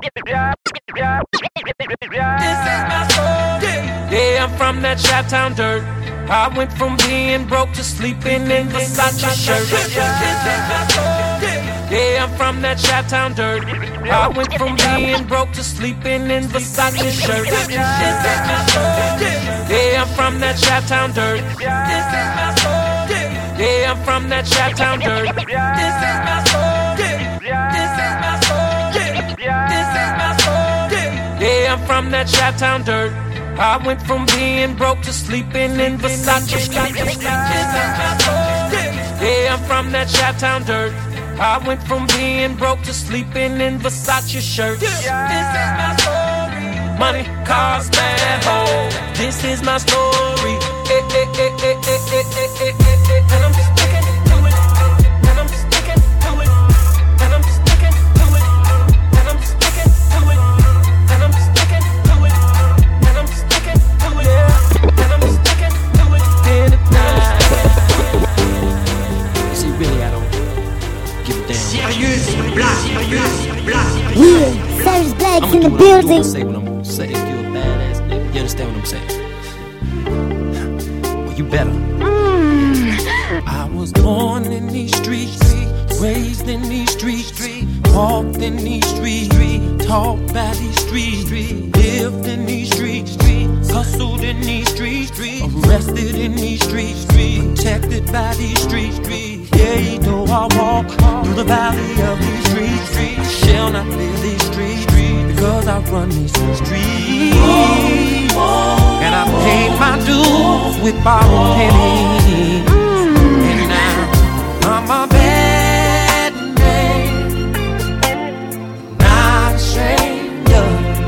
Yeah, I'm from that Chi-Town dirt. I went from being broke to sleeping in Versace shirt. Yeah, I'm from that Chi-Town dirt. I went from being broke to sleeping in Versace shirt. Yeah, I'm from that Chi-Town dirt. Yeah, I'm from that Chi-Town dirt. Yeah, I'm from that Chi-Town dirt. I went from being broke to sleeping in Versace. Yeah, I'm from that Chi-Town dirt. I went from being broke to sleeping in Versace shirts. Money, cars, bad hoes. This is my story. And I'm sticking to it. And I'm sticking to it. And I'm sticking to it. And I'm sticking to it. And I'm sticking to it. And I'm sticking to it. And I'm sticking to it. See, really, I don't give a damn. Serious black. Yeah, Savage Blacks in the building. Say what I'm gonna say. If you a badass nigga, you understand what I'm saying? Well, you better. I was born in these streets, raised in these streets, walked in these streets, taught by these streets, lived in these streets, hustled in these streets, arrested in these streets, protected by these streets. Yeah, though I walk through the valley of these streets, shall not live these streets, because I run these streets. And I paid my dues with borrowed pennies. And now I'm a bad man, not ashamed of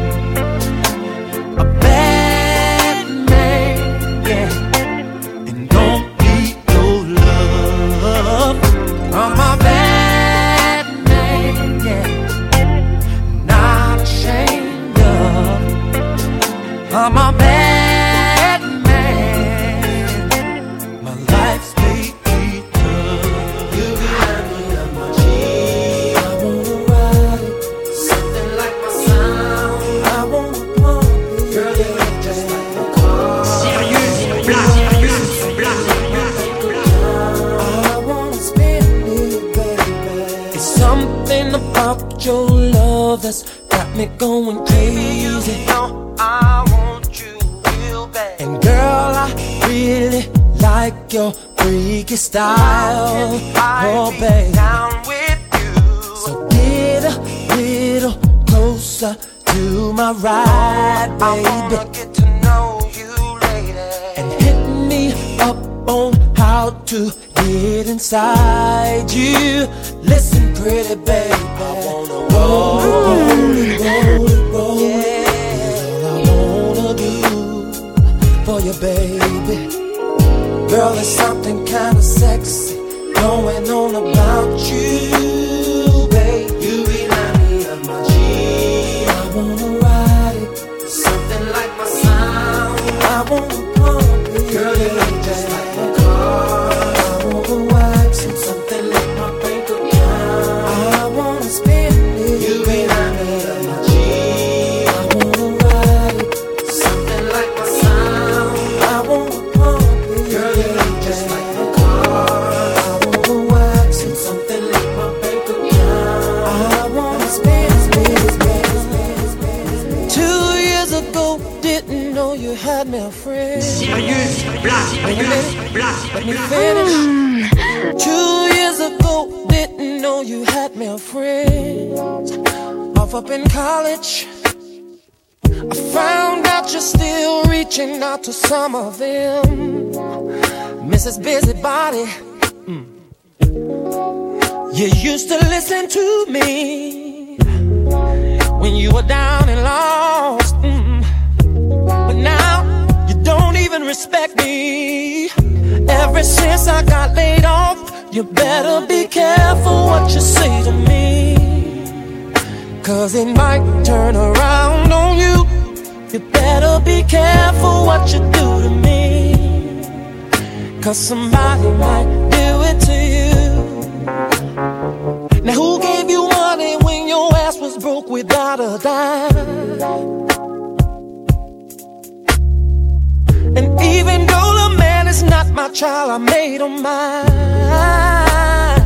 a bad man, yeah. And don't need no love. I'm a bad man, yeah, not ashamed of. I'm a bad man. My life's made me tough. You remind me of my G. I wanna ride it, something like my sound. I wanna pump it, girl, you look just like a car. Serious black. I wanna spend it, baby. It's something about your love that's got me going crazy. I want you real bad. And girl, I really like your freaky style. Oh, babe. Down with you. So get a little closer to my ride, I wanna baby. get to know you later. And hit me up on how to get inside you. Listen, pretty baby, I wanna roll it, roll it. Yeah, all I wanna do for you, baby. Girl, there's something kinda sexy going on about you, babe. You remind me of my G. I wanna ride it, Something like my sound. I wanna pump it. Girl, you look just like a car. I wanna wax it, Something like my bank account. I wanna spend it. You remind me of my G. I wanna ride it, Something like my sound. I wanna pump it. Girl, you look just like a car. I wanna wax it, Something like my bank account. I wanna spend. 2 years ago, didn't know you had me a friend. Serious black. Let me finish. 2 years ago, didn't know you had me a friend. Off up in college, I found out you're still reaching out to some of them. Mrs. Busybody, you used to listen to me when you were down and lost. But now you don't even respect me. Ever since I got laid off, you better be careful what you say to me, 'cause it might turn around on you. You better be careful what you do to me, 'cause somebody might do it to you. Now who gave you money when your ass was broke with got a dime. And even though the man is not my child, I made him mine.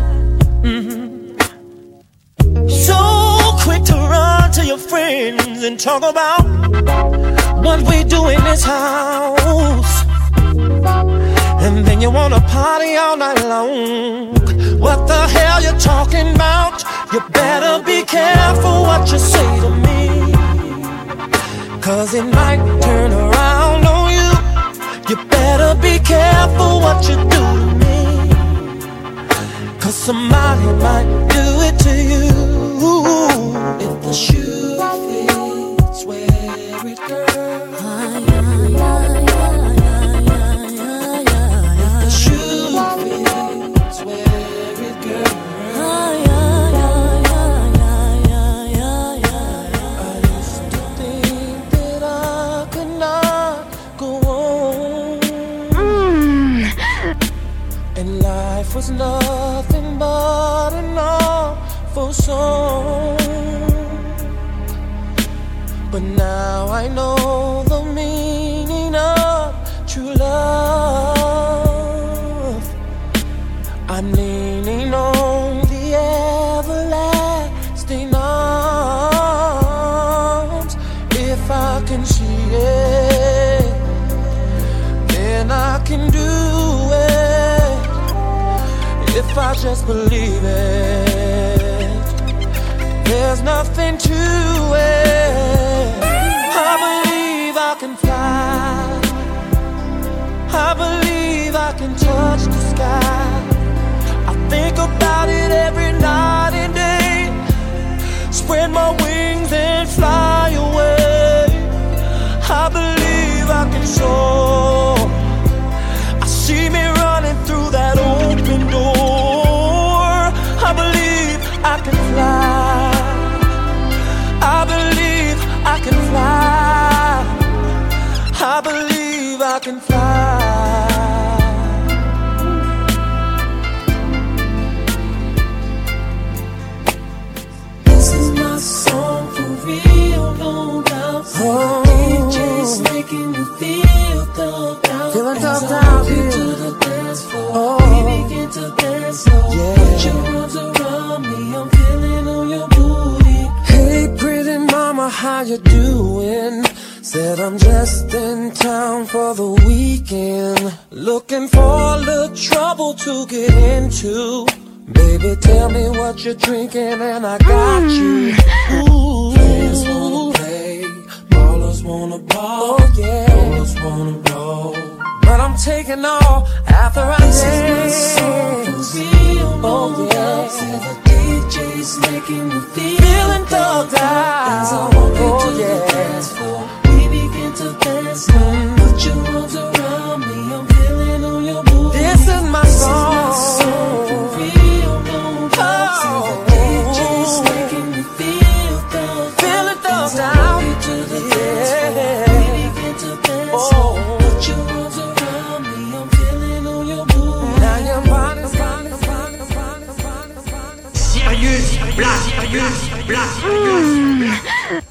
So quick to run to your friends and talk about what we do in this house. And then you wanna party all night long. What the hell you talking about? You better be careful what you say to me, 'cause it might turn around on you. You better be careful what you do to me, 'cause somebody might do it to you. If the shoe fits, wear it, girl. If the shoe fits, wear it, girl. I used to think that I could not go on, and life was nothing but an awful song. But now I know the meaning of true love. I'm leaning on the everlasting arms. If I can see it, then I can do it. If I just believe it, there's nothing to it. I believe I can fly. I believe I can touch the sky. I think about it every night and day. Spread my wings and fly away. I believe I can soar. I see me running through that open door. I believe I can fly. I believe I can fly. I believe I can fly. This is my song for real, no doubt. DJ's making me feel thugged out. Feeling As thugged I out, walk into yeah. the dance floor, we begin to dance slow. Put your arms around me, I'm feeling on your booty. Hey pretty mama, how you doing? Said I'm just in town for the weekend, looking for a little trouble to get into. Baby, tell me what you're drinking and I got you. Ooh. Fans wanna play, ballers wanna ball. Oh yeah, ballers wanna roll. but I'm taking all after I This is my dance. song for real, no Oh yeah, doubt. Say the DJ's making me feeling thugged As I out. walk into Oh the yeah. dance floor, we begin to dance slow. Put your arms around me, I'm feeling on your booty. This is my This is song. my song for real, no doubt. Say the DJ's making me feel thugged Feeling thugged As I out. walk into the dance floor, Yeah. we begin to dance slow. Put your arms around me, I'm feeling on your booty. Now you're running. Sirius Black, Sirius Black, Sirius Black.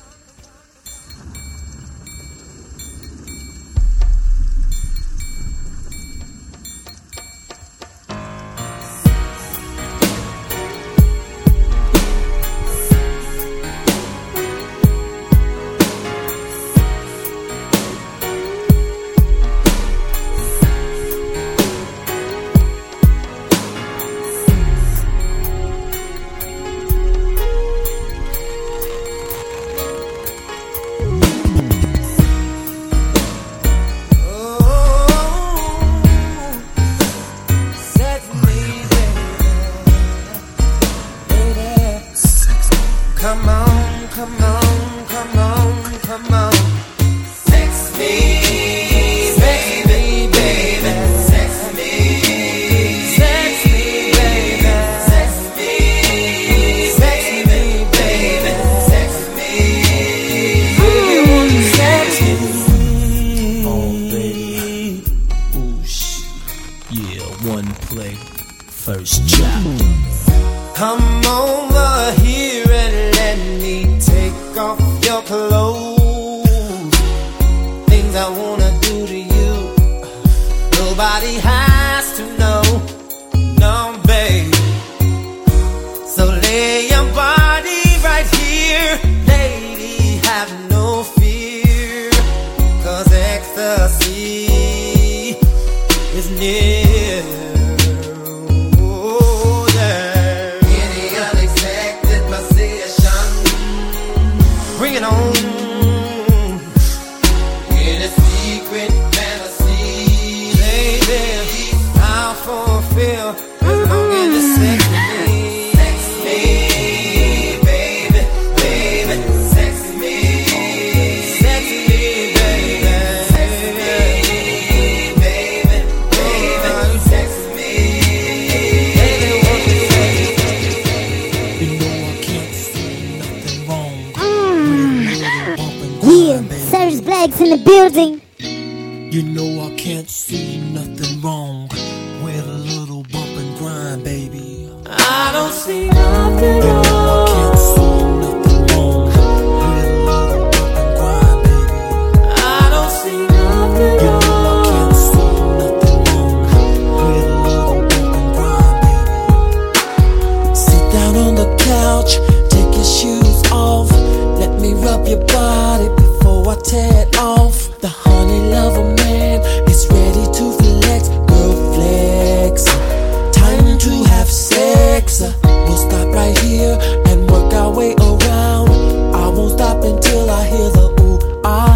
one play, first chapter. Come over here and let me take your clothes, things I wanna do to you. Nobody has to know, no, babe. So lay your body right here, lady, have no fear, 'cause ecstasy is near. Oh, yeah. Any unexpected position, bring it on. In a secret fantasy, baby, I'll fulfill as long as you sex me. Sex me, baby, baby, sex me. Sex me, baby. Sex me, baby, baby, sex me. Baby, won't you sex me? You know I can't see nothing wrong. Yeah, Cyrus Black's in the building. You know I can't see nothing wrong with a little bump and grind, baby. I don't see nothing You know I can't see nothing wrong with a little bump and grind, baby. I don't see nothing You know I can't see nothing wrong with a little bump and grind, baby. Sit down on the couch, take your shoes off. Let me rub your body before I tear it off. The honey lover man is ready to flex. Girl, flex. Time to have sex. We'll stop right here and work our way around. I won't stop until I hear the ooh-ah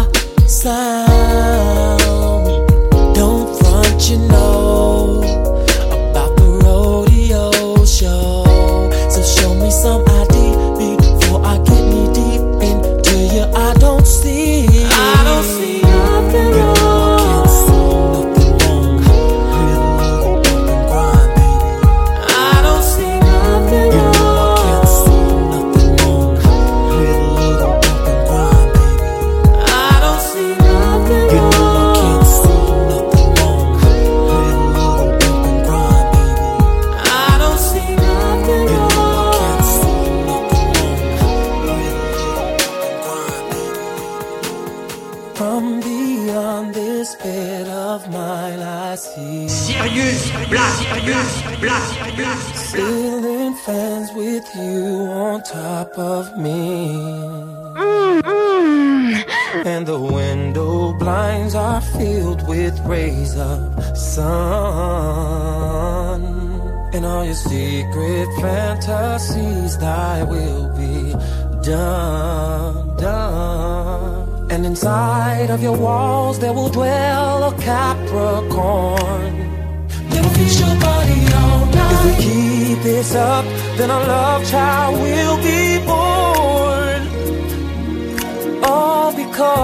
sound. Don't front, you know about the rodeo show. So show me some ID before I get knee deep into you. I don't see nothing You know I can't see nothing wrong with a little bump and grind, baby. I don't see nothing You know I can't see nothing wrong with a little bump and grind, baby. I don't see nothing You know I can't see nothing wrong with a little bump and grind, baby. I don't see nothing You know I can't see nothing wrong with a little bump and grind, baby. From beyond this bed of mine I see Sirius Black, Sirius Black, Black. ceiling fans with you on top of me. And the window blinds are filled with rays of sun. And all your secret fantasies, thy will be done, done. And inside of your walls there will dwell a Capricorn. They'll feast your body all night. If we keep this up, then a love child will be born. All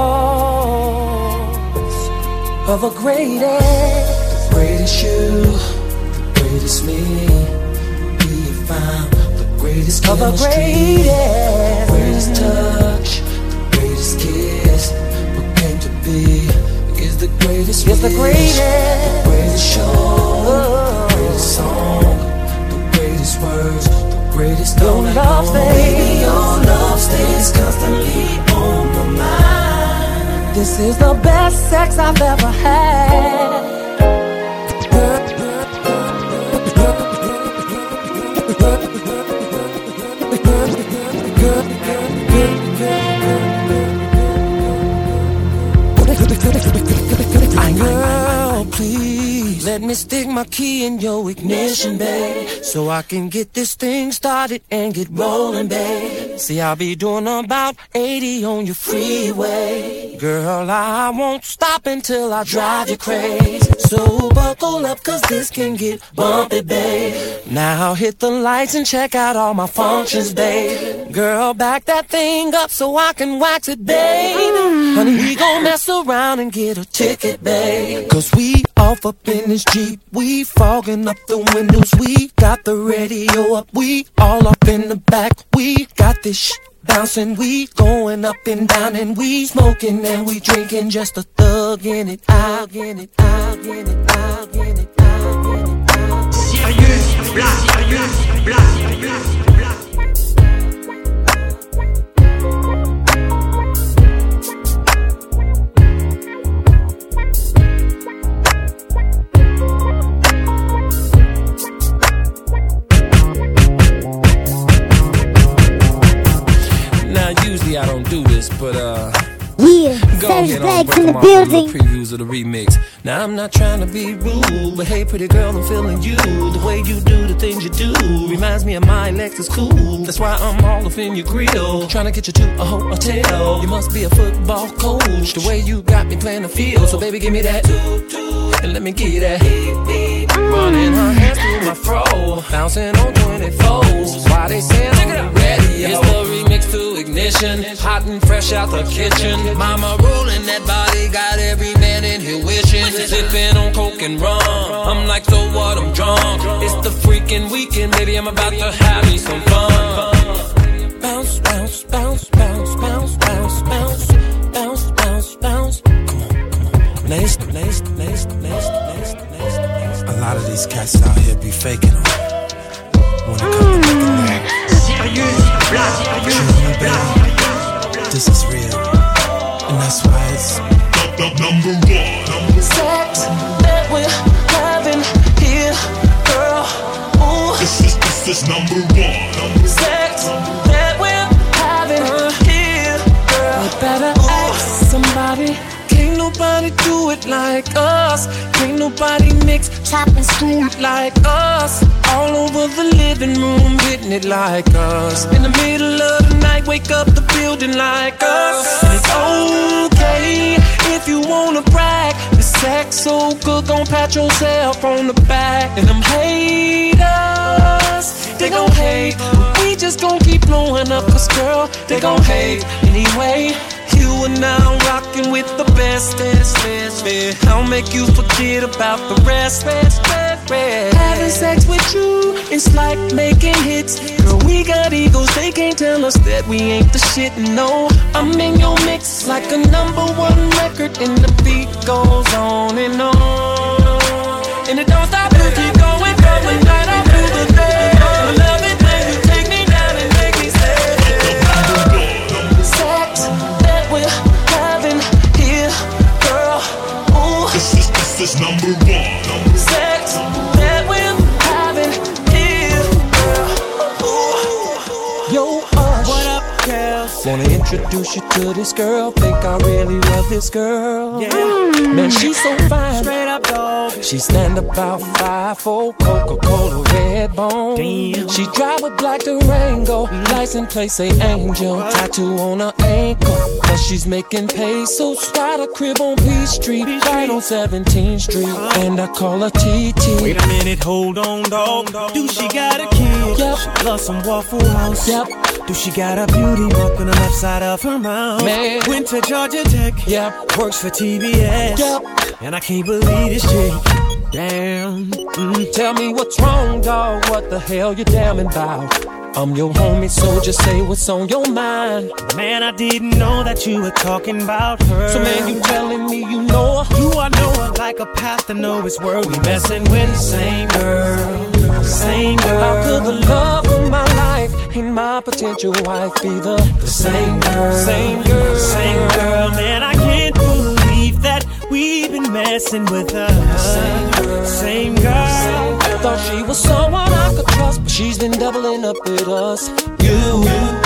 because of a greatest you, the greatest me. We have found the greatest chemistry, the greatest touch, the greatest kiss. What came to be is the greatest. It's the greatest show, the greatest song, the greatest words, the greatest love. Baby, your love stays constantly on my mind. This is the best sex I've ever had. Girl, please let me stick my key in your ignition, babe, so I can get this thing started and get rolling, babe. See, I'll be doing about 80 on your freeway. Girl, I won't stop until I drive you crazy. So buckle up, 'cause this can get bumpy, babe. Now hit the lights and check out all my functions, babe. Girl, back that thing up so I can wax it, babe. Honey, we gon' mess around and get a ticket, babe. 'Cause we off up in this Jeep, we fogging up the windows, we got the radio up, we all up in the back, we got this bouncing, we going up and down, and we smoking and we drinking, just a thug in it, out in it, out in it, out in it, out in it, out. Sirius Black, Sirius Black, Black, Black. don't do this, but Yeah, go Serge ahead on, Black's break in the them off with little building. previews of the remix. Now I'm not trying to be rude, but hey pretty girl, I'm feeling you. The way you do the things you do reminds me of my Lexus cool. That's why I'm all up in your grill, trying to get you to a hotel. You must be a football coach, the way you got me playing the field. So baby, give me that, and let me give you that. Running her hands through my fro, bouncing on 24s. Why they saying on the radio? It's the remix to Ignition, hot and fresh out the kitchen. Mama rolling that body, got every man in here wishing. Sipping on coke and rum, I'm like, so what, I'm drunk. It's the freaking weekend, baby, I'm about to have me some fun. Bounce, bounce, bounce, bounce, bounce, bounce, bounce, bounce, bounce, bounce. Come on. Next. A lot of these cats out here be faking them. When it comes to making that. Sirius Black. This is real, and that's why it's number one. Sex that we're having here, girl. Ooh. This is number one. Sex that we're having here, girl. You better ask somebody. Can't nobody do it like us. Can't nobody mix, chop and screw it like us. All over the living room, hitting it like us. In the middle of the night, wake up the building like us. And it's okay if you wanna brag. The sex so good, gon' pat yourself on the back. And them haters, they gon' hate. We just gon' keep blowing up, cause girl, they gon' hate anyway. You are now rocking with the best. I'll make you forget about the rest. Having sex with you, it's like making hits. Girl, we got egos, they can't tell us that we ain't the shit. No, I'm in your mix like a #1 record, and the beat goes on and on. And it don't stop, it keep going, going right up through the day. I love it when you take me down and make me say sex that we're having here, girl. Ooh. This is number one. Sex that we're having here, girl. Ooh. Yo, what up, girl? Wanna introduce you to this girl. Think I really love this girl. Yeah. Man, she's so fine. Straight up, dog. She stand about 5'4", Coca-Cola red bone. Damn. She drive a black Durango. License plate say Angel. Tattoo on her ankle. But she's making pesos. Got a crib on Peachtree, right on 17th Street. And I call her TT. Wait a minute, hold on, dog. Do she got a kid? Yep. She loves some Waffle House. Yep. Do she got a beauty mark on the left side of her mouth? Man. Went to Georgia Tech. Yep. Works for TBS. Yep. And I can't believe this chick. Damn. Tell me what's wrong, dog. What the hell you damning about? I'm your homie, so just say what's on your mind. Man, I didn't know that you were talking about her. So man, you telling me you know her? Do I know her like a path to know his word? We messing with the same girl. Same girl. How could the love of my life and my potential wife be the same girl? Same girl. Same girl. Man, I can't believe that we've been messing with her. Same girl. Same girl. Thought she was someone I could trust, but she's been doubling up with us. You,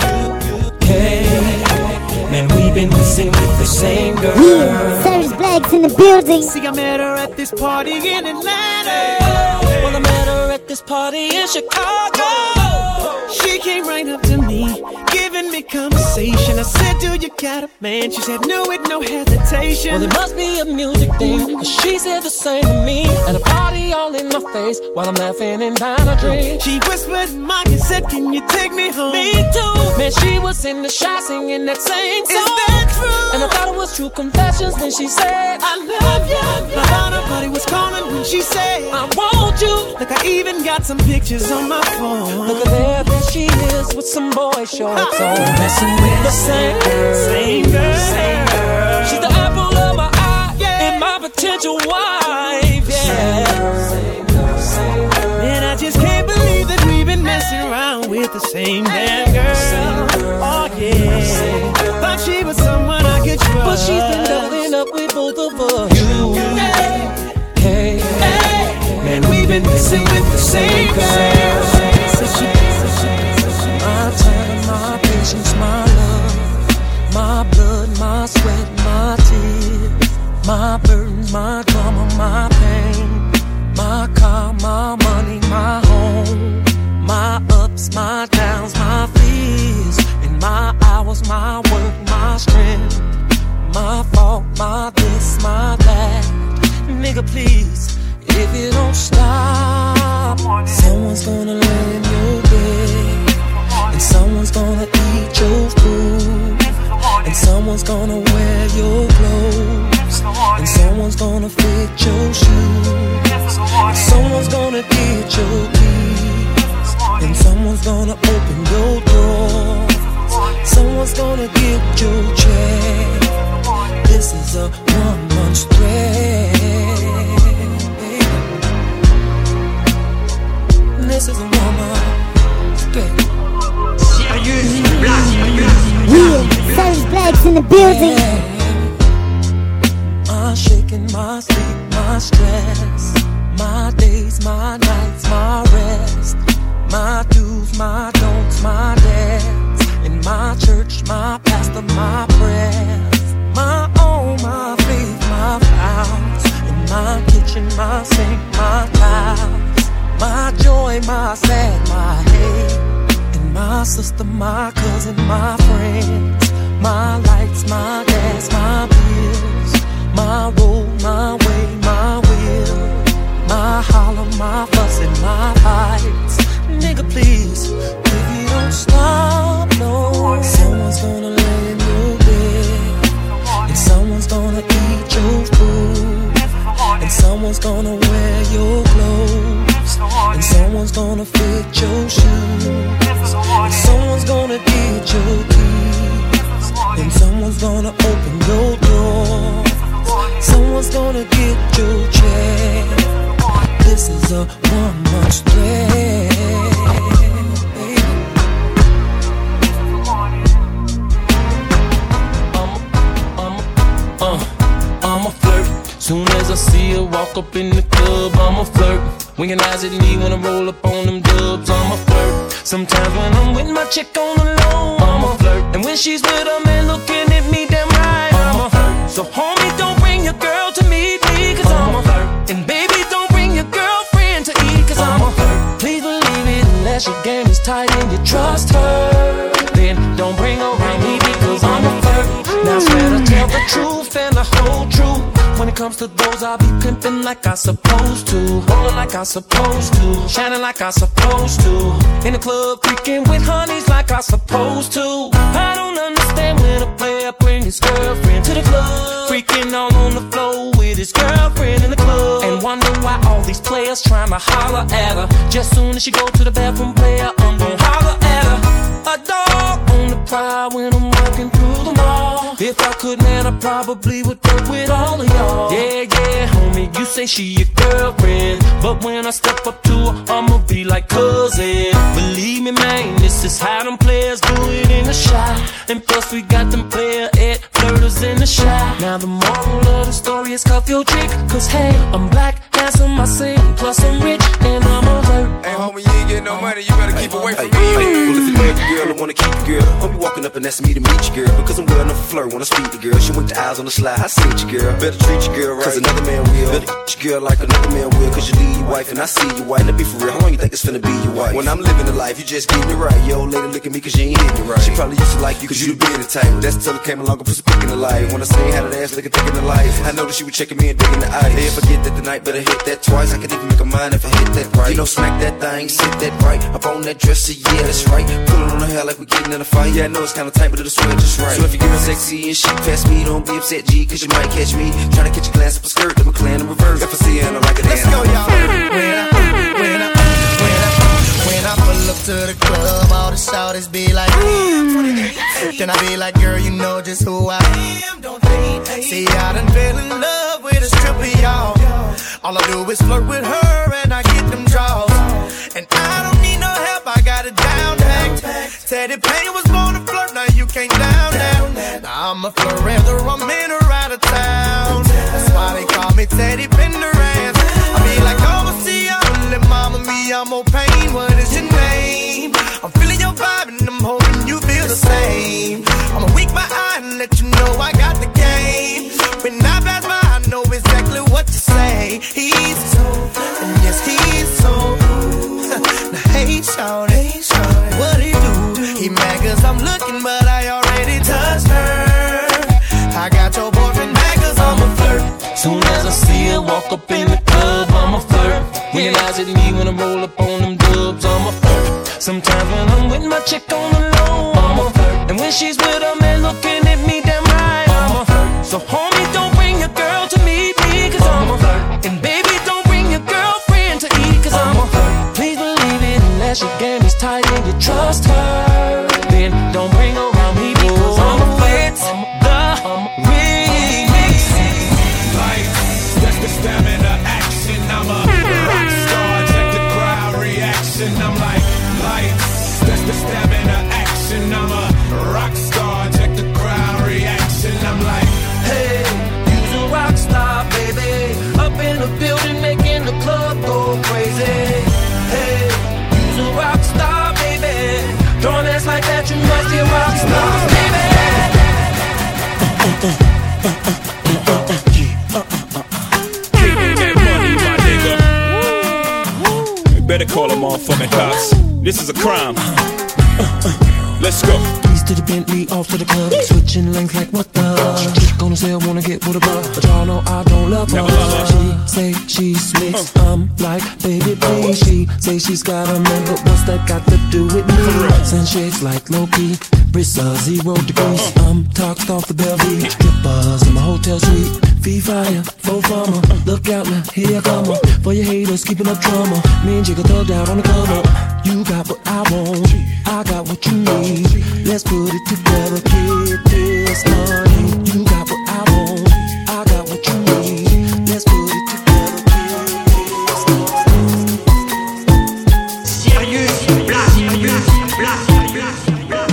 hey, man, we've been messing with the same girl. Yeah, Serge Black's in the building. See, I met her at this party in Atlanta. Well, I met her at this party in Chicago. She came right up to me, giving me conversation. I said, do you got a man? She said, no, with no hesitation. Well, it must be a music thing, cause she said the same to me. At a party all in my face, while I'm laughing and buying a drink. She whispered in my ear, said, can you take me home? Me too. Man, she was in the shot singing that same song. Is that true? And I thought it was true confessions when she said, I love you. My heart, her body was calling when she said, I want you. Look, I even got some pictures on my phone. Look at there she is with some boy shorts on. Messing with the same girl. Same girl. Same girl. She's the apple of my eye, yeah, and my potential wife, yeah. Same girl. Same girl. And I just can't believe that we've been messing around with the same damn girl. Oh yeah. Thought she was someone I could trust, but she's been doubling up with both of us. You, hey, man, we've been messing with the same girl. My time, my patience, my love. my sweat, my tears, my burdens, my drama, my pain, my car, my money, my home, my ups, my downs, my fears, and my hours, my work, my strength, my fault, my this, my that. Nigga, please, if you don't stop, someone's gonna lay in your bed, and someone's gonna eat your food, and someone's gonna wear your clothes, and someone's gonna fit your shoes, and someone's gonna get your keys, and someone's gonna open your door, someone's gonna get your check. This is a 1 month spread. This is a 1 month spread. Sirius Black. Yeah, Savage Black's in the building. I'm shaking my sleep, my stress, my days, my nights, my rest, my do's, my don'ts, my debts, in my church, my pastor, my prayers, my own, my faith, my vows, in my kitchen, my sink, my towels, my joy, my sad, my hate, and my sister, my cousin, my friends, my lights, my gas, my bills, my road, my way, my will, my holler, my fuss, and my fights. Nigga, please, if you don't stop, no, someone's gonna lay in your bed, and someone's gonna eat your food, and someone's gonna wear your clothes, and someone's gonna fit your shoes, and someone's gonna get your keys, and someone's gonna open your door, someone's gonna get your check. This is a 1 month spread. I'm a flirt. Soon as I see her walk up in the club, I'm a flirt. Winking eyes at me when I roll up on them dubs, I'm a flirt. Sometimes when I'm with my chick on the low, I'm a flirt. And when she's with a man looking at me damn right, I'm a flirt. So homie, don't bring your girl to meet me, cause I'm a flirt. And baby, don't bring your girlfriend to eat, cause I'm a flirt. Please believe it, unless your game is tight and you trust her, then don't bring her around me, because I'm a flirt. Now I swear to tell the truth and the whole truth. When it comes to those, I'll be pimping like I supposed to, rolling like I supposed to, shining like I supposed to, in the club freaking with honeys like I supposed to. I don't understand when a player brings his girlfriend to the club, freaking all on the floor with his girlfriend in the club, and wonder why all these players trying to holler at her. Just soon as she go to the bathroom, player, I'm gon' holler at her. A dog on the prowl when I'm walking through the mall. If I could, man, I probably would work with all of y'all. Yeah, homie, you say she your girlfriend, but when I step up to her, I'ma be like cousin. Believe me, man, this is how them players do it in the shot. And plus we got them player at flirters in the shot. Now the moral of the story is cuff your chick, cause hey, I'm black, handsome, I sing, plus I'm rich, and I'm alert. Hey, homie, you ain't getting no money, you better keep away from me. Well, if you love your girl, I wanna keep your girl. Homie walking up and asking me to meet your girl, because I'm well enough to flirt when I speak to girl. She went the eyes on the slide, I see your girl. Better treat your girl right, cause another man will. Better treat your girl like another man will, cause you leave your wife and I see your wife. Now be for real, how long you think it's finna be your wife? When I'm living the life, you just getting it right. Yo, lady, look at me cause you ain't hitting it right. She probably used to like you cause you the bearded type. That's until it came along and put some pick in the life. When I say how that ass looking thick in the life, I know that she was checking me and digging the eyes. Hey, if I get that tonight, better hit that twice. I could even make a mind if I hit that right. You know, smack that thing, sit that right. Up on that dresser, yeah, that's right. Pull it on her hair like we getting in a fight. Yeah, I know it's kinda tight, but it'll swing just right. So if you get sexy and shit past me, don't be upset, G, cause you might catch me trying to catch a glance up a skirt, then McClan in reverse. If I see her, I like it. Let's go, y'all. When I pull up to the club, all the shawties be like, then I be like, girl, you know just who I am, don't they? See, I done fell in love with a stripper, y'all. All I do is flirt with her and I get them draws. And I don't need no help, I got it down packed. Teddy Payne was born to flirt, now you can't down that. Now I'm a flirt whether I'm in or out of town. That's why they call me Teddy Pendergrass. I be like, overseas, little mama, me, I'm more pain. What is your name? I'm feeling your vibe and I'm hoping you feel the same. I'ma wink my eye and let you know I got walk up in the club, I'm a flirt. When your eyes at me, when I roll up on them dubs, I'm a flirt. Sometimes when I'm with my chick on the low, I'm a flirt. And when she's with a man looking at me damn right, I'm a flirt. So homie, don't bring your girl to meet me, cause I'm a flirt. And baby, don't bring your girlfriend to eat, cause I'm a flirt. Please believe it, unless your game is tight and you trust her, then don't bring her around me, because I'm a flirt. I'm a remix. Lights, that's the stamina action. I'm a rock star, check the crowd reaction. I'm like, lights, that's the stamina action. I'm a rock star, check the crowd reaction. I'm like, hey, you's a rock star, baby. Up in the building, making the club go crazy. Hey, you's a rock star, baby. Throwing ass like that, you must be a rock star, baby. Getting that money, my nigga. You better call them motherfucking cops. This is a crime. Let's go. To the Bentley, off to the club, switching lanes like what the chick on the sale, wanna get with a bug, but y'all know I don't love her. She say she's mixed, I'm like, baby please. She say she's got a man, but what's that got to do with me? Sunshades like Loki, Brissa 0 degrees. I'm toxed off the Bellevue, strippers in my hotel suite. Fee fire, faux farmer, look out now, here I come up. For your haters, keeping up drama. Me and Jigga thugged out on the come up. You got what I want, I got what you need. Let's put it together, get this money. You got what I want, I got what you need. Let's put it together, get this money. Sirius Black, Sirius Black, Sirius Black.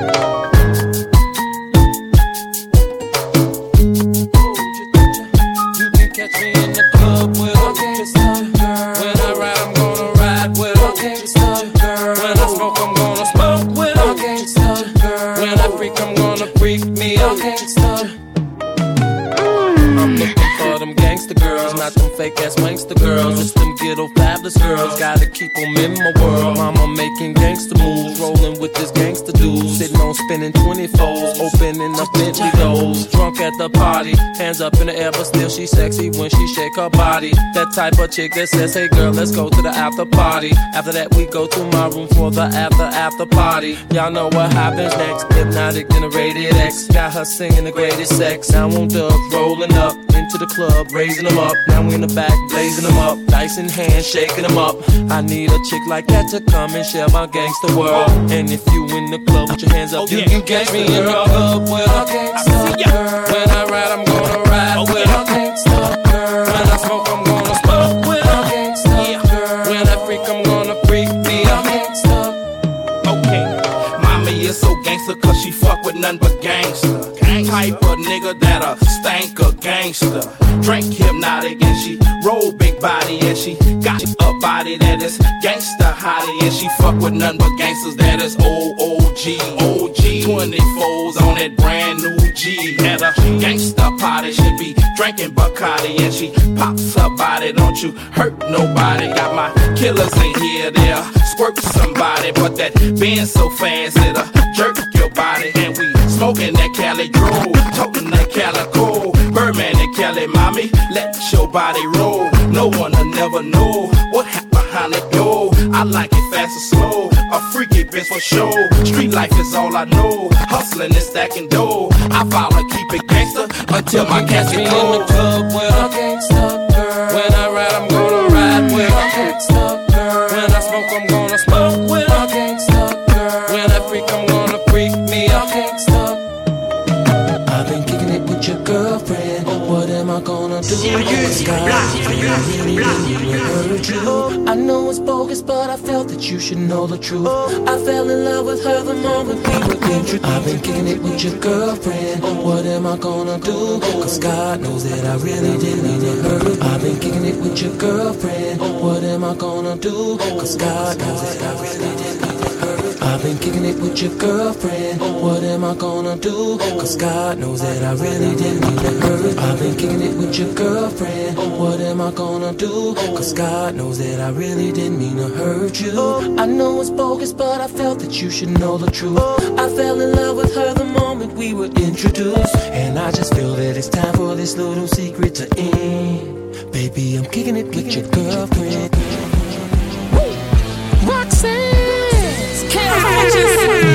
You can catch me in the club with a gangsta girl. When I ride, I'm gonna ride with a gangsta girl. When I smoke, I'm gonna smoke with a gangsta girl. When I freak, I'm gonna freak me a gangsta. I'm looking for them gangsta girls, not them fake ass wanksta girls. Just them ghetto fabulous girls, gotta keep them in my world. Mama making gangsta moves, rolling with this gangsta dude. Sitting on spinning 24s, opening up Bentley doors. Drunk at the party, hands up in the air, but still she sexy when she shake her body. That type of chick that says, hey girl, let's go to the after party. After that we go to my room for the after party. Y'all know what happens next, hypnotic generated X. Got her singing the greatest sex. Now on dubs, rolling up into the club, raising them up. Now we in the back, blazing them up. Dice in hand, shaking them up. I need a chick like that to come and share my gangsta world. And if you in the club with your hands up, you can catch me in the club with a gangsta girl. When I ride, I'm gonna ride with a gangsta girl. When I smoke, I'm gonna smoke with a gangsta girl. When I freak, I'm gonna freak me a gangsta. okay. Mommy is so gangster cause she fuck with none but gangster. Type of nigga that'll stank a gangster. Drink hypnotic and she roll big body and she got a body that is gangster hottie. And she fuck with none but gangsters that is OG 24s on that brand new G. At a gangster party she be drinking Bacardi and she pops her body. Don't you hurt nobody. Got my killers in here, they'll squirt somebody, but that Benz so fast it'll jerk your body. And we smoking that Cali Grove, toting that Calico, Birdman and Cali, mommy, let your body roll. No one'll never know what happened behind the door. I like it fast or slow, a freaky bitch for sure. Street life is all I know, hustling and stacking dough. I follow, keep it gangster until my casket cold. In the club with a gangsta girl. When I ride, I'm gonna ride with a gangsta girl. When I smoke, I'm gonna smoke with a gangsta girl. When I freak, I'm gonna freak me a gangsta. I've been kicking it with your girlfriend. What am I gonna do? Sirius Black, Sirius Black. I know it's bogus, but I felt that you should know the truth. I fell in love with her the moment we were introduced. I've been kicking it with your girlfriend. What am I gonna do? Cause God knows that I really did need her. I've been kicking it with your girlfriend. What am I gonna do? Cause God knows that I really did need her. I've been kicking it with your girlfriend. What am I gonna do? Cause God knows that I really didn't mean to hurt. I've been kicking it with your girlfriend. What am I gonna do? Cause God knows that I really didn't mean to hurt you. I know it's bogus, but I felt that you should know the truth. I fell in love with her the moment we were introduced, and I just feel that it's time for this little secret to end. Baby, I'm kicking it with your girlfriend. Roxanne, can't I just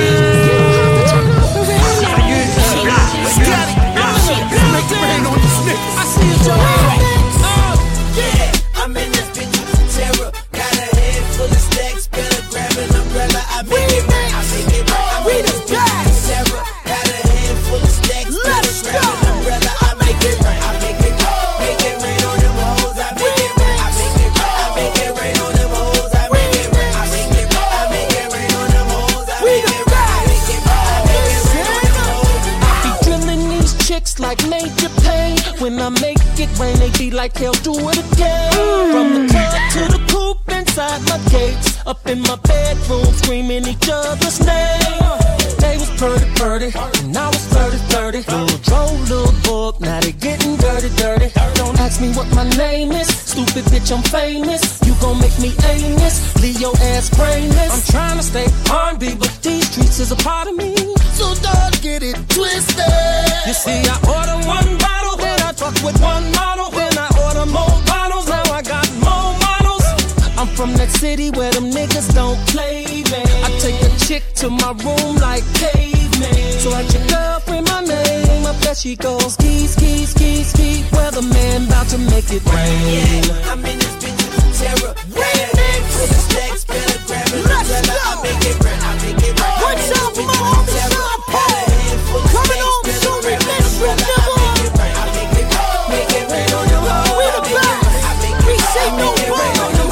I'm in this bitch with terror. Got a head full of stacks, better grab an umbrella. I make it right, I make it right. I'm in this bitch with terror. Got a head full of stacks, better grab an umbrella. I make it right, I make it right. Make it rain on them hoes, I make it right. I make it right, I make it rain on them hoes, I make it right. I make it right, I make it rain on them hoes, I make it right. I make it right, I make it rain on them hoes. I be drilling these chicks like Major Payne. When I make it rain, they be like, hell, do it again. From the club to the coupe inside my gates, up in my bedroom, screaming each other's name. They was purdy, and I was flirty. Little drove, little book, now they getting dirty. Don't ask me what my name is, stupid bitch, I'm famous. You gon' make me aimless, leave your ass brainless. I'm trying to stay R&B, but these streets is a part of me, so don't get it twisted. You see, I order one bottle, then I talk with one model, then I order more bottles, now I got more models. I'm from that city where them niggas don't play, man. I take a chick to my room like caveman. So at your girlfriend my name, I bet she goes ski. Weatherman about to make it rain. Yeah, I'm in this bitch with terror. Got a head full of stacks, better grab an umbrella. I make it right, I make it right. What's up, mom? Coming on, so we miss you, nigga. I make it right, make it rain on them hoes. We the best. We say no more.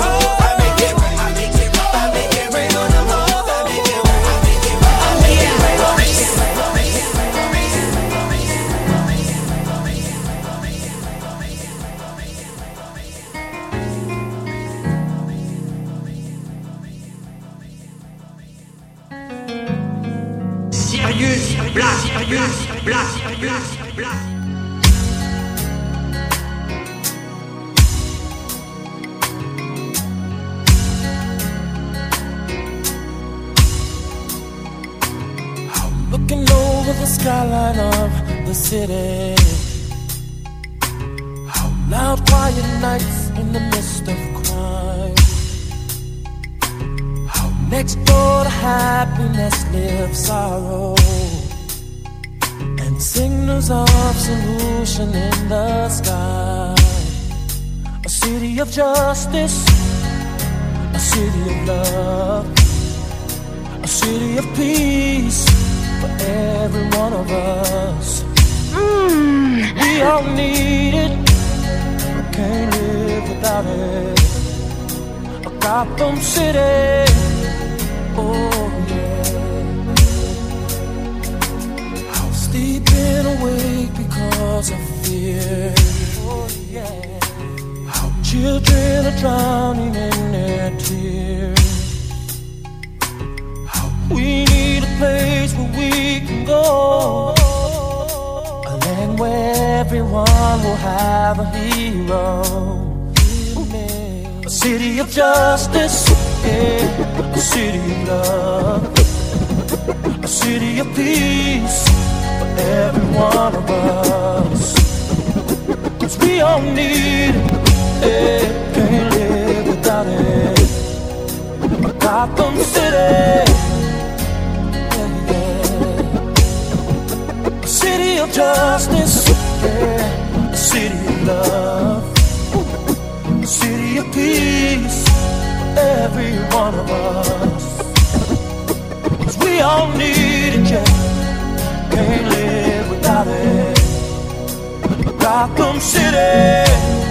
Black. Looking over the skyline of the city. Loud, quiet nights in the midst of crime. Next door to happiness lives sorrow, and signals of solution in the sky. A city of justice, a city of love, a city of peace for every one of us. We all need it, can't live without it. A Gotham City, oh yeah. Sleeping awake because of fear, oh yeah. Children are drowning in their tears. We need a place where we can go, a land where everyone will have a hero. A city of justice, yeah. A city of love, a city of peace for every one of us. 'Cause we all need it, yeah. Can't live without it. Gotham City, a city of justice, yeah. A city of love, a city of peace for every one of us. 'Cause we all need it, yeah. Can't live without it. Gotham City,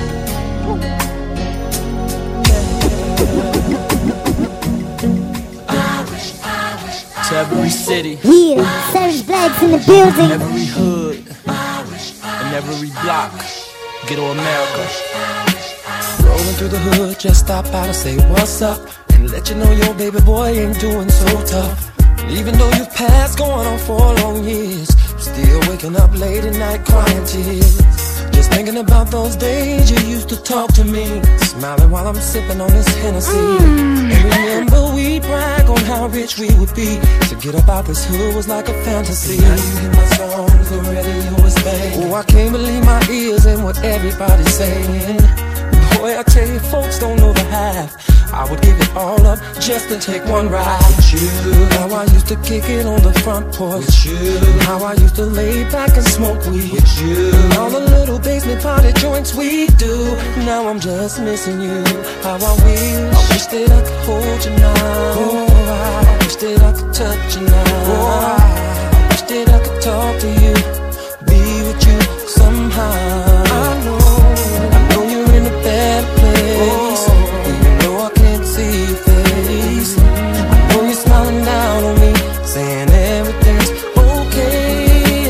to every city, yeah, Savage Blacks in the building, every hood, and every block, ghetto America. Rolling through the hood, just stop by to say what's up, and let you know your baby boy ain't doing so tough. Even though you've passed going on 4 long years, I'm still waking up late at night crying tears. Just thinking about those days you used to talk to me, smiling while I'm sipping on this Hennessy. And remember we brag on how rich we would be. To get up out this hood was like a fantasy. Now you hear my songs, the radio is banging. Oh, I can't believe my ears and what everybody's saying. Boy, I tell you, folks don't know the half. I would give it all up just to take one ride with you. How I used to kick it on the front porch with you. How I used to lay back and smoke weed with you. And all the little basement party joints we do. Now I'm just missing you. How I wish that I could hold you now. Oh, I wish that I could touch you now. Oh, I wish that I could talk to you, be with you somehow. I know you're in a bad place. Even though I can't see your face, I know you're smiling down on me, saying everything's okay.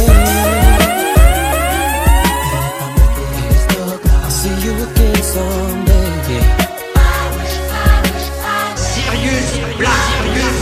I'll see you again someday. Sirius Black.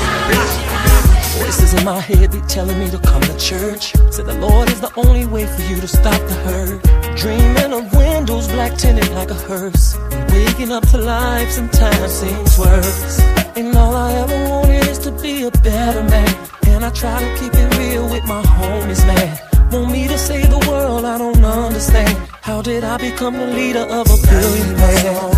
Voices in my head be telling me to come to church. Said the Lord is the only way for you to stop the hurt. Dreaming of windows black tinted like a hearse, and waking up to life sometimes seems worse. And all I ever wanted is to be a better man, and I try to keep it real with my homies, man. Want me to save the world, I don't understand. How did I become the leader of a billion man?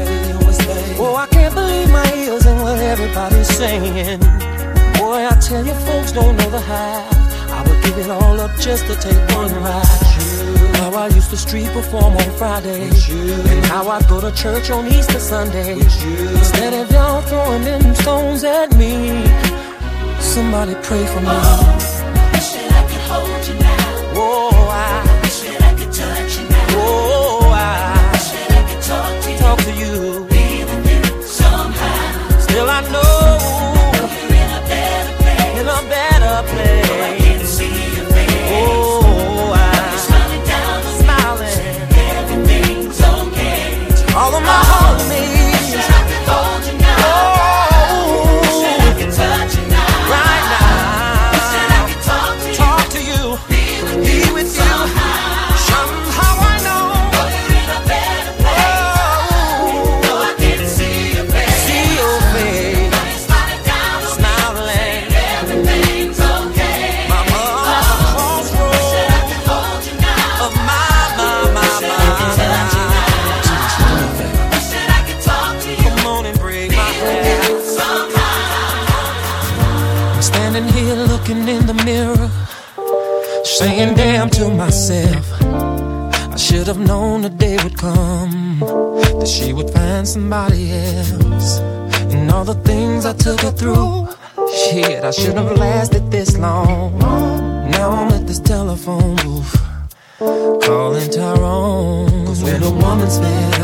Oh, I can't believe my ears and what everybody's saying. Boy, I tell you, folks don't know the half. I would give it all up just to take one ride. How I used to street perform on Fridays, and how I'd go to church on Easter Sundays. Instead of y'all throwing them stones at me, somebody pray for me. Oh, wish that I could hold you now. Oh, I wish that I could touch you now. Oh, I wish that I could talk to you, be with you somehow. Still I know you're in a better place. In a better place. Oh, I can see your face. Oh, you're smiling down on smiling. Me. Everything's okay. All of my homies. Wish that I could hold you now. Oh, wish that I could touch you now. Right now. Wish that I could talk to you. Be with you. Somehow I know you're in a better place. Oh, I can see your face. See your face. Now you're smiling down on Smiling. me. Everything's okay. My mom at the crossroads. Wish that I could hold you now. Of my Wish that I could touch you now. Wish that I could talk to you. Come on and break my heart. Somehow. I'm standing here looking in the mirror, saying damn to myself. I should have known the day would come that she would find somebody else. And all the things I took her through, shit, I shouldn't have lasted this long. Now I'm at this telephone booth, calling Tyrone. 'Cause when a woman's fed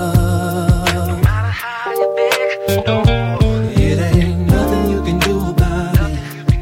up, no matter how you beg, it ain't nothing you can do about it.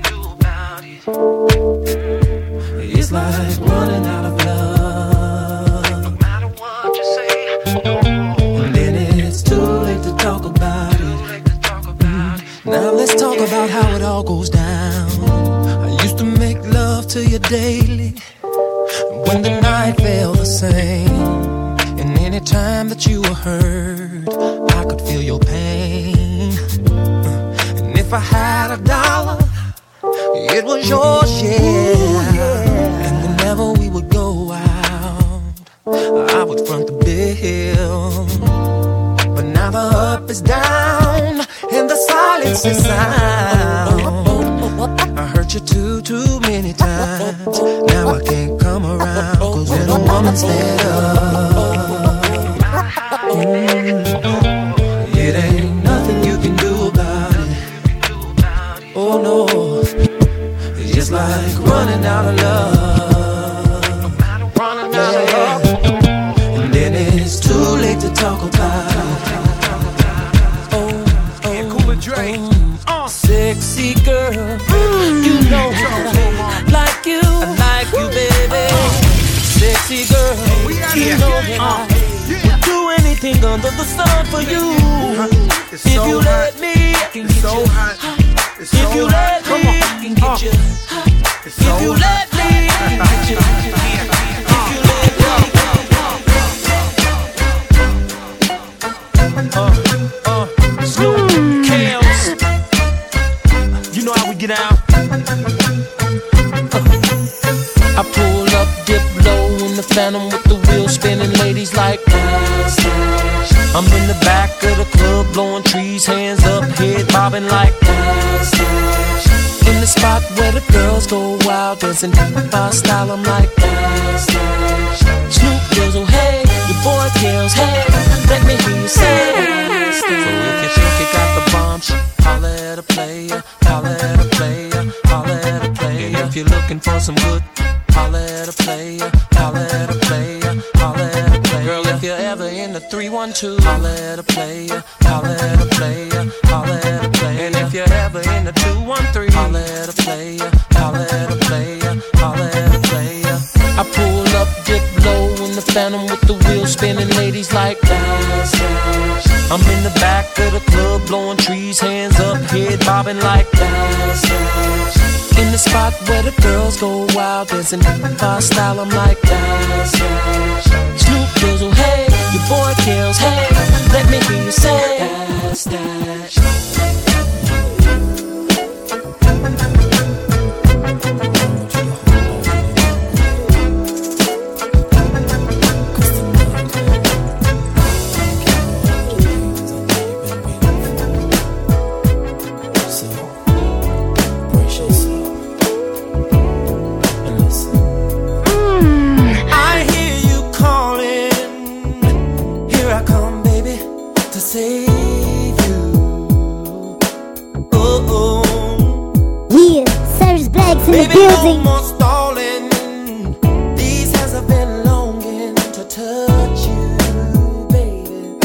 It's like running out of love. No matter what you say, and then it's too late to talk about it. Now let's talk about how it all goes down. I used to make love to you daily, when the night felt the same. And any time that you were hurt, I could feel your pain. And if I had $1, it was yours, yeah. And whenever we would go out, I would front the bill. But now the up is down and the silence is sound. I hurt you too many times. Now I can't come around. 'Cause when a woman's fed up, it ain't nothing you can do about it. Oh no, it's just like running out of love. Yeah. And then it's too late to talk about it. Sexy girl, you know I like you, baby. Sexy girl, you know that I would do anything under the sun for you. If you let me, it's so hot. If you let me, I can get you. If you let me, I can get you. Snoop, Kales, you know how we get out. I pull up, dip low in the Phantom with the wheel spinning, ladies like dance, dance. I'm in the back of the club blowing trees, hands up, head bobbing like dance, dance. In the spot where the girls go wild, dancing my style, I'm like dance, dance. Snoop goes, oh hey, your boy Kales, hey, let me hear you say dance, dance. So if you think you got the bomb, holla at a player, holla at a player, holla at a player. And if you're looking for some good, holla at a player, holla at a player, holla at a player. Girl, if you're ever in the 312, holla at a player, holla at a player, holla at a player. And if you're ever in the 213, holla at a player, holla at a player, holla at a player. I pull up, dip low in the Phantom with the wheel spinning, ladies like dance, dance. I'm in the back of the club blowing trees, hands up, head bobbing like dance, dance. In the spot where the girls go wild, dancing my style, I'm like dance, dance. Snoop goes, oh hey, your boy Kales, hey, let me hear you say dance, dance. Baby, no more stalling. These hands have been longing to touch you, baby.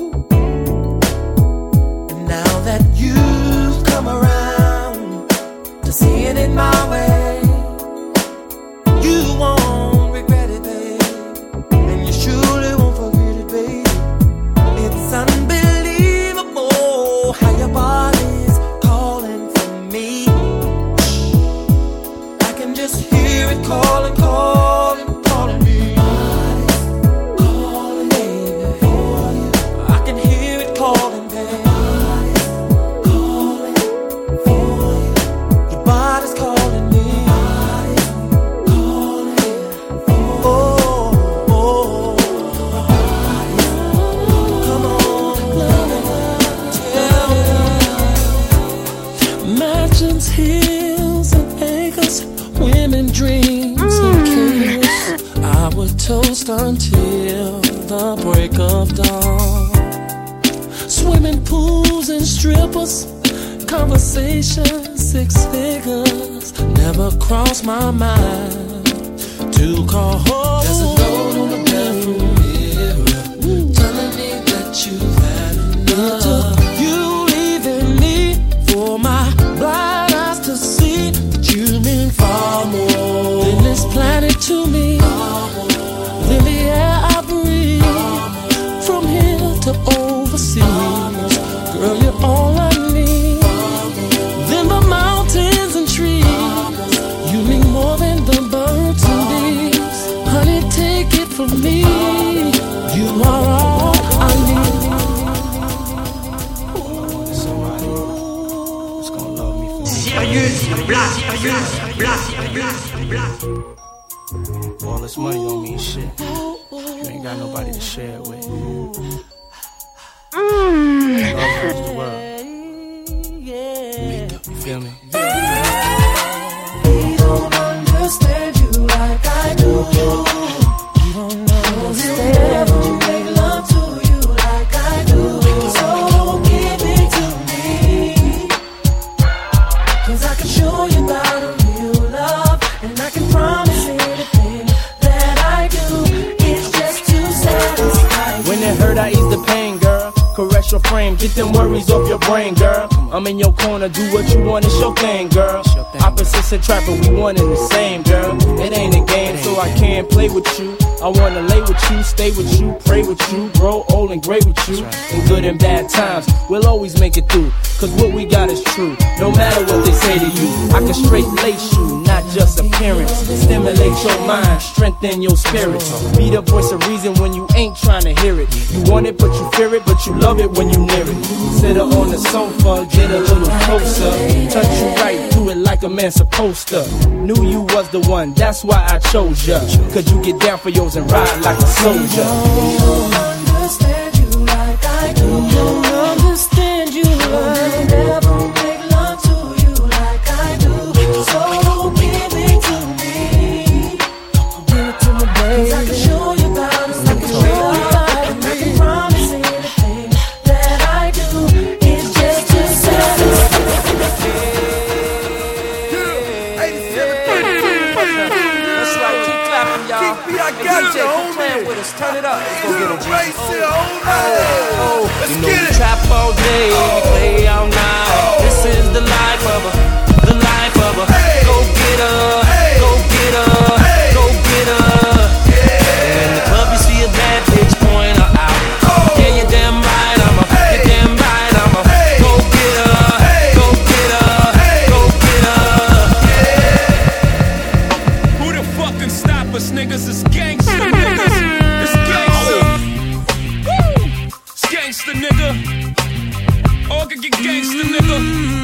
And now that you've come around to seeing it my way, you won't regret it, babe. And you surely won't forget it, babe. It's unbelievable how your body's calling for me. Just hear it calling, calling, calling me. Body's calling, baby, for you. I can hear it calling, baby. Body's calling for you. Your body's calling me. Body's calling for you. Oh, oh, come on, tell me. Mansions, hills, and acres, women, dreams, and kiss. I would toast until the break of dawn. Swimming pools and strippers, conversation, 6 figures. Never crossed my mind to call home. There's a note on the bedroom mirror telling me that you've had enough. You leaving me for my blind eyes to see that you mean far more than this planet to me, than the air I breathe, from here to overseas. Girl, you're all I need, than the mountains and trees. You mean more than the birds and bees. Honey, take it from me, you are all I need. Sirius Black. All this money don't mean shit. You ain't got nobody to share it with. Love rules the world. You feel me? We don't understand you like I do. You don't understand you make love to you like I do. So give it to me, 'cause I can show you about a real love, and I can promise anything that I do. It's just to satisfy you. When it hurt, I ease the pain, girl. Correct special frame. Get them worries off your brain, girl. I'm in your corner, do what you want, it's your thing, girl. Opposites attract, but we one and the same, girl. It ain't a game, so I can't play with you. I wanna lay with you, stay with you, pray with you, grow old and great with you. In good and bad times, we'll always make it through. Cause what we got is true, no matter what they say to you. I can straight lace you, not just appearance. Stimulate your mind, strengthen your spirits. Be the voice of reason when you ain't trying to hear it. You want it, but you fear it, but you love it when you near it. Sit up on the sofa, get a little closer. Touch you right through it like a man supposed to. Knew you was the one, that's why I chose ya. Cause you get down for yours and ride like a soldier. Don't understand you like I do. Don't understand you like I never make love to you like I do. So give it to me. Give it to me, baby. 'Cause I can show you about it. I can show you about it. I can promise anything that I do is just to satisfy. That's right, keep clapping, y'all. DJ, keep playing with us. Turn it up. Let's go get it, G. You know we trap all day, we play all night. This is the life of a, the life of a. Go get her, go get her, go get her. In the club you see a bad bitch, point her out. Yeah, you're damn right, you're damn right, go get her, go get her, go get her. Who the fuck can stop us, niggas? It's gangsta, niggas. It's gangsta. It's gangsta, nigga. All can get gangsta, nigga.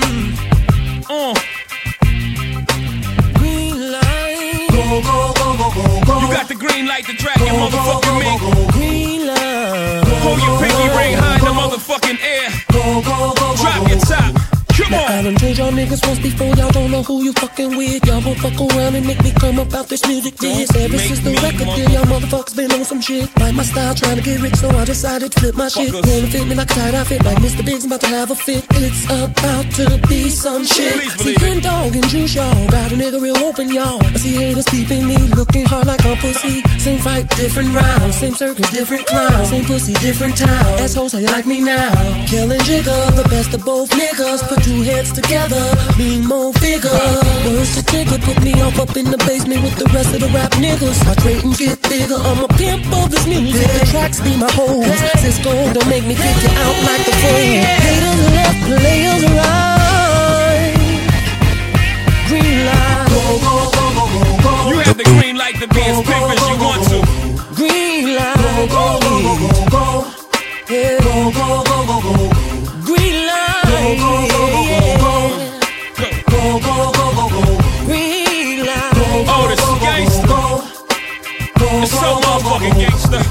Green light. Go, go, go, go, go, go. You got the green light to drag your motherfucking me. Green light. Hold your pinky ring high in the motherfucking air. Go, go, go, drop your top. Come now, on. I done told y'all niggas once before, y'all don't know who you fucking with. Y'all won't fuck around and make me come about this music biz. Ever since the record deal, y'all motherfuckers been on some shit. Like my style, trying to get rich, so I decided to flip my shit. Wanna fit me like a tight outfit, like Mr. Big's about to have a fit. It's about to be some shit. See, Green Dog and Juice, y'all got a nigga real open, y'all. I see haters peeping me, looking hard like a pussy. Same fight, different rounds. Same circus, different clowns. Same pussy, different town. Assholes, how you like me now? Killing Jigga, the best of both niggas. Put two heads together, mean more figure. Words to Tigger, put me up in the basement with the rest of the rap niggas. I trade and get bigger, I'm a pimp of this music. The tracks be my hoes. Cisco, don't make me kick you out like the phone. Haters left, players right. Green light. Go, go, go, go, go, go. You have the green light to be as big as you want to. Green light. Go, go, go, go, go, go. Yeah. Go, go, go, go, go. Green light. Go, go, go, go, go, go. Go, go, go, go, go. Green light. Oh, this is gangsta. It's so motherfucking gangsta.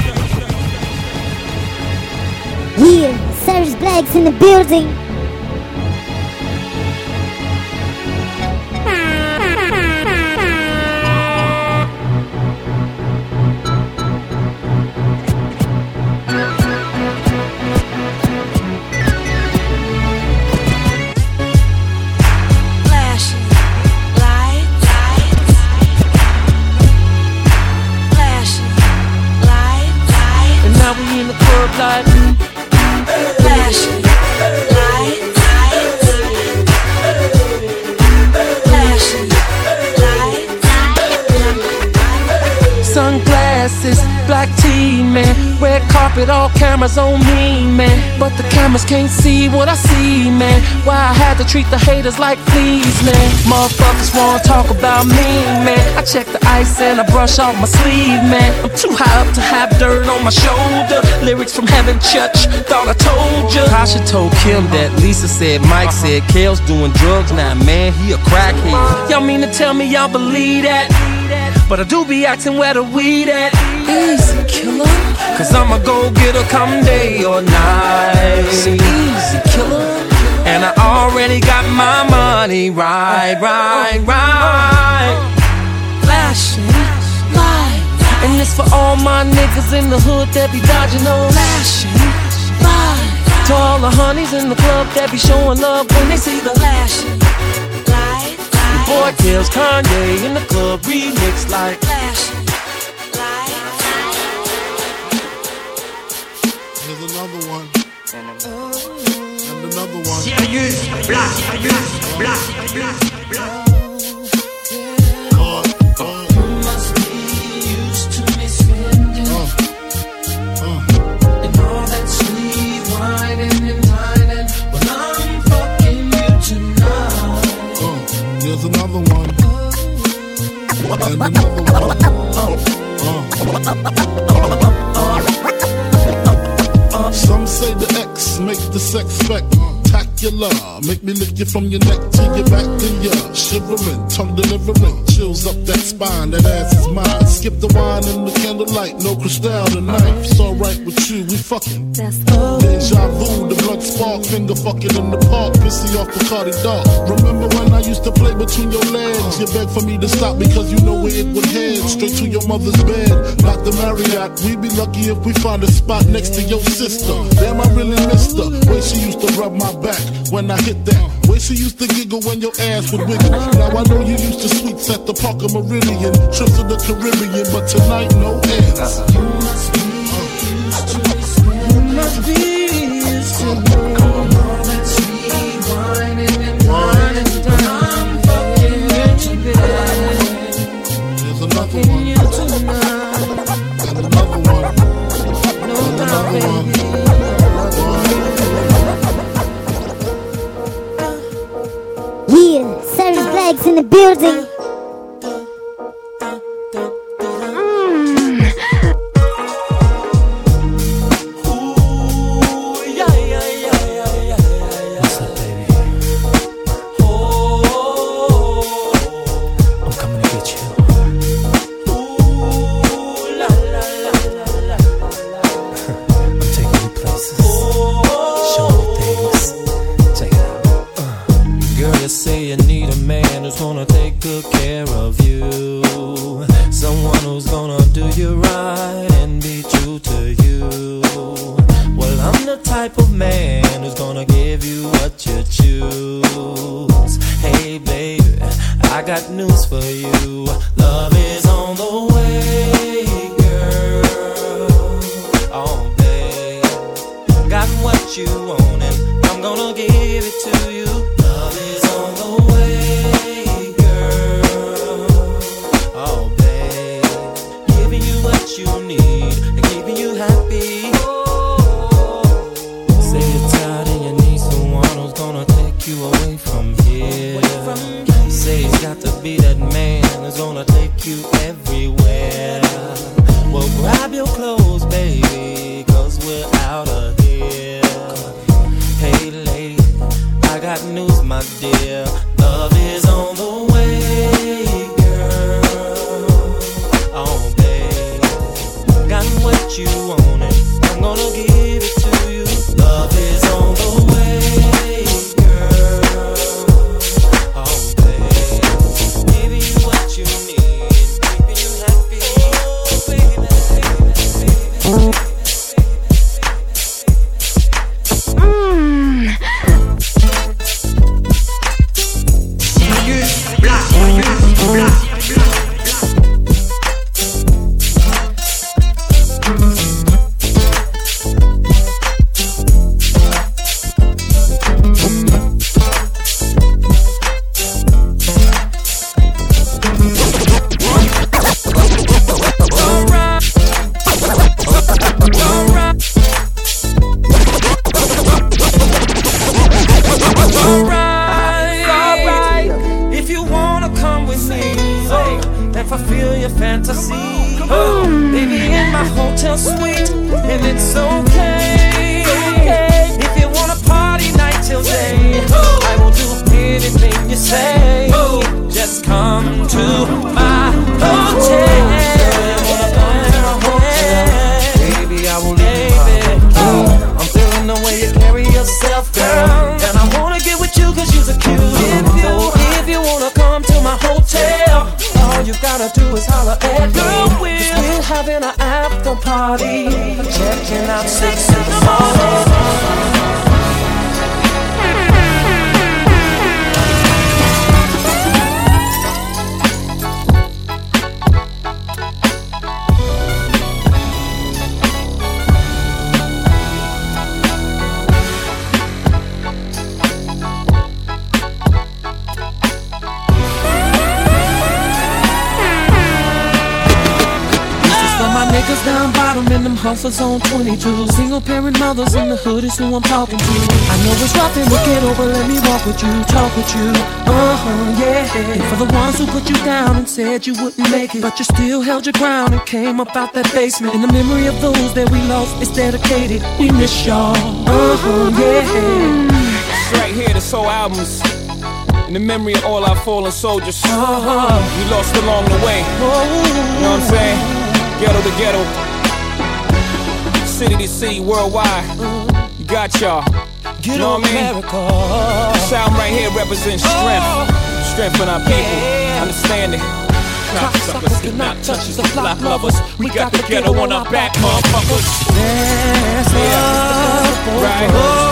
Yeah, Savage Black's in the building. Like flashing lights, flashing lights, sunglasses, black tee, man. Red carpet, all cameras on me, man. But the cameras can't see what I see, man. Why I had to treat the haters like fleas, man. Motherfuckers wanna talk about me, man. I check the ice and I brush off my sleeve, man. I'm too high up to have dirt on my shoulder. Lyrics from Heaven Church, thought I told ya. Tasha told Kim that. Lisa said, Mike said, Kale's doing drugs now, man, he a crackhead. Y'all mean to tell me y'all believe that? But I do be asking where the weed at. Easy, killer. Cause I'ma go get her come day or night. So easy, killer. And I already got my money right. Flashing lights. And it's for all my niggas in the hood that be dodging those flashing lights. To all the honeys in the club that be showing love when they see the flashing lights. Your boy kills Kanye in the club remix like flashing lights. Here's another one. And la. Make me lick you from your neck to your back, then you're shivering, tongue delivering, chills up that spine, that ass is mine. Skip the wine and the candlelight, no crystal tonight. It's alright with you, we fucking. Deja vu, the blood spark, finger fucking in the park, pissy off the Cardi dog. Remember when I used to play between your legs? You begged for me to stop because you know where it would head. Straight to your mother's bed, not the Marriott. We'd be lucky if we find a spot next to your sister. Damn, I really missed her. Way she used to rub my back when I hit that. Way she used to giggle when your ass would wiggle. Now I know you used to sweets at the Parker Meridian, trips to the Caribbean, but tonight no ends. You must be used to this. You must be used to me. All that sweet wine and wine and I'm fucking you tonight. There's another one. And another one. And another one. Yeah, Savage Black's in the building. Hustlers on 22, single parent mothers in the hood is who I'm talking to. I know it's rough in the ghetto, but let me walk with you, talk with you. Yeah. And for the ones who put you down and said you wouldn't make it, but you still held your ground and came up out that basement. In the memory of those that we lost, it's dedicated. We miss y'all. Yeah. right here, this whole album's in the memory of all our fallen soldiers we lost along the way. You know what I'm saying? Ghetto to ghetto, city to city, worldwide. You got y'all. You know what I mean? This album right here represents strength in our people. Understand it. Cocksuckers cannot touch us, the block lovers. We got the ghetto on our back, motherfuckers. Right.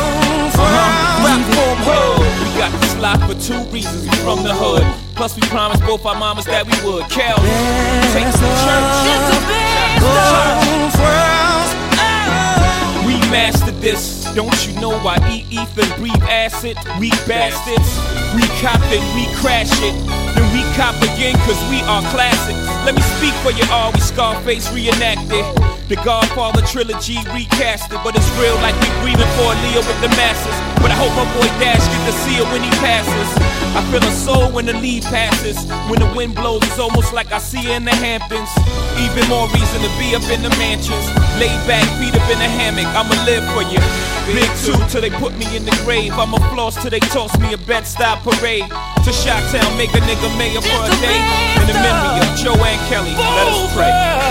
We got this lock for 2 reasons. We from the hood. Plus we promised both our mamas that we would. Kel, take us to church. We mastered this. Don't you know I eat ether, breathe acid? We bastards. We cop it, we crash it. Then we cop again cause we are classics. Let me speak for you all, we Scarface reenacted. The Godfather trilogy recasted. But it's real like we grieving for a Leo with the masses. But I hope my boy Dash get to see it when he passes. I feel a soul when the lead passes. When the wind blows, it's almost like I see it in the Hamptons. Even more reason to be up in the mansions. Laid back, feet up in the hammock, I'ma live for you. Big 2 till they put me in the grave. I'ma floss till they toss me a Bed-Stuy parade. To Chi-Town, make a nigga mayor for a day. In the memory of Joanne Kelly, let us pray.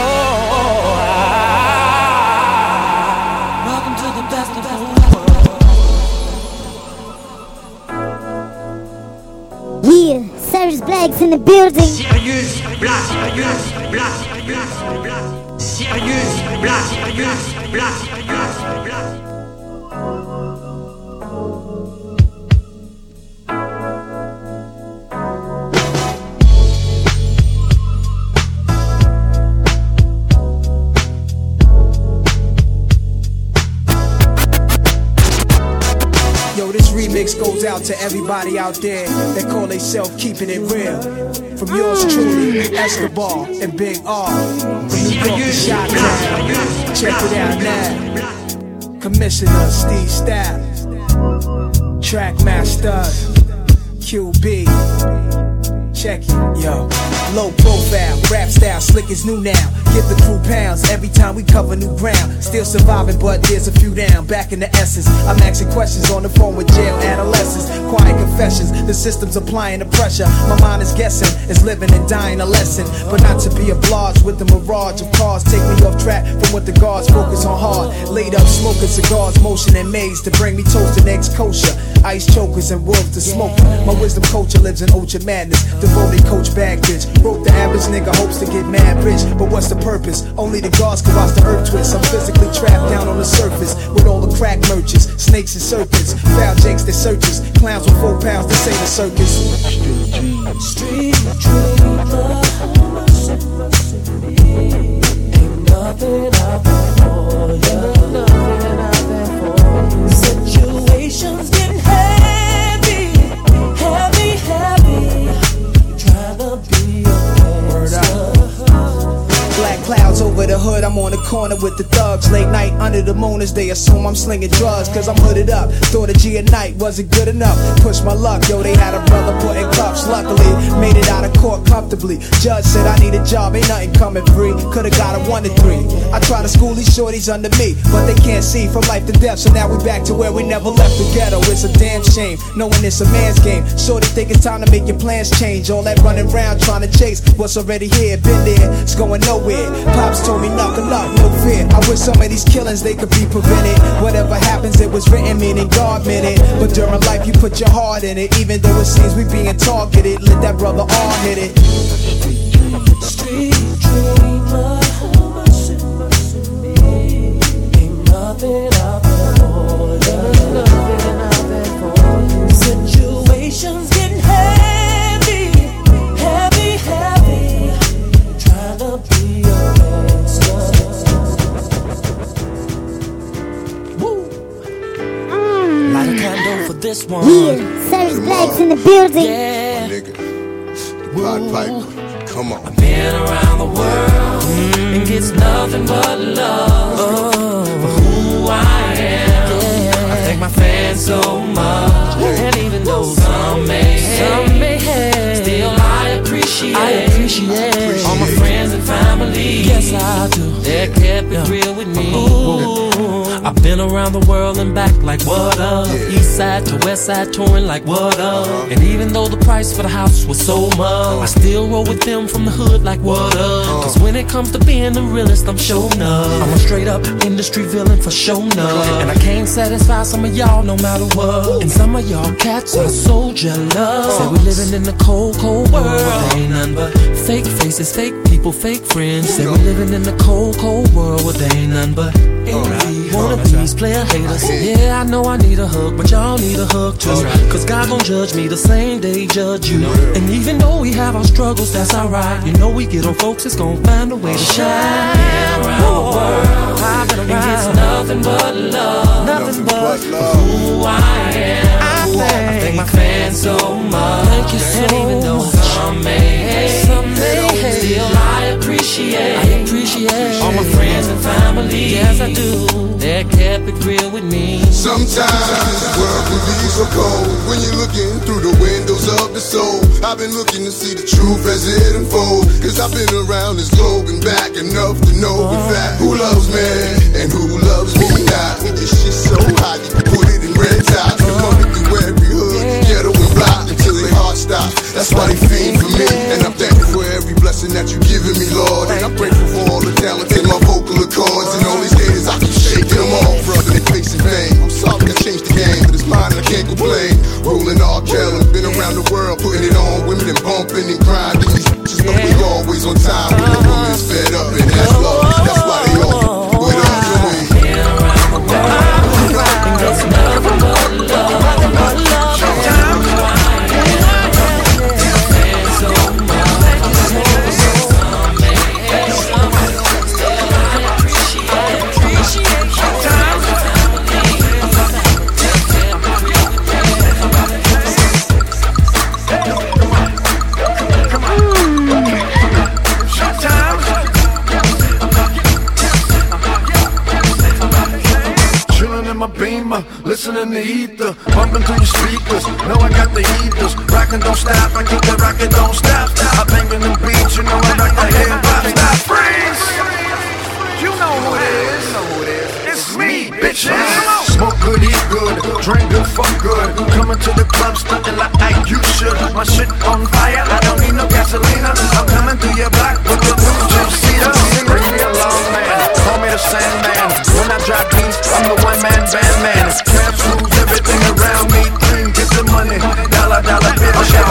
Welcome to the best of the world. Yeah, Sirius Black's in the building. Sirius Black, Sirius Black, Sirius Black, Sirius Black, Sirius Black, Sirius Black. Remix goes out to everybody out there that call themselves keeping it real. From yours truly, Escobar and Big R. From New York to Chi-Town. Check it out now. Commissioner Steve Styles, Trackmaster QB. Check it, yo. Low profile, rap style, slick is new now. Give the crew pounds every time we cover new ground. Still surviving, but there's a few down. Back in the essence, I'm asking questions on the phone with jail adolescents. Quiet confessions, the system's applying the pressure. My mind is guessing, is living and dying a lesson. But not to be obliged with the mirage of cars. Take me off track from what the guards focus on hard. Laid up smoking cigars, motion and maze to bring me toast and eggs kosher. Ice chokers and wolves to smoke. My wisdom culture lives in ultra madness. Devoted coach bag bitch. Broke the average nigga hopes to get mad rich. But what's the purpose? Only the gods can watch the earth twist. I'm physically trapped down on the surface with all the crack merchants, snakes and serpents, foul jakes that searches, clowns with 4 pounds to say the circus. Street dreamer, ain't nothing out there for you, nothing out there for you. Situations getting heavy, heavy, heavy. Trying to be a gangster. Black clouds over the hood, I'm on the corner with the thugs. Late night under the moon as they assume I'm slinging drugs. Cause I'm hooded up, thought a G at night wasn't good enough. Push my luck, yo, they had a brother put in cuffs. Luckily, made it out of court comfortably. Judge said I need a job, ain't nothing coming free. Could've got a 1 to 3. I try to school these shorties under me, but they can't see from life to death. So now we back to where we never left the ghetto. It's a damn shame, knowing it's a man's game. Shorty think it's time to make your plans change. All that running around trying to chase what's already here, been there, it's going nowhere. Pops told me knuckle up, no fear. I wish some of these killings they could be prevented. Whatever happens, it was written, meaning God meant it. But during life, you put your heart in it. Even though it seems we being targeted, let that brother all hit it. Street dreamer, ain't nothing out there for you, nothing out there for you. Situations getting heavy, heavy, heavy. Trying to be a gangster. Woo. Light a candle for this one. Yeah, Sirius Black's in the building. Yeah. Nigga, the Pied Piper, come on. I've been around the world and gets nothing but love for who I am. I thank my fans so much, and even though some may hate, still I appreciate all my friends and family. Yes, I do. They kept it real with me. Ooh, I Been around the world and back like what up? East side to west side touring like what up? And even though the price for the house was so much, I still roll with them from the hood like what up? Cause when it comes to being the realest, I'm showing up. I'm a straight up industry villain for showing up. And I can't satisfy some of y'all no matter what. And some of y'all cats are so jealous. Say we living in the cold, cold world. Ain't nothing but fake faces, fake people, fake friends. Say we living in the cold, cold world. Well, they ain't nothing but envy, wannabes, player haters. Yeah, I know I need a hug, but y'all need a hug too. Cause God gon' judge me the same day he judge you. And even though we have our struggles, that's alright. You know we get on folks, it's gon' find a way to shine. Around the world, I've been around. It's nothing but love, nothing but who I am. I thank my fans so much. Thank you so much. And even though some may hate, still I appreciate all my friends and family. Yes, I do. They kept it real with me. Sometimes this world can be so cold when you're looking through the windows of the soul. I've been looking to see the truth as it unfolds. Cause I've been around this globe and back enough to know in fact who loves me and who loves me not. This shit's so hot, you can put it in red top. You're running through every hood, ghetto and block until they heart stop. That's why they fiend for me. And I'm thankful for every blessing that you've given me, Lord. And I'm grateful for all the talent in my vocal accords. And all these haters, I keep shaking them off, brother, they facing fame. I'm sorry I changed the game, but it's mine and I can't complain. Rolling all Kelly, been around the world, putting it on. Women and bumping and grinding. These bitches know we always on time. When the woman's fed up and that's love. That's why they all put it on to me. It's nothing but love, nothing but love. Listening to ether, bumping through your speakers. Know I got the heaters, rockin' don't stop. I keep the rockin' don't stop. I bangin' them beats, you know I rock the hip hop. Stop, freeze! You know who it is. It's me, bitches. Smoke good, eat good, drink good, fuck good. Coming to the club, stuntin' like you should. My shit on fire, I don't need no gasolina. I'm coming through your block with the blue two-seater. Bring me along, man. Call me the Sandman. When I drop beats, I'm the one-man band man. Cash moves, everything around me clean. Get the money, dollar bill, shout.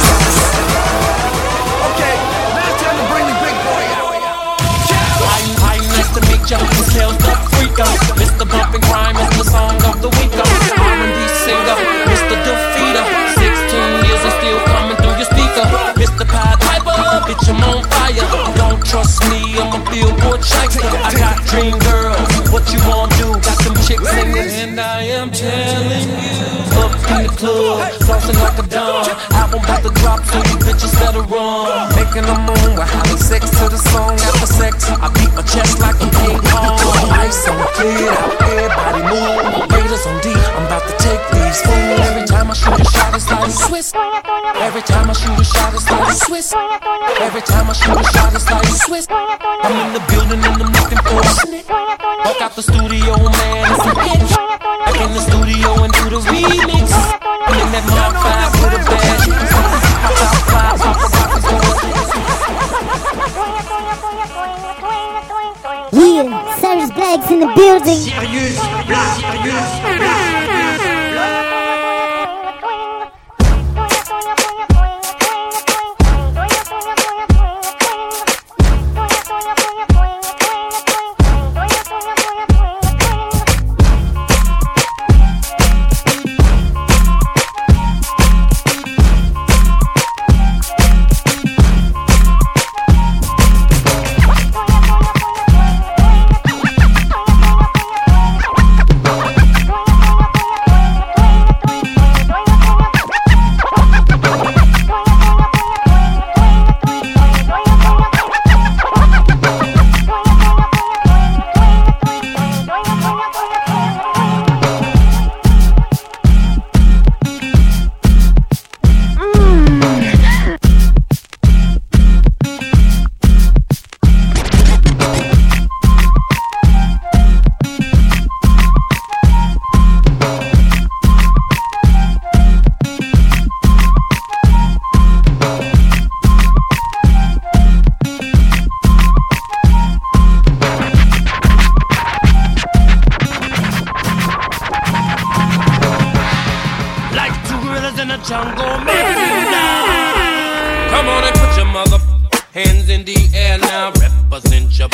Okay, now it's time to bring the big boy out. Hi, nice to meet ya. This Kells the Freako. Mr. Bump and Crime is the song of the week. R&B singer, Mr. Defeater. 16 years and still coming through your speaker. Mr. Pied Piper, bitch, I'm on fire. Don't trust me, I'm a Billboard chiker. I got dream girls, what you wanna do? Got them chicks singing, and I am telling you. Up in the club, flossing like a dawn. Album about to drop, so you bitches better run. Making a moon, we're having sex to the song. After sex, I beat my chest like a King Kong. Ice on the clear, everybody move. Raiders on D, I'm about to take these fools. Every time I shoot a shot, it's like Swiss. Every time I shoot a shot, it's like Swiss. Every time I shoot a shot, it's like Swiss. I'm in the building and I'm looking for a snitch. Walk out the studio, man, it's a bitch. Back in the studio and do the remix. I'm in that Mark 5 with a bad. Yeah, Cyrus Black's in the building. Sirius Black, Sirius Black.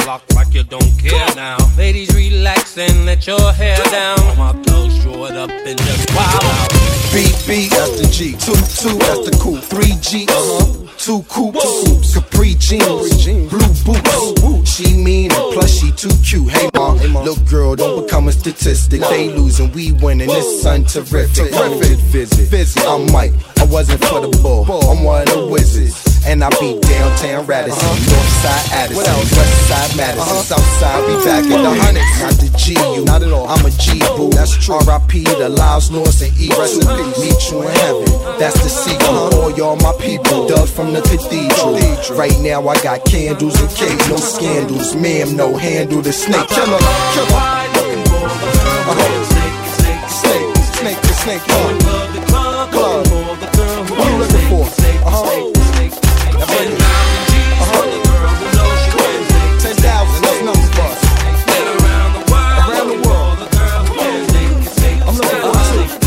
block like you don't care now. Ladies, relax and let your hair down. My girls draw it up and just wild out. BB, that's the G. 2-2, that's the coupe. 3G, 2 coupes. Capri jeans, blue boots. She mean and plus she too cute. Hey mom, little girl, don't become a statistic. They losing, we winning. This sun terrific. Visit. I'm Mike. I wasn't for the bull. I'm one of the wizards. And I be downtown Radisson, Northside Addison, Westside Madison, Southside, be back in the hundreds. Not the G, you, not at all. I'm a G, boo. That's true. R.I.P. the Laos, North, and East. Meet you in heaven. That's the secret. All y'all my people, dug from the cathedral. Right now I got candles and cake, no scandals. Ma'am, no handle the snake. Killer. Snake. Club. What you looking for? 10,000, that's numbers for us. Around the world. I'm looking for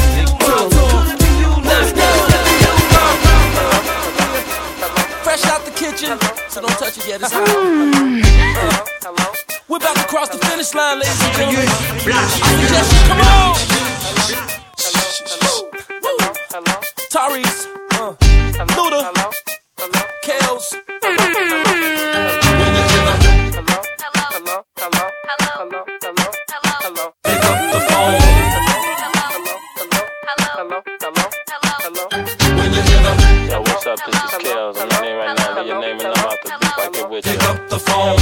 Fresh out the kitchen, so don't touch it yet. It's hot. We're about to cross the finish line, ladies and gentlemen. I suggest you come on. Tyrese, Luda, Kales. Pick up the phone. Yo, what's up? This is Kales. I'm your name right now. Leave your name and I'm out the beat. I get with you. Pick up the phone.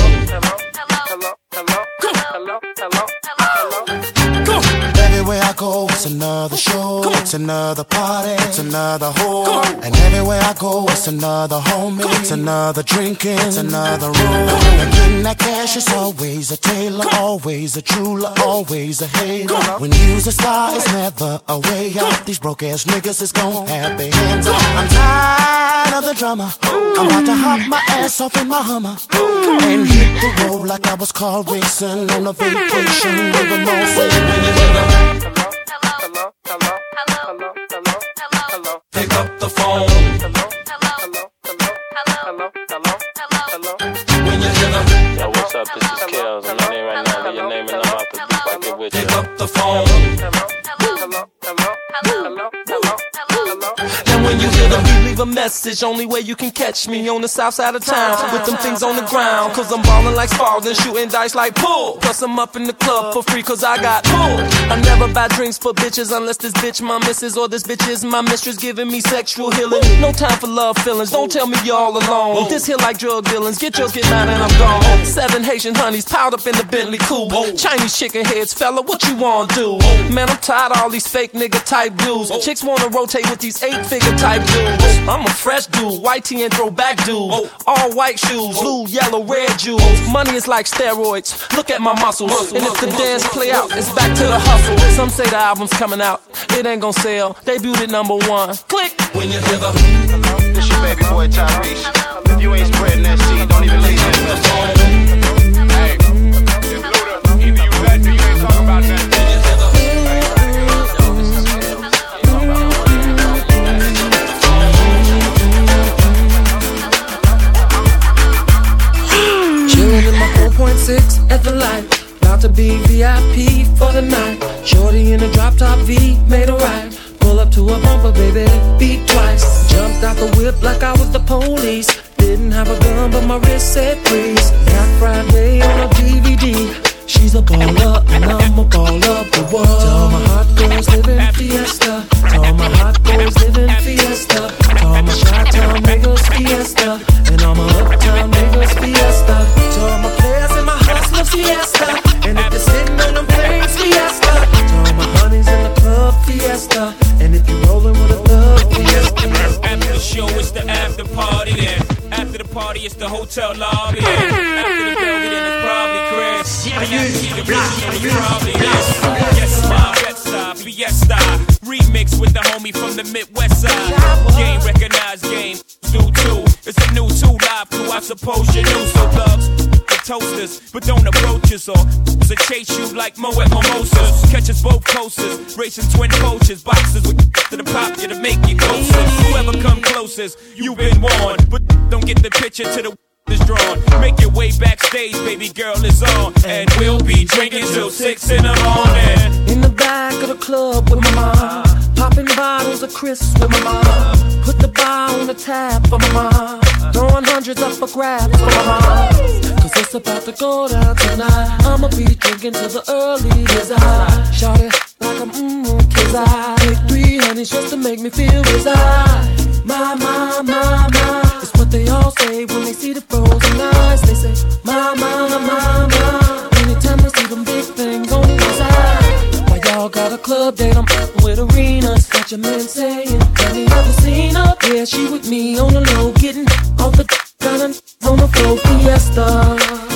Everywhere I go, it's another show, it's another party, it's another hoe. And everywhere I go, it's another homie, it's another drinking, it's another room. And getting that cash is always a tailor, always a jeweler, always a hater. When you's a star, it's never a way out. These broke ass niggas is gon' have their hands up. I'm tired of the drama. I'm about to hop my ass off in my Hummer and hit the road like I was car racing on a vacation with a no. Pick up the phone. Yo, what's up? This is Kales. I'm your name right now. Leave your name and I'm out the beat. I get with you. Pick up the phone. And when you hear the beat, leave a message. Only way you can catch me on the south side of town with them things on the ground. Cause I'm ballin' like Spalding, shooting dice like pool. Plus I'm up in the club for free cause I got pull. I never buy drinks for bitches unless this bitch my missus or this bitch is my mistress giving me sexual healing. No time for love feelings, don't tell me you're all alone. This here like drug dealings, get yours, get mine and I'm gone. 7 Haitian honeys piled up in the Bentley coupe. Chinese chicken heads, fella, what you wanna do? Man, I'm tired of all these fake nigga type dudes. Chicks wanna rotate with these 8-figure type dudes. I'm a fresh dude, white tee and throwback dude. All white shoes, blue, yellow, red jewels. Money is like steroids, look at my muscles. And if the dance play out, it's back to the hustle. Some say the album's coming out, it ain't gon' sell. Debuted #1, click. When you hear the this your baby boy Tyrese. If you ain't spreading that seed, don't even leave that. Hey, it's Luda. Either you bet or you ain't talking about that. Chillin' in my 4.6 at the light. About to be VIP for the night. Shorty in a drop top V, made a right. Pull up to a bumper, baby, beat twice. Jumped out the whip like I was the police. Didn't have a gun, but my wrist said freeze. Black Friday on a DVD. She's a baller, and I'm a baller of the world. To all my hot girls living fiesta. To all my hot boys living fiesta. To all my Chi-Town niggas fiesta. And all my uptown niggas fiesta. To all my players and my hustlers fiesta. And if you're sitting on them planes fiesta. To all my honeys in the club fiesta. And if you're rolling with a thug fiesta. After the show, it's the after party then. After the party, it's the hotel lobby. After the building, then it's probably Chris. Serious Black. Yes, my Bed-Stuy, Fiesta. Remix with the homie from the Midwest side. Game recognized, game do too. It's a new 2 live crew, I suppose you knew. So thugs, the toasters, but don't approach us or to chase you like Mo at Mimosas. Catch us both coasters, racing twin coaches, boxes with to the pop you to make you closer. Whoever come closest, you've been warned, but don't get the picture to the is drawn. Make your way backstage, baby girl is on. And we'll be drinking till 6 in the morning. In the back of the club with my mom, popping bottles of crisps with my mom. Put the bar on the tab for my mom, throwing hundreds up for grabs for my mom. Cause it's about to go down tonight. I'ma be drinking till the early as I shout it like I'm cause I take 3 honeys just to make me feel reside. My, it's what they all say when they see the frozen eyes. They say, my. Anytime they see them big things on the side. Why y'all got a club date, I'm with arenas. Got your man saying, have you ever seen her? Yeah, she with me on the low, getting off the gun on the floor. Fiesta.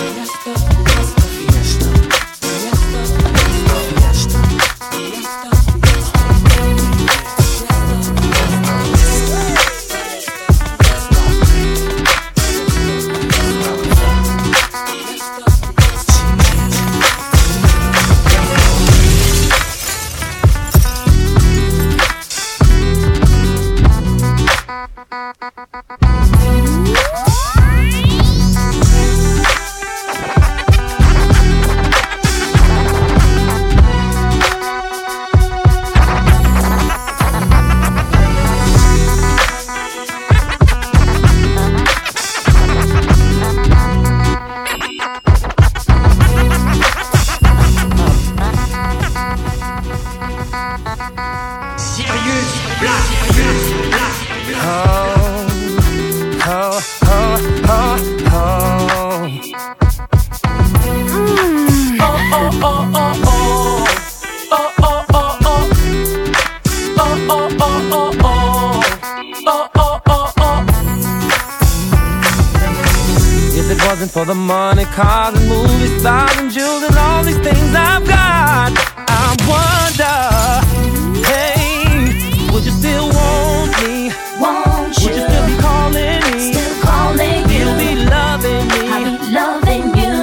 For the money, cars and movie stars and jewels and all these things I've got, I wonder, hey, would you still want me? Won't you? Would you still be calling me? Still calling you. You'll be loving me. I'll be loving you.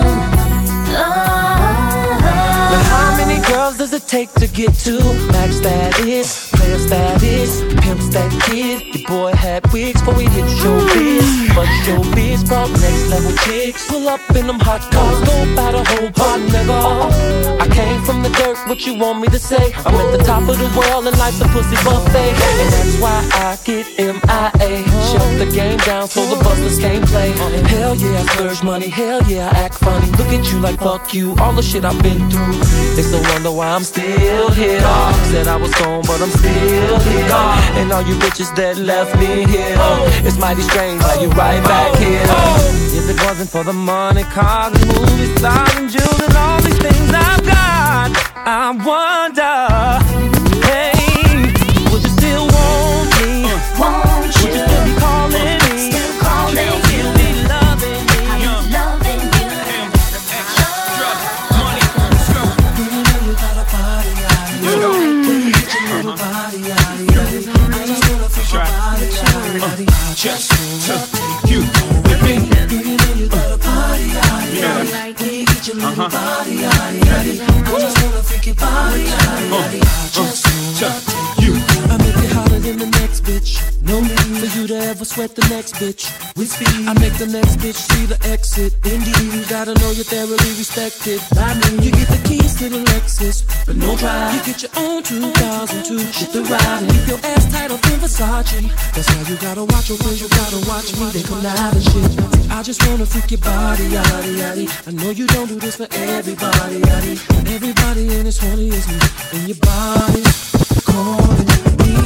But how many girls does it take to get to max status, player status, pimp stat kid? Your boy had wigs before we hit showbiz, but showbiz brought next level chicks. Pull up in them hot cars, go by the whole pot, nigga. I came from the dirt, what you want me to say? I'm at the top of the world and life's a pussy buffet, and that's why I get MIA. Shut the game down so the busters can't play. Hell yeah, I splurge money, hell yeah, I act funny. Look at you like fuck you, all the shit I've been through. It's a wonder why I'm still here. Said I was gone, but I'm still here. And all you bitches that left me here, it's mighty strange how you right back here. If it wasn't for the money, cars and movie stars and jewels and all these things I've got, I wonder, hey, would you still want me? Won't you? Would you still be calling me? Still calling you. You'll be loving me. I'll be loving you. Extra money. Let's go. You got a body, get your little body, I just wanna fix your body, just wanna take you with me. You got a body, get your little body, I just wanna fix your body, just wanna take you. I make it hotter than the next bitch. No need for you to ever sweat the next bitch. With speed, I make the next bitch see the exit. Indeed, you gotta know you're thoroughly respected. I mean, you get the keys to the Lexus, but no drive. You get your own 2002. Shit the ride and keep your ass tight up in Versace. That's why you gotta watch your friends, you gotta watch me. They come out and shit. I just wanna freak your body, yaddy, yaddy. I know you don't do this for everybody, yaddy. Everybody ain't as horny as me, and your body's calling me.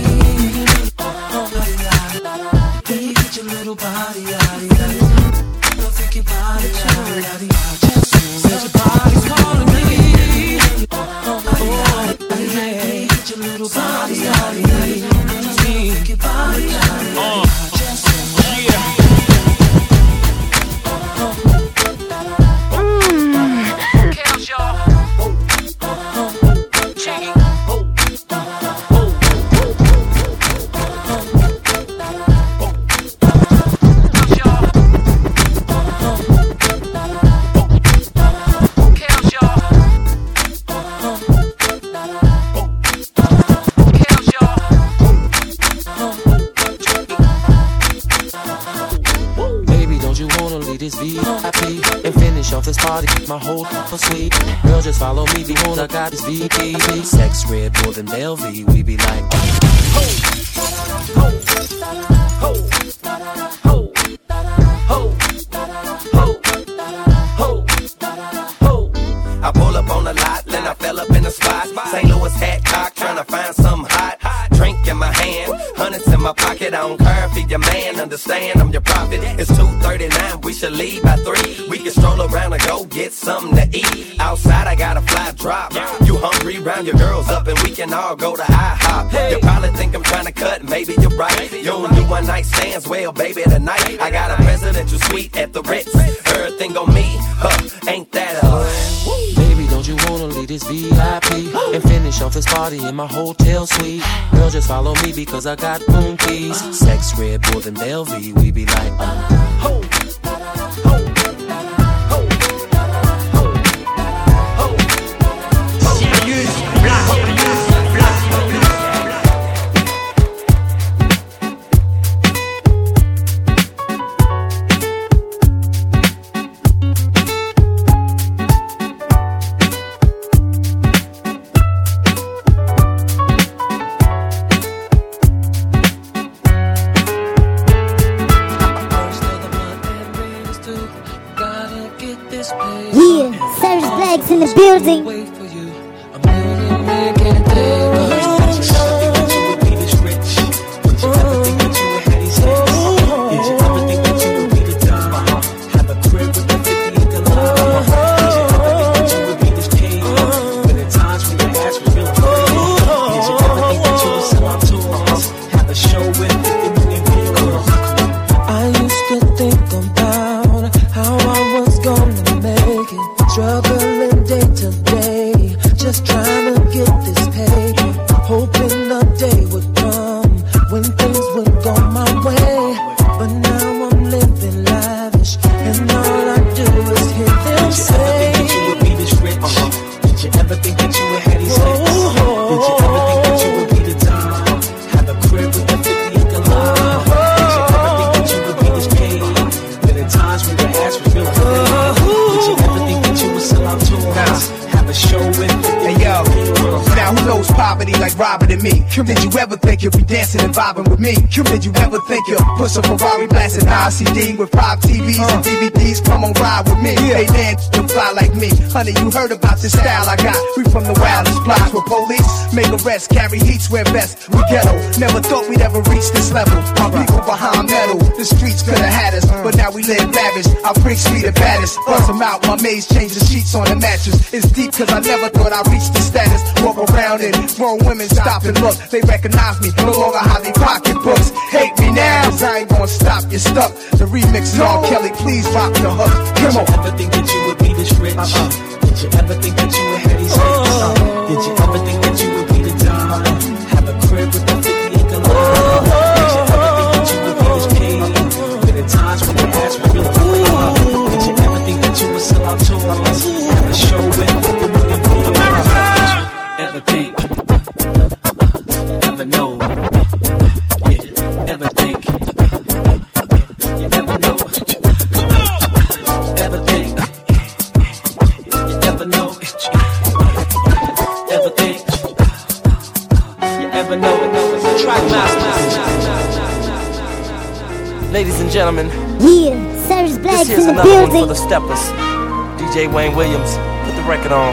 Get your little body, yaddy, yaddy. Don't freak your body, yaddy, yaddy. Said your body's calling me. Get your little body, yaddy, yaddy. Just freak your body, yaddy, yaddy. for sweet. Girl, just follow me because I got this VP. Sex red more than Bellevue. We be like, I pull up on the lot, then I fell up in the spot. St. Louis hat cock, tryna find something hot. Drink in my hand, hundreds in my pocket. I don't care if your man, understand I'm your prophet. It's 2:39, we should leave by 3. We can stroll around and go get something to eat. Outside I got a fly drop. You hungry, round your girls up and we can all go to IHOP. You probably think I'm tryna cut, maybe you're right. You don't do one night stands, well baby tonight I got a presidential suite at the Ritz. Everything on me, ain't that baby, don't you wanna leave this VIP and finish off this party in my hotel suite? Girl, just follow me because I got room keys. Sex red more than Bellevue. We be like, in the building. Did you ever think you'd be dancing and vibing with me? Did you ever think you'd push a Ferrari blasting CD with 5 TVs and DVDs? Come on, ride with me. Hey, man, you fly like me. Honey, you heard about this style I got. We from the wildest blocks where police make arrests, carry heat, wear vests. We ghetto, never thought we'd ever reach this level. Our people behind metal, the streets could have had us, but now we live lavish. Our freaks be the baddest. Bust them out, my maids change the sheets on the mattress. It's deep cause I never thought I'd reach this status. Walk around and grown women stop and look. They recognize me, no longer how they pocketbooks. Hate me now, cause I ain't gonna stop, you're stuck. The remix is all Kelly, please rock the hook. Come on. Did you ever think that you would be this rich? Did you ever think that you would have these hits? Did you ever think that you would be the Don? Have a crib with a 50-acre lawn? Did you ever think that you would be this king? But at times when you ask for real money, did you ever think that you would sell out tours? Have a show with a million people? Ever think? Ever know? Yeah, ever think? You never know. Ever think? You never know. Ever think? You ever know? Track master. Ladies and gentlemen, yeah, Serge Black's this here's in the another building. one for the steppers. DJ Wayne Williams, put the record on.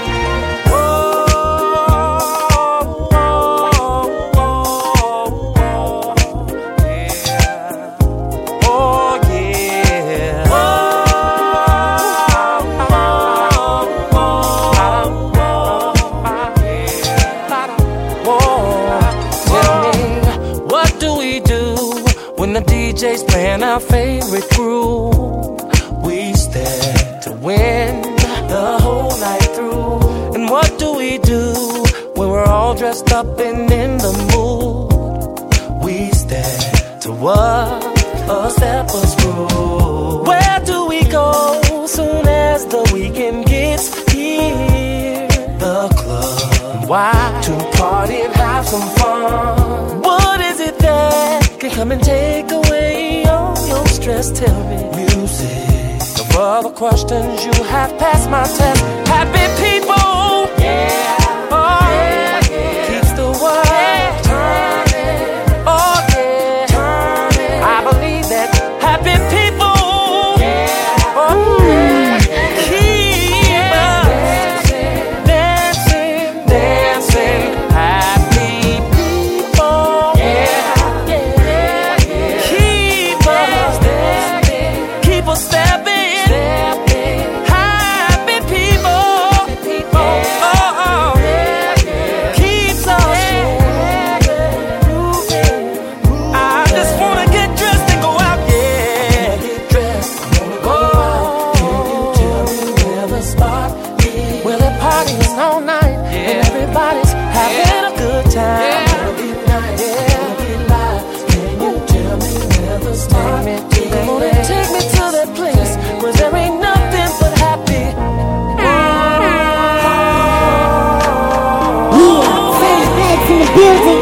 DJ's playing our favorite groove. We stand to win the whole night through. And what do we do when we're all dressed up and in the mood? We stand to what a stepper's groove. Where do we go soon as the weekend gets here? The club. Why? To party and have some fun. What is it that can come and take away all your stress? Tell me. Music, the other questions, you have passed my test. Happy people, yeah, oh, yeah, yeah. Keeps the world turning, oh yeah, turning. I believe that happy people, yeah, oh yeah, keep us dancing, dancing. Happy people, yeah, yeah, yeah. Keep us dancing, keep us stepping. Take me to that place where there ain't nothing but happy. Fresh Blacks in the building.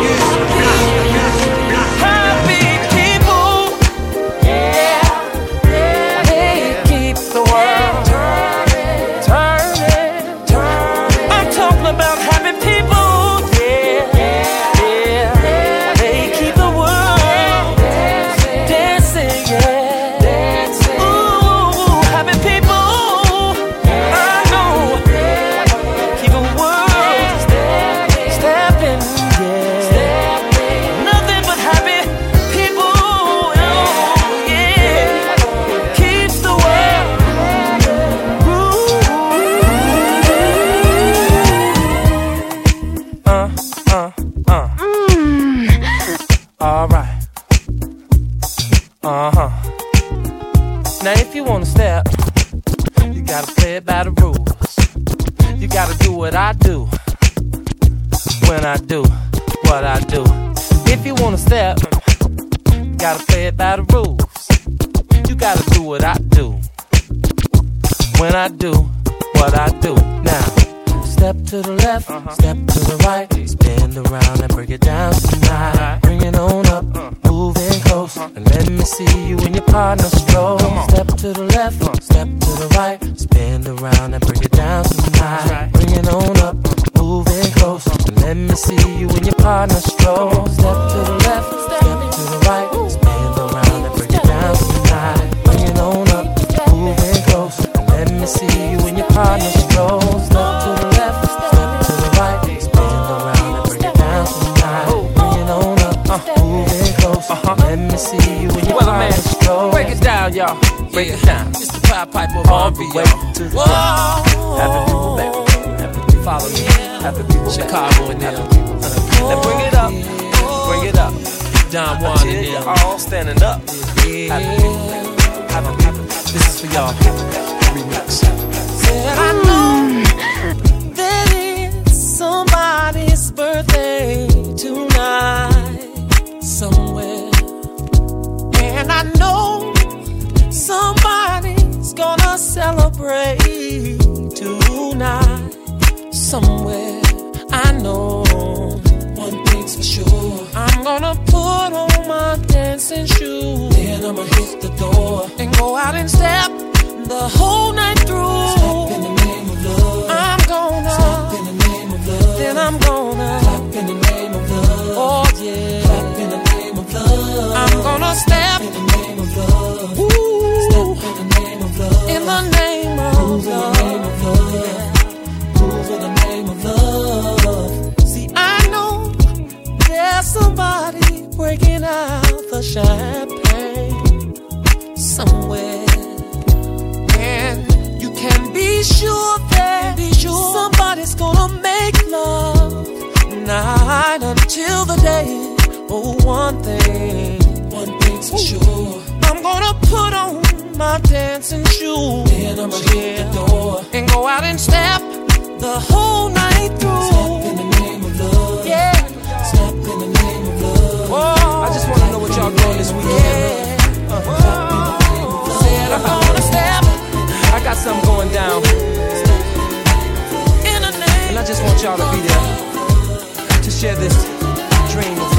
Happy people, yeah, yeah, they keep the world turning, turning, turning. I'm talking about happy people, yeah, yeah, yeah. They keep the world dancing, yeah. Alright. Now if you wanna step, you gotta play it by the rules. You gotta do what I do when I do what I do. If you wanna step, you gotta play it by the rules. You gotta do what I do when I do what I do. Now step to the left, step to the right, spin around and break it down tonight. Bring it on up, moving close, and let me see you and your partner stroll. Step to the left, step to the right, spin around and break it down tonight. Bring it on up, moving close, and let me see you and your partner stroll. Step to the left, step to the right, spin around and break it down tonight. Bring it on up, moving close, and let me see you and your partner stroll. Step to the left, step to the right, spin around and break it down tonight. Bring it on up, moving close, let me see you and your partner stroll. Break it down, y'all, break it down. It's the Pied Piper of R&B, y'all. To the top. Happy people, baby. Happy people, follow me. Happy people, Chicago and them. Now bring it up, bring it up. Don Juan and them. All standing up. Happy people, baby. Happy people. This is for y'all. Remix. I know that it's somebody's birthday tonight somewhere, and I know somebody's gonna celebrate tonight somewhere. I know one thing's for sure, I'm gonna put on my dancing shoes, then I'ma hit the door and go out and step the whole night through. Step in the name of love. I'm gonna step in the name of love. Then I'm gonna clap in the name of love. Oh yeah, clap in the name of love. I'm gonna step in the name of love. Ooh. Step in the name of love. In the name of love. Yeah. Move in the name of love. See, I know there's somebody breaking out the champagne somewhere. And you can be sure that somebody's gonna make love night until the day. Oh, one thing's for sure, I'm gonna put on my dancing shoes, then I'ma hit the door and go out and step the whole night through. Step in the name of love, yeah. Step in the name of love. Whoa. I just wanna know what y'all doing this weekend. Said I'm gonna step. I got something going down, and I just want y'all to be there to share this dream of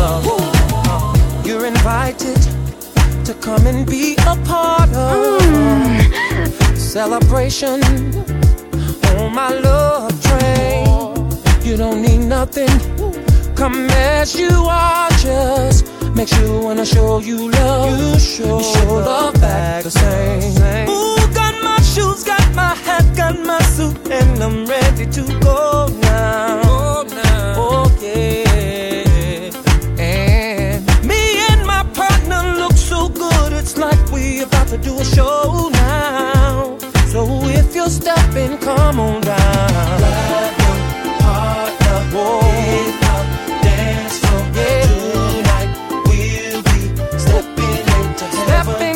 love. You're invited to come and be a part of celebration on my love train. You don't need nothing, come as you are, just make sure when I show you love, you show love back the same. Ooh, got my shoes, got my hat, got my suit, and I'm ready to go now. Oh yeah. And me and my partner look so good, it's like we about to do a show now. So if you're stepping, come on down. Grab your partner, hit up, dance floor. Tonight we'll be stepping into heaven.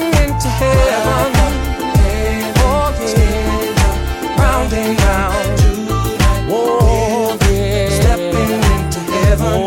Oh yeah, round and round. Oh yeah, stepping into heaven.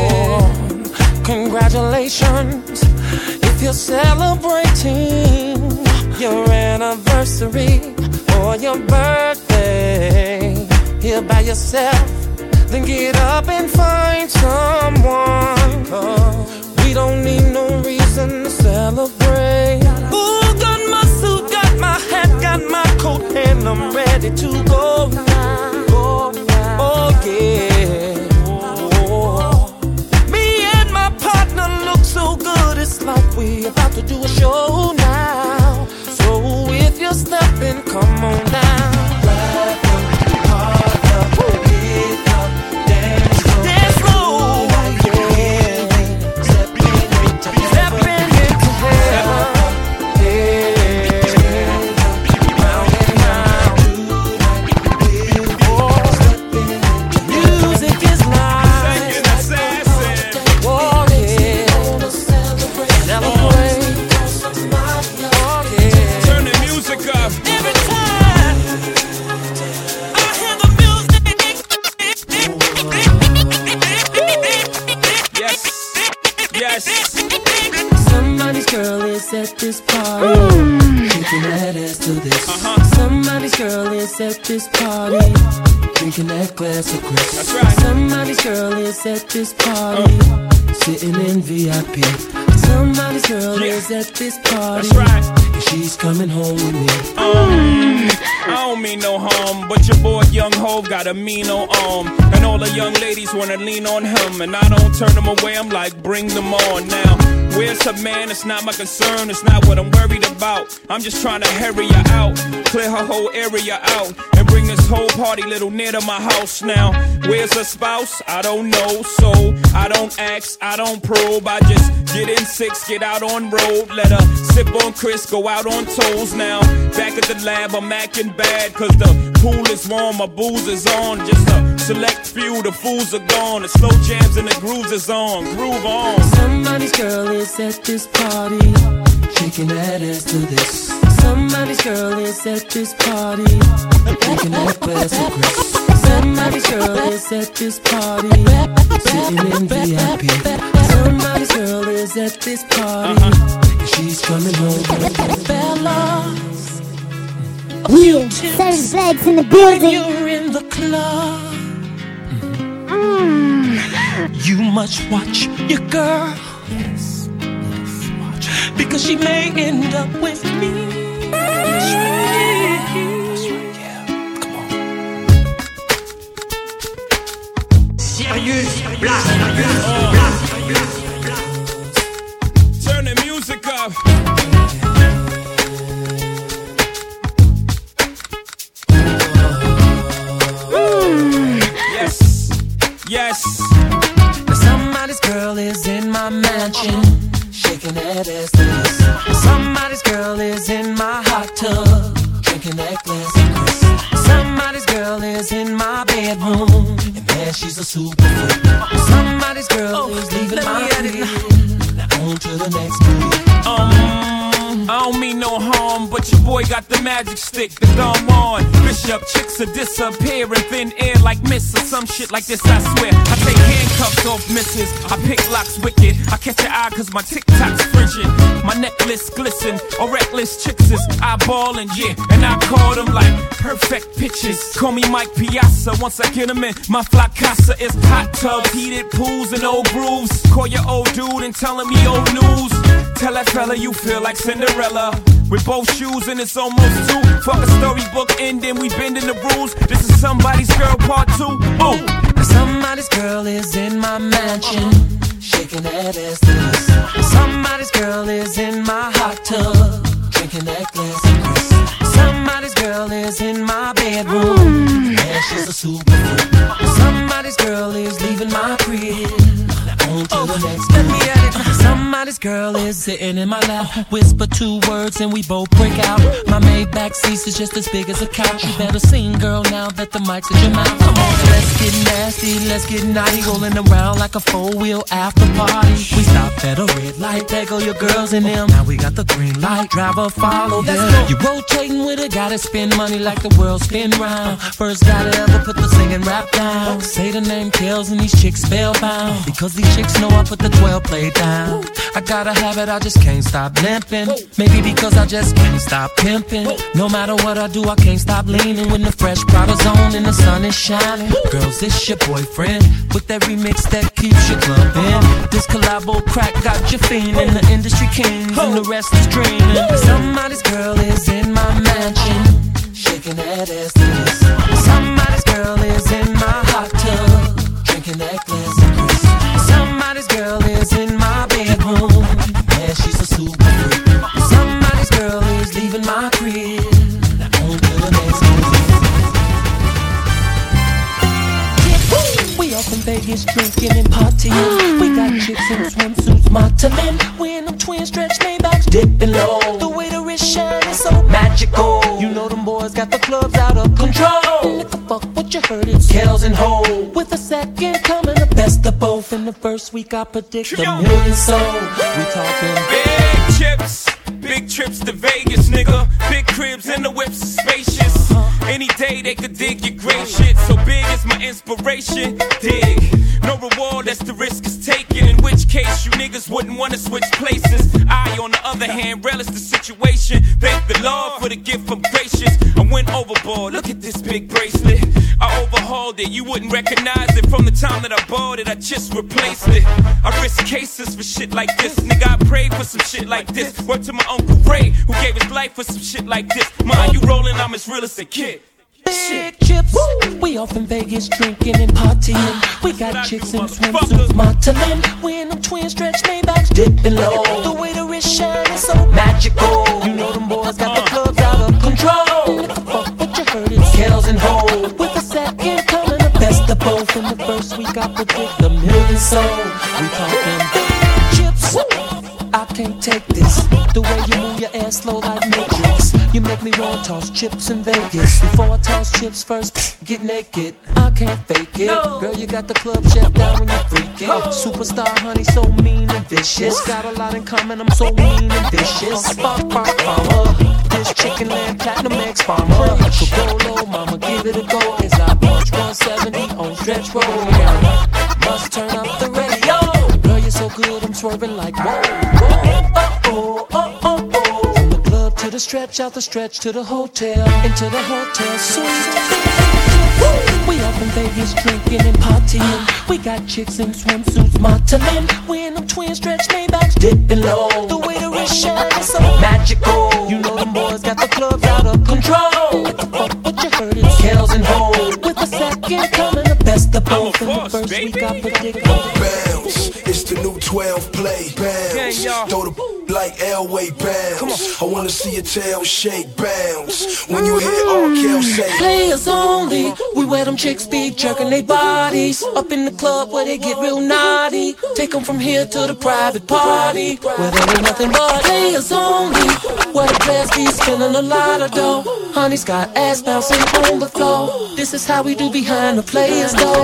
Congratulations if you're celebrating your anniversary or your birthday. Here by yourself, then get up and find someone. 'Cause we don't need no reason to celebrate. Ooh, got my suit, got my hat, got my coat, and I'm ready to go now. Oh yeah. Oh. Me and my partner look so good, it's like we about to do a show now. So if you're stepping, come on down. Grab your partner, hit up, dance slow. Stepping into heaven. Round and round. Music is life. Oh yeah. Celebrate. Turn the music up. Every time I hear the music. Yes. Somebody's girl is at this party, shaking that ass to this. Somebody's girl is at this party, drinking that glass of Chris. That's right. Somebody's girl is at this party, sitting in VIP. Somebody's girl is at this party. That's right. And she's coming home with me. I don't mean no harm, but your boy Young Hov got a mean old arm. And all the young ladies wanna lean on him, and I don't turn them away, I'm like, bring them on now. Where's her man? It's not my concern, it's not what I'm worried about. I'm just trying to hurry her out, clear her whole area out, and bring this whole party little near to my house now. Where's her spouse? I don't know, so I don't ask, I don't probe. I just get in 6, get out on road, let her sip on Chris, go out on toes now. Back at the lab, I'm acting bad, cause the pool is warm, my booze is on. Just a select few, the fools are gone. The slow jams and the grooves is on, groove on. Somebody's girl is at this party, shaking that ass to this. Somebody's girl is at this party, drinking that glass of Chris. Somebody's girl is at this party, sitting in VIP. Somebody's girl is at this party, and she's coming home. Fellas, Yeah, Savage Black's in the building. when you're in the club, you must watch your girl. Yes, watch. Because she may end up with me. That's right. Yeah. Come on. Serious Black. Turn the music up. Yes. Somebody's girl is in my mansion, shaking that ass to this. Somebody's girl is in my hot tub, drinking that glass of Chris. Somebody's girl is in my bedroom, and man, she's a super freak. Somebody's girl is leaving my crib, now on to the next move. I don't mean no harm, but your boy got the magic stick, the dumb on. Bishop chicks are disappearing, thin air like mist or some shit like this, I swear. I take handcuffs off misses, I pick locks wicked. I catch your eye cause my TikTok's frigid. My necklace glisten, or reckless chicks is eyeballing, yeah. And I call them like perfect pitches. Call me Mike Piazza, once I get them in, my fly casa is hot tubs, heated pools and old grooves. Call your old dude and tell him he old news. Tell that fella you feel like Cinderella. with both shoes and it's almost 2. Fuck a storybook ending, we bending the rules. This is somebody's girl part 2. Ooh. Somebody's girl is in my mansion, shaking that ass to this. Somebody's girl is in my hot tub, drinking that glass of Chris. Somebody's girl is in my bedroom, and she's a super freak. Somebody's girl is leaving my crib, on to the next. Let me at it. Somebody's girl is sitting in my lap, whisper 2 words and we both break out. My Maybach seat is just as big as a couch. You better sing, girl, now that the mic's at your mouth. Come on, let's get nasty, let's get naughty, rolling around like a 4-wheel after party. We stop at a red light, there go your girls in them. Now we got the green light, driver follow them. You rotating with a guy that spend money like the world spin round. First guy to ever put the singing rap down. Say the name kills and these chicks spellbound, because these chicks know I put the 12 play down. I gotta have it, I just can't stop limping. Maybe because I just can't stop pimping. No matter what I do, I can't stop leaning. When the fresh Prada's on and the sun is shining. Girls, it's your boyfriend with that remix that keeps you clubbing. This collabo crack got you fiending. The industry kings and the rest is dreaming. Somebody's girl is in my mansion, shaking that ass to this. Somebody's girl is in my hot tub, drinking that glass of Chris. Somebody's girl is in my bedroom, yeah, she's a super freak. Somebody's girl is leaving my crib, on to the next one. We off in Vegas drinking and partying. We got chicks in swimsuits, modeling. We in them twin stretch Maybachs, dipping low. The way the wrist shine is so magical. You know them boys got the clubs out of control. Nigga, fuck what you heard, it's Kells and Ho. With a second coming, the best of both. In the first week I predict a million sold. We talking big chips, big trips to Vegas, nigga. Big cribs and the whips are spacious. Any day they could dig your great shit. So big is my inspiration. Dig. No reward, that's the risk is taken. In which case you niggas wouldn't wanna switch places. I, on the other hand, relish the situation. Thank the Lord for the gift, I'm gracious. I went overboard, look at this big bracelet. I overhauled it, you wouldn't recognize it. From the time that I bought it, I just replaced it. I risk cases for shit like this. Nigga, I prayed for some shit like this. Word to my Uncle Ray, who gave his life for some shit like this. Mind you rolling, I'm as real as a kid. Big chips, we off in Vegas drinking and partying. We got chicks in swimsuits, modeling. We in them twin stretch Maybachs, dipping low. The way the wrist shine is so magical. You know them boys got the clubs out of control. Fuck what you heard, it's Kells and Ho. With a second coming, the best of both. In the first week I predict a million sold. We talking big chips. I can't take this. The way you move your ass slow like Matrix. You make me wanna toss chips in Vegas. Before I toss chips first, get naked. I can't fake it. Girl, you got the club shut down when you're freaking. Superstar honey, so mean and vicious. Got a lot in common, I'm so mean and vicious. Spark, farmer. This chicken land platinum X farmer. So go low, mama, give it a go. As I punch 170 on stretch road. Must turn up the radio. Girl, you're so good, I'm swerving like whoa, whoa, oh. From the club to the stretch, out the stretch to the hotel, into the hotel suite. We up in Vegas drinking and partying. We got chicks in swimsuits, modeling. We in them twin stretch Maybachs, dipping low. The way the wrist shine is so magical. You know them boys got the clubs out of control. Fuck what you heard, it's Kells and Ho. With a second coming, the best of both. In the first week I predict bounce. It's the new 12 play. Bounce. Throw the like Elway. Bounce. I wanna see your tail shake. Bounce. When you hear R. Kelly say players only. We wear them chicks be jerking they bodies. Up in the club where they get real naughty. Take them from here to the private party, where there ain't nothing but players only. Where the players be spending a lot of dough. Honey's got ass bouncing on the floor. This is how we do behind the players though.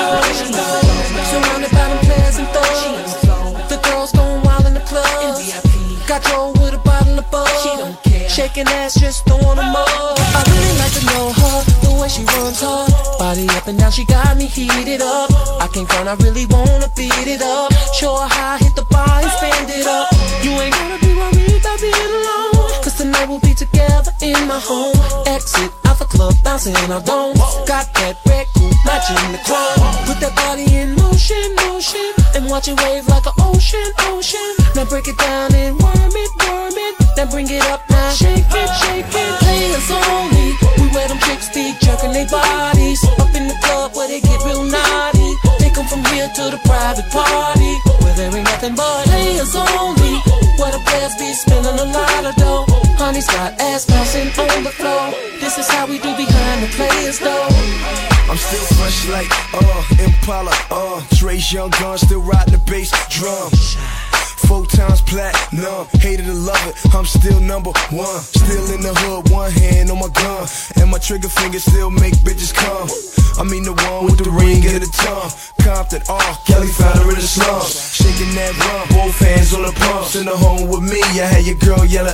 Surrounded by them players and thugs. The girls going wild in the club. Got Joe with a bottle of bug. Shaking ass, just throwing them up. I really like to know her, the way she runs her body up and down, she got me heated up. I can't front, I really wanna beat it up. Show her how I hit the bar and spend it up. You ain't gonna be worried about being alone, cause Tonight we'll be together in my home. Exit out the club, bouncing our dome. Got that red coupe matching the chrome. Put that body in motion, motion, and watch it wave like an ocean, ocean. Now break it down and worm it, worm it. Then bring it up now, shake it, shake it. Players only, we where them chicks be jerking their bodies. Up in the club where they get real naughty. Take them from here to the private party, where there ain't nothing but players only. Where the players be spending a lot of dough. Honey's got ass bouncing on the floor. This is how we do behind the players though. I'm still fresh like, Impala, Dre's young gun, still riding the bass drum. 4 times platinum, hated to love it, I'm still number one. Still in the hood, one hand on my gun, and my trigger finger still make bitches come. I mean the one with the ring and the tongue. Compton, Kelly found her in the slums. Shaking that rum, both hands on the pumps. In the home with me, I had your girl yelling,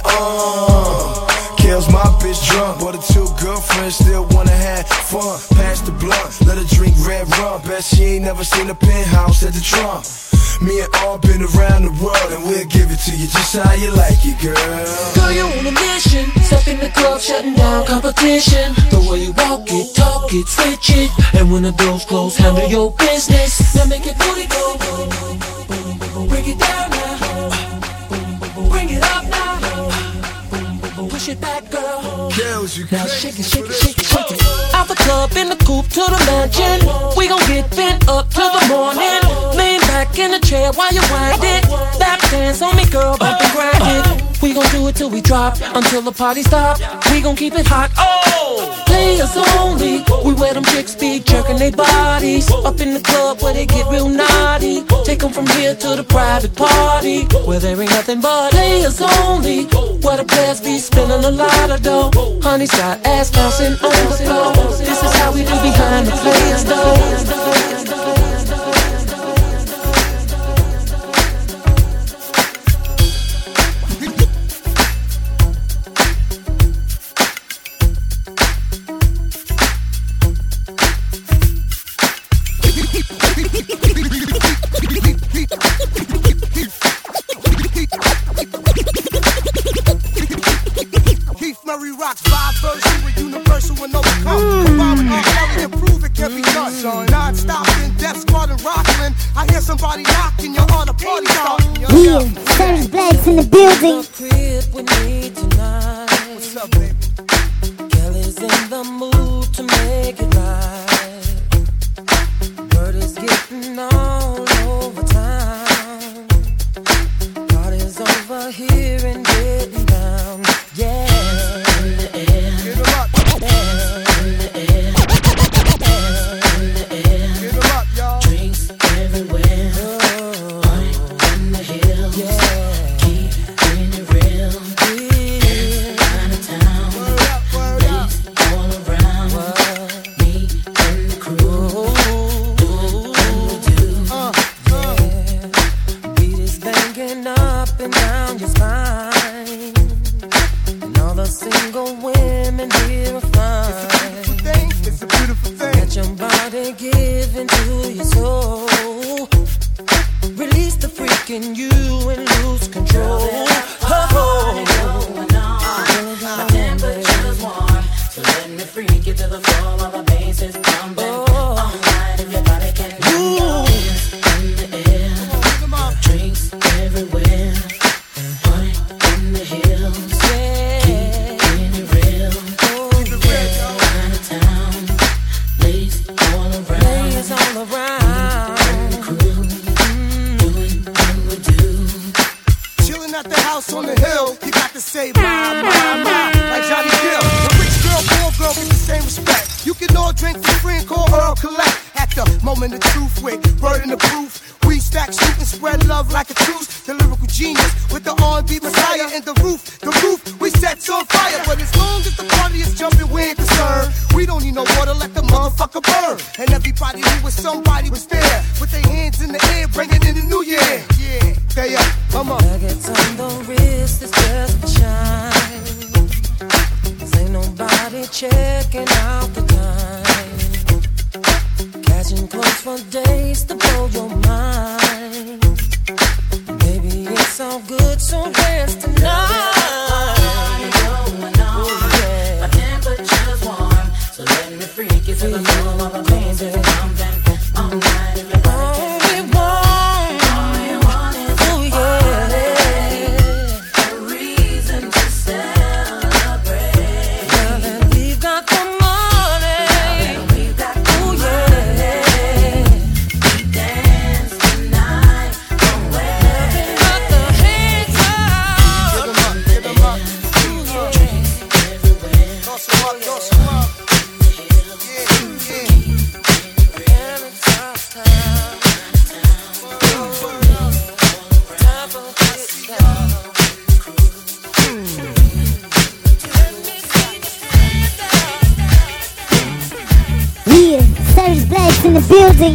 Kale's my bitch drunk, but her 2 girlfriends still wanna have fun. Pass the blunt, let her drink red rum. Bet she ain't never seen a penthouse at the Trump. Me and all been around the world, and we'll give it to you just how you like it, girl. Girl, you on a mission. Step in the club, shutting down competition. The way you walk it, talk it, switch it. And when the doors close, handle your business. Now make your booty go. Break it down now. Bring it up now. Push it back, girl. Girls, you now shake it, shake it, shake it, shake it. Out the club, in the coupe, to the mansion. We gon' get bent up till the morning. Lean back in the chair while you wind it. Lap dance on me, girl, bump and grind it. We gon' do it till we drop, until the party stop. We gon' keep it hot. Players only. We where them chicks be jerking their bodies. Up in the club where they get real naughty. Take them from here to the private party, where there ain't nothing but players only. Where the players be spending a lot of dough. Honey's got ass bouncing on the floor. This is how we do behind the players though. Serge Black's in the building. What's up, baby? Kelly's in the mood to make it right. Word is getting all over town. Party's over here and getting down. Yeah. In the air. Get 'em up. In the air. In the air. Get 'em up, y'all. Drinks everywhere. All good, so dance tonight. In the building.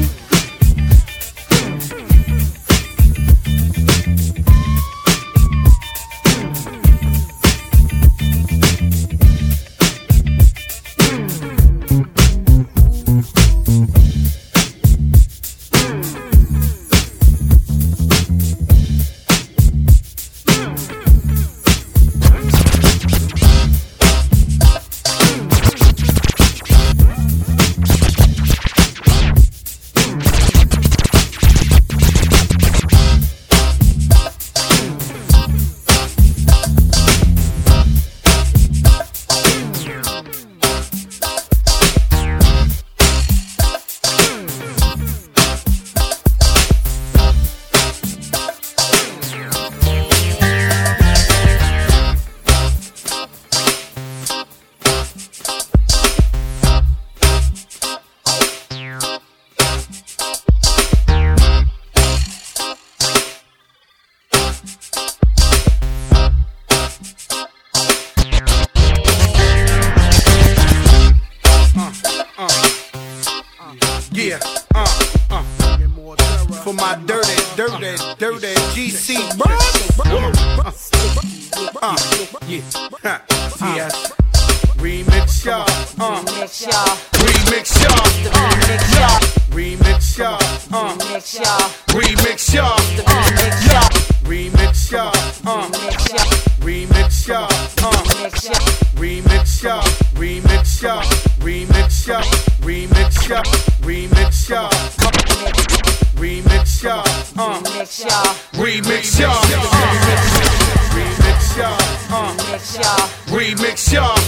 Yeah, for my dirty GC yeah, yes. Remix y'all, remix y'all, remix y'all, remix y'all, remix y'all, remix y'all, remix y'all, remix y'all, remix y'all, remix y'all, remix y'all, remix y'all, remix y'all, remix y'all, remix y'all,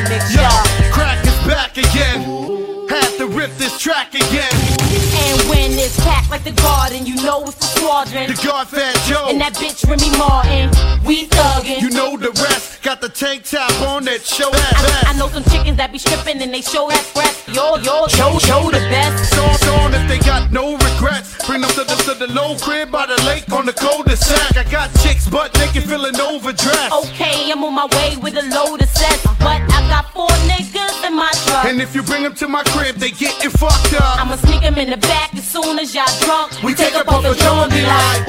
y'all, crack is back again. Had to rip this track again. And when it's packed like the garden, you know it's the squadron. The guard Fat Joe and that bitch Remy Martin. We thuggin'. You know the rest. Got the tank top on that show. I know some chickens that be stripping and they show that breast. Yo, show the best. Songs on if they got no regrets. Bring them to the low crib by the lake on the cul-de-sac. I got chicks butt naked feeling overdressed. Okay, I'm on my way with a load of sets, but I got 4 niggas in my truck. And if you bring them to my crib, they getting fucked up. I'ma sneak them in the back as soon as y'all drunk. We take up off the door and be like,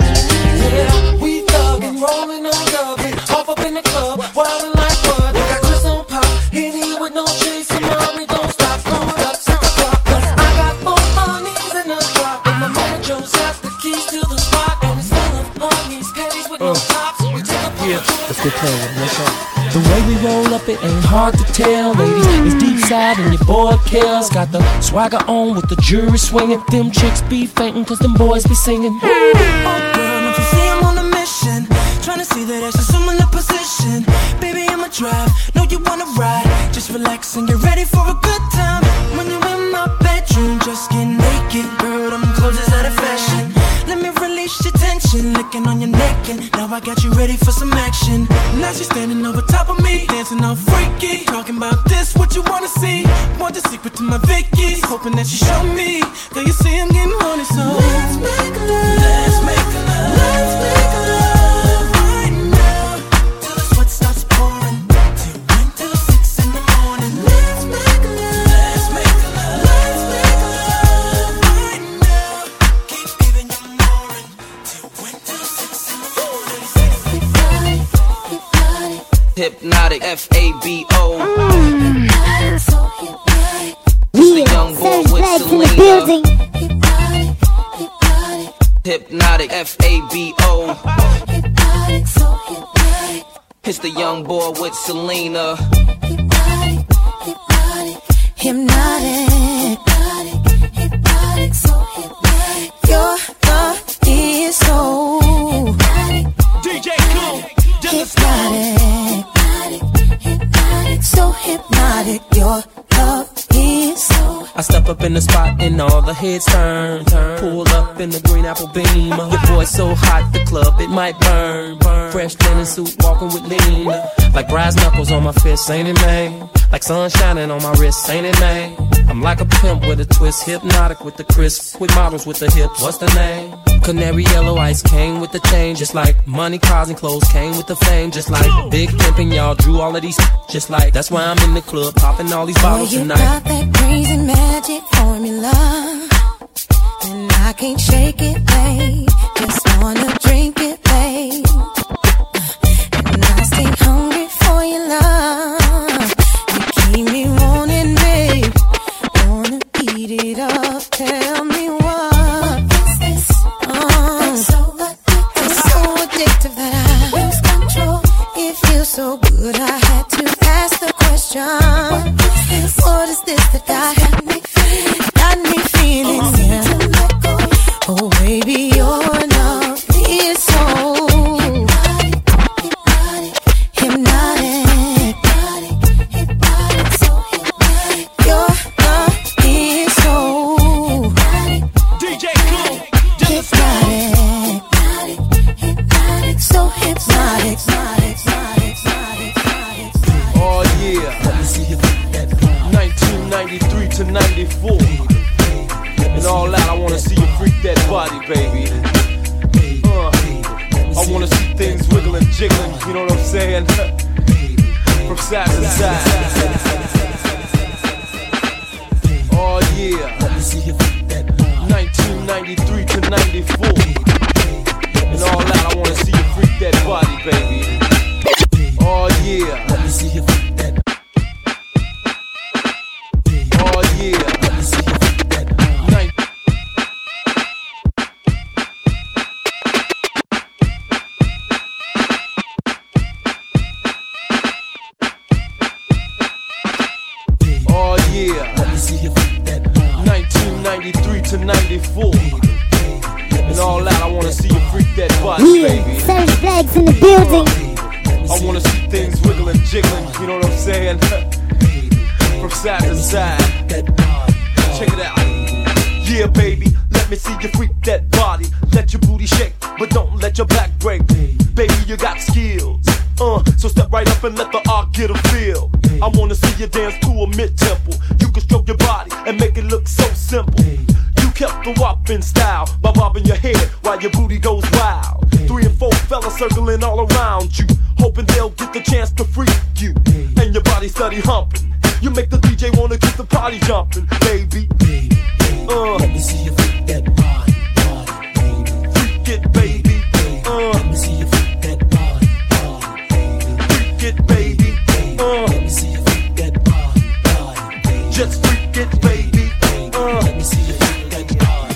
yeah, we thuggin', rollin' on dubbin', off up in the club, wildin' like what? We got Chris on pop, Henny with no chase, mommy don't stop, going up 6 o'clock. Cause I got 4 honeys in the drop, and my mojo's got the keys to the spot, and it's full of honeys, panties with no tops. We take up off the door. Let's get playing. Let's go. The way we roll up, it ain't hard to tell, ladies. It's deep side and your boy kills. Got the swagger on with the jury swinging. Them chicks be fainting cause them boys be singing. Oh girl, don't you see I'm on a mission? Tryna see that ass in similar position. Baby, I'ma drive, know you wanna ride. Just relax and get ready for a good time. When you're in my bedroom, just get naked. Girl, them clothes is out of fashion. Let me release your tension, licking on your neck, and now I got you ready for some action. Now she's standing over top of me, dancing all freaky. Talking about this, what you wanna see? Want the secret to my Vicky's, hoping that you show me. Girl, you see I'm getting horny, so let's make love. Let's make love. Let's make love right now, till the sweat starts pouring, till 6 in the morning. Let's make love. Let's make love. Let's make love right now. Keep giving you more till 6 in the morning. Hypnotic, F-A-B-O. It's the young boy with Selena. Hypnotic, F-A-B-O. It's the young boy with Selena. Hypnotic. up in the spot and all the heads turn. Pull up in the green apple beam. Your boy's so hot, the club, it might burn. Fresh linen suit, walking with lean. Like brass knuckles on my fist, ain't it, man? Like sun shining on my wrist, ain't it, man? I'm like a pimp with a twist, hypnotic with the crisp, with models with the hips. What's the name? Canary yellow ice came with the chain, just like money, cars, and clothes came with the fame, just like big pimpin', y'all drew all of these, just like that's why I'm in the club popping all these bottles tonight. You got that crazy magic formula, and I can't shake it, babe. Just wanna drink it, babe. And I stay hungry for your love. You keep me wanting, babe. Wanna eat it up. Tell me what is this? It's so addictive that I lose control. It feels so good, I had to ask the question. What is this that got me feeling? Yeah. Oh, baby, your love is so hypnotic. Your love is so DJ Cool, hypnotic. So hypnotic. Oh yeah, 1993 to 94. And all that, I wanna see you freak that body, baby. I wanna see things wiggling, jiggling, you know what I'm saying? From side to side. Oh yeah, 1993 to 94. And all that, I wanna see you freak that body, baby. Oh yeah, let me see you freak that. Oh yeah, let me see you freak that. Oh yeah, let me see you freak that. 1993 to 94. And all that, I wanna see you freak that body, baby. Serge Black's in the building. I wanna see things wiggling, jiggling, you know what I'm saying? From side to side. Check it out. Yeah, baby, let me see you freak that body. Let your booty shake, but don't let your back break. Baby, you got skills. So step right up and let the art get a feel. I wanna see you dance to a mid-tempo. You can stroke your body and make it look so simple. You kept the wop in style by bobbing your head while your booty goes wild. 3 and 4 fellas circling all around you, hoping they'll get the chance to freak you. And your body steady humping. You make the DJ wanna keep the party jumping, baby. Let me see you freak that body, baby. Freak it, baby. Let me see you freak that body, baby. Freak it, baby. Let me see you freak that body, baby. Just freak it, baby. Let me see you freak that body.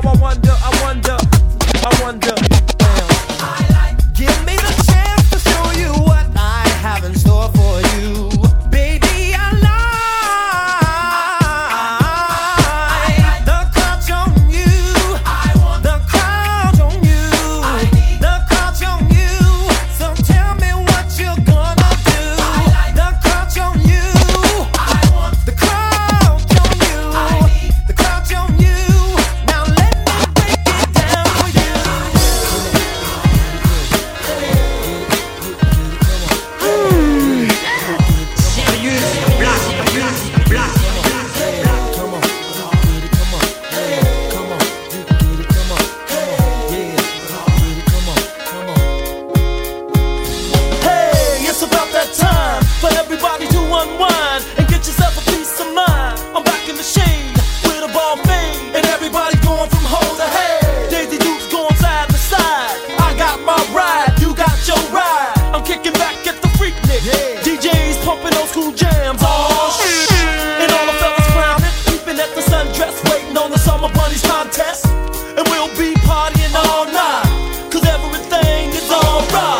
Give me the chance to show you what I have in store for you. Baby, I like the crouch on you. The crouch on you. The crouch on you. So tell me what you're gonna do. The crouch on you. The crouch on you. The crouch on you. Now let me break it down for you. Hey, it's about that time for everybody to unwind and get yourself a peace of mind. I'm back in the shade with a ball fade, and everybody going from hoe to head. Daisy Dukes going side to side. I got my ride, you got your ride. I'm kicking back at the Freaknik. DJs pumping old school jams. Oh shit! And all the fellas clowning, peeping at the sundress, waiting on the Summer Bunnies contest. And we'll be partying all night, 'cause everything is alright.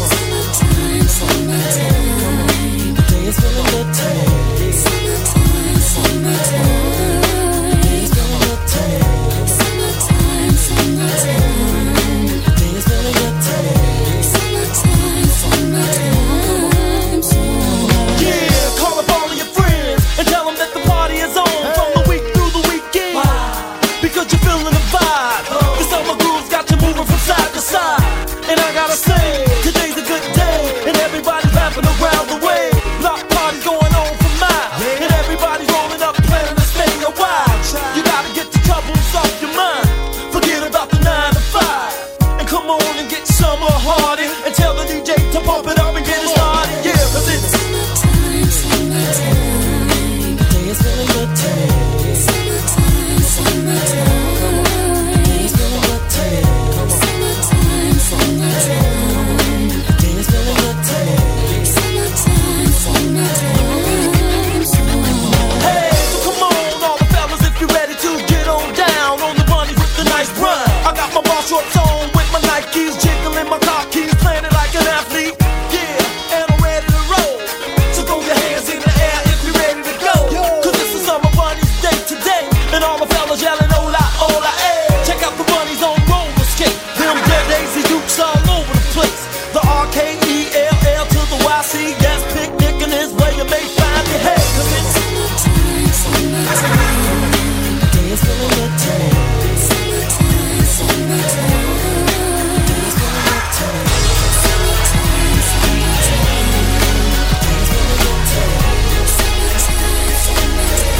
The day is feeling good today. Summertime, summertime. The day is feeling good today. Summertime, summertime. The day is feeling good today. Summertime, summertime. Yeah, call up all of your friends and tell them that the party is on from the week through the weekend. Because you're feeling the vibe. The summer groove's got you moving from side to side. And I gotta say, today's a good day, and everybody's laughing around the way. Block parties going on for miles, and everybody's rolling up, planning to stay a while. You gotta get the troubles off your mind. Forget about the 9 to 5, and come on and get summer hardy, and tell the DJ to pump it up and get it started. Yeah, 'cause it's summertime, summertime. The day is feeling good today. Summertime, summertime. The day is feeling good today. Summertime, summertime. The day is feeling good today. Summertime, summertime. Hey, so come on, all the fellas, if you're ready to get on down on the bunny with the nice run. I got my ball shorts on with my Nikes, jiggling my car keys, playing it like an athlete. Yeah, and I'm ready to roll. So throw your hands in the air if you're ready to go. 'Cause this is Summer Bunny's day today, and all the fellas yelling hola, hola, hey. Check out the bunnies on roller skate. Them dead Daisy Dukes all over the place. The RKELL to the YC, yes, picnicking is where you may find your head. 'Cause it's summertime, summertime. The day is feeling good today. Summertime, summertime. The day is feeling good today. Summertime, summertime. The day is feeling good today. Summertime, summertime.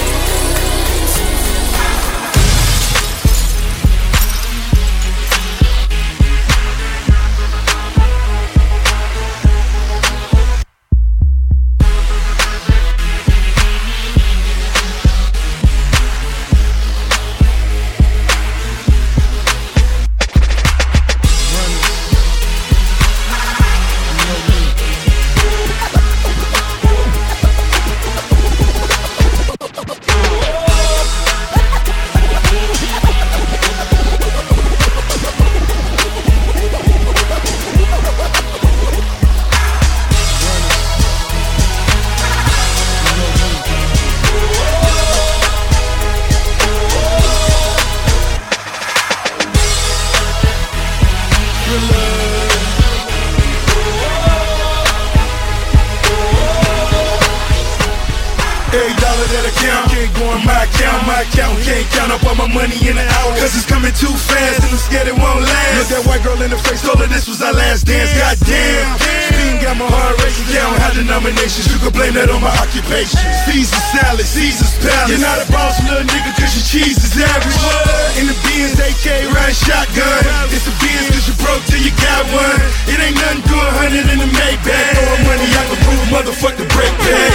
Every dollar that I count can't go in my account. My account can't count up all my money in an hour, 'cause it's coming too fast and I'm scared it won't last. Look that white girl in the face, told her this was our last dance. Goddamn, speeding got my heart racing. Count how denominations, you can blame that on my occupation. Caesar salad, Caesar's palace. You're not a boss, little nigga, 'cause your cheese is average. In the Benz, AK ride shotgun. It's a Benz 'cause you broke till you got one. It ain't nothing to 100 in the Maybach. Throwing money, I can prove motherfuck the break bag.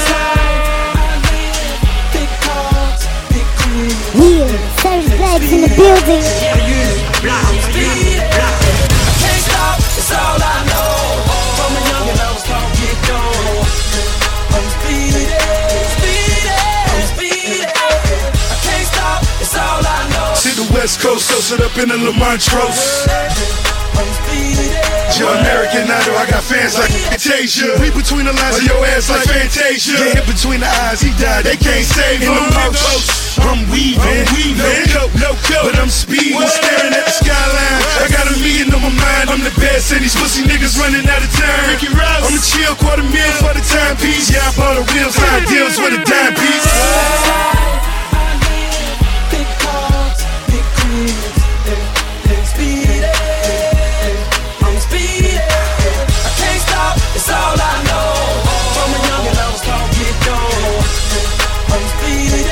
Yeah, Savage Black's in the building. Can't stop, it's all I know. From a young and I was taught to get going. I'm speeding, speeding, I'm speeding. I can't stop, it's all I know. Silhouette West Coast, so sit up in the Lamontrose. Your American Idol, I got fans like Fantasia. We between the lines of your ass like Fantasia. Get hit between the eyes, he died, they can't save him. I'm weaving, no coat, but I'm speeding, staring at the skyline. I got $1 million on my mind, I'm the best, and these pussy niggas running out of time. Ricky Rouse, I'm a chill $250,000 for the timepiece. Yeah, I bought a wheels, high deals with a dime piece. Big cars, big cribs, big speed. I'm speeding, I can't stop, it's all I know. From a youngin' I was taught get gone. I'm speeding.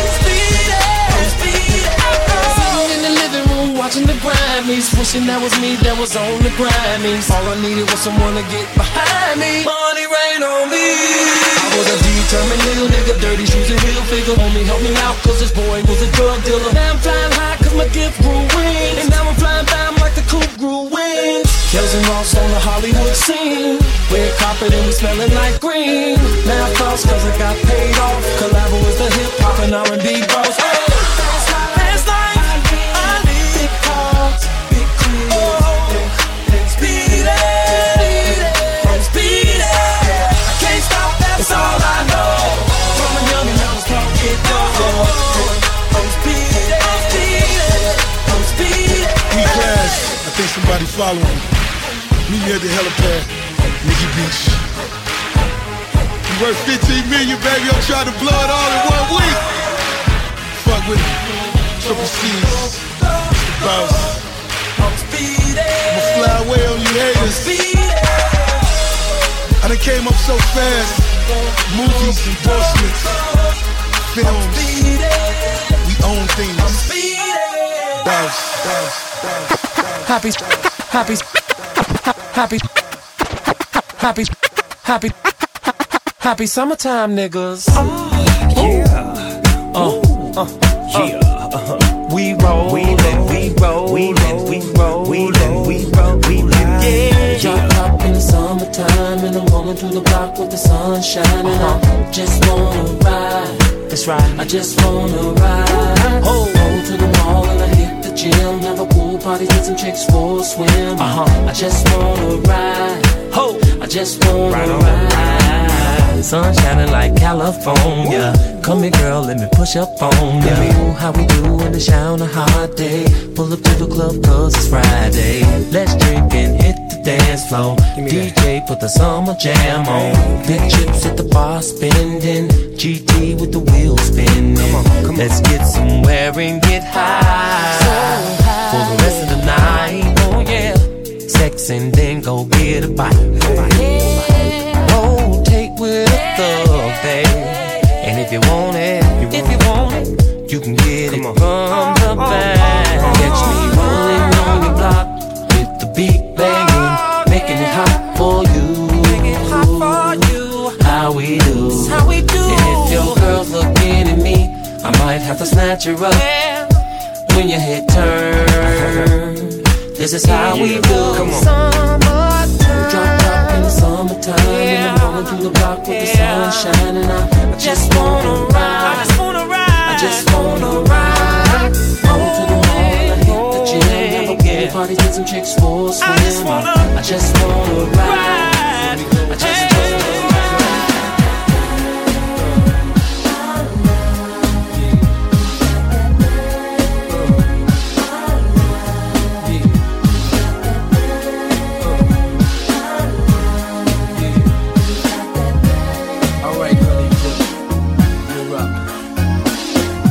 Watching the Grammys, wishing that was me that was on the Grammys. All I needed was someone to get behind me. Money rain on me. I was a determined little nigga, dirty shoes and heel figure. Homie help me out, cause this boy was a drug dealer. Now I'm flying high cause my gift grew wings. And now I'm flying by like the coupe grew wings. Kells and Ross on the Hollywood scene. Red carpet and we smelling like green. Now I floss cause I got paid off. Collabo is the hip hop and R&B bros. That's all I know. From a youngin' I was taught get down. I'm speeding. We class, I think somebody following. Meet me at the helipad, Nikki Beach. You worth 15 million, baby. I'm trying to blow it all in 1 week. Fuck with me. Triple C's, the boss. I'ma fly away on you haters. I done came up so fast. Movies, endorsements, films, we own things. Boss. Happy summertime, niggas. We roll, yeah. Drop up in the summertime and I'm rolling through the block with the sun shining. I just wanna ride. That's right. I just wanna ride. Go to the mall and I hit the gym. Have a pool party, get some chicks for a swim. I just wanna ride. I just wanna ride. Sun shining like California. Come here, girl, let me push up on ya. How we do in the shower on a hot day. Pull up to the club cause it's Friday. Let's drink and hit the dance floor. DJ put the summer jam on. Big chips at the bar spending. GT with the wheels spinning. Let's get somewhere and get high for the rest of the night. Oh yeah. Sex and then go get a bite. Rotate with a thug, babe. And if you want it, you can get it from the back. Catch me rolling on your block with the beat banging, making it hot for you. How we do? And if your girl's looking at me, I might have to snatch her up when your head turn. This is how we do. Come on. Drop in the summertime and I'm rolling through the block with the sun shining. I just wanna ride. I just wanna ride. Go to the mall and hit the gym. Have a pool party, get some chicks for a swim. I just wanna ride. I just wanna ride.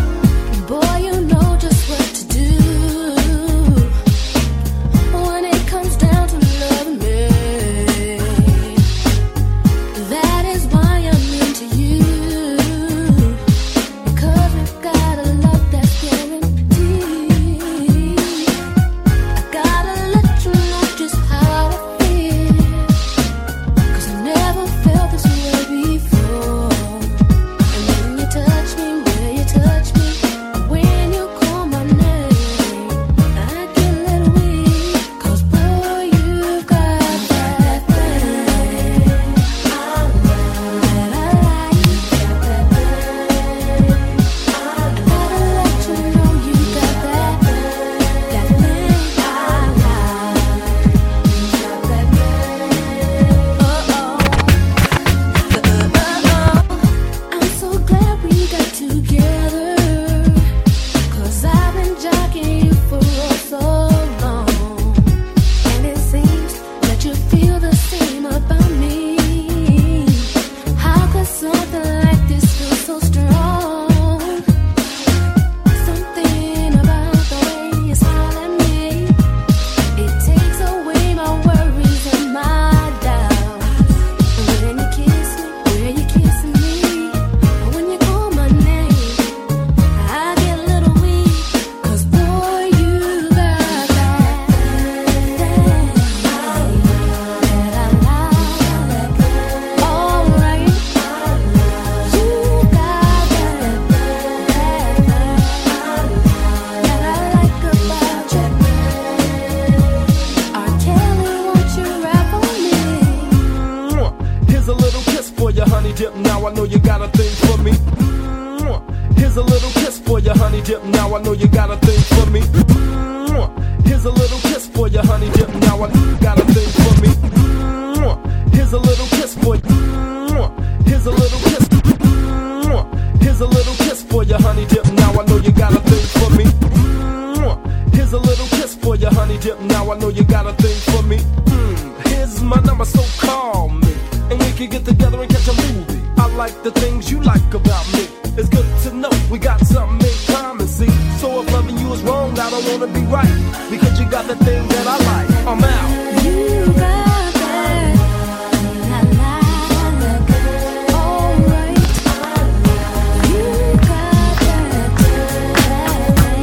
Boy, you know just what to do when it I know you got a thing for me. Here's a little kiss for your honey dip. Now I know you got a thing for me. Here's a little kiss for your honey dip. Now I know you got a thing for me. Here's a little kiss for you. Here's a little kiss. Here's a little kiss for your honey dip. Now I know you got a thing for me. Here's a little kiss for your honey dip. Now I know you got a thing for me. Here's my number, so call me, and we can get together and catch a movie. I like the things you like about me. It's good to know we got something in common, see. So if loving you is wrong, I don't wanna be right, because you got the thing that I like. I'm out. You got that. La, la, la, la. All right. You got that.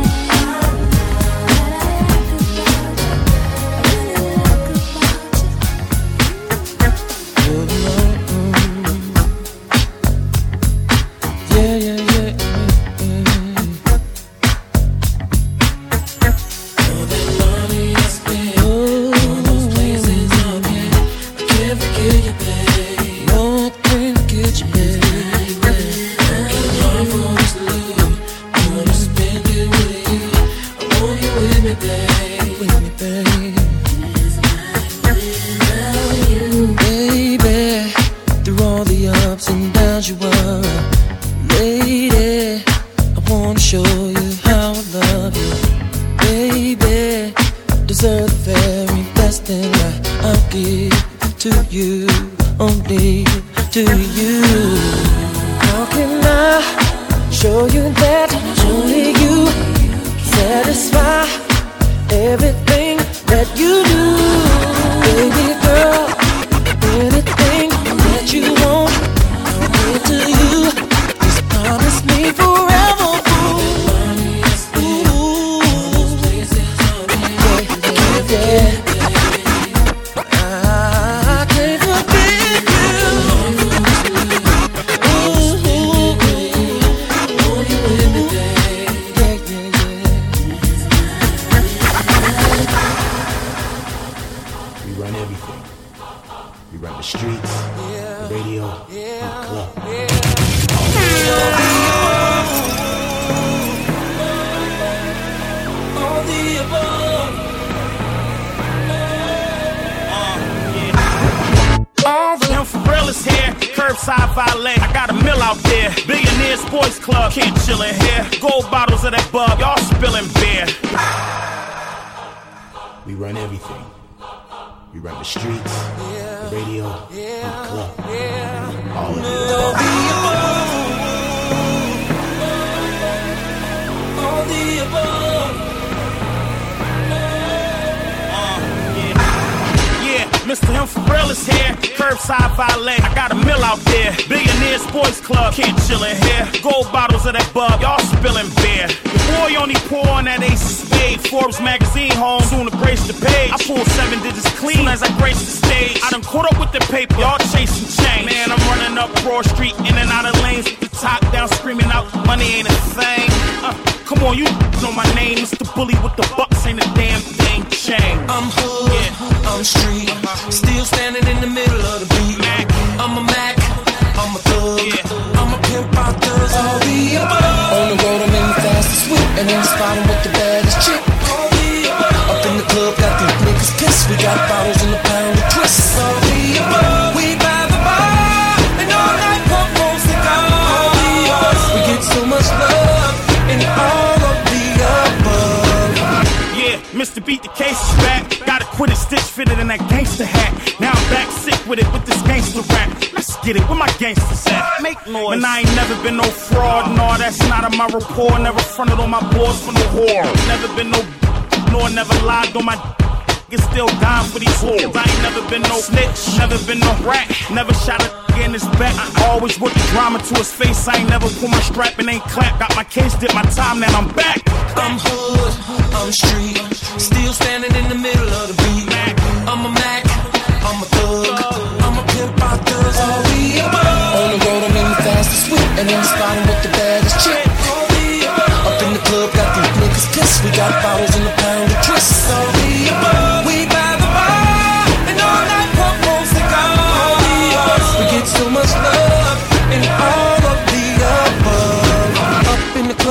Mr. Him for real is here. Curbside valet. I got a mill out there. Billionaires Boys Club. Can't chill in here. Gold bottles of that bub. Y'all spilling beer. Your boy only pour on that Ace of Spade. Forbes magazine home. Soon to grace the page. I pull 7 digits clean as I grace the stage. I done caught up with the paper. Y'all chasing change. Man, I'm running up Broad Street. In and out of lanes. The top down screaming out. Money ain't a thing. Come on, you know my name. Mr. Bully with the bucks. Ain't a damn thing changed. I'm hood. Yeah. I'm street. Still standing in the middle of the beat. I'm a Mac, I'm a thug, I'm a pimp, I does all the above. On the road I'm in the fastest whip, and in the spot I'm with the baddest chick. All the above. Up in the club, got these niggas pissed. We got bottles in the pound of twists. All the above. We by the bar, and all night pump on cigars. All the above. We get so much love, and all of the above. Yeah, Mr. Beat the Case is back. Gotta quit it, stitch fitted in that gangster hat. Now I'm back sick with it with this gangster rap. Let's get it, where my gangsters at? Make noise. And I ain't never been no fraud, no, that's not on my report. Never fronted on my boards for no whore. Never been no, nor never lied on my Get still dying for these whores. I ain't never been no snitch, never been no rat. Never shot a in his back. I always work the drama to his face. I ain't never pull my strap and ain't clap. Got my case, did my time, now I'm back. I'm hood, I'm street. Still standing in the middle of the beat. I'm a Mac, I'm a thug. I'm a pimp, I does all the above. On the road, I'm in the fastest whip. And in the spot, I'm with the baddest chick. Up in the club, got these niggas pissed. We got bottles in the pound of twists. All the above. We by the bar, and all night pump on cigars. We get so much love, and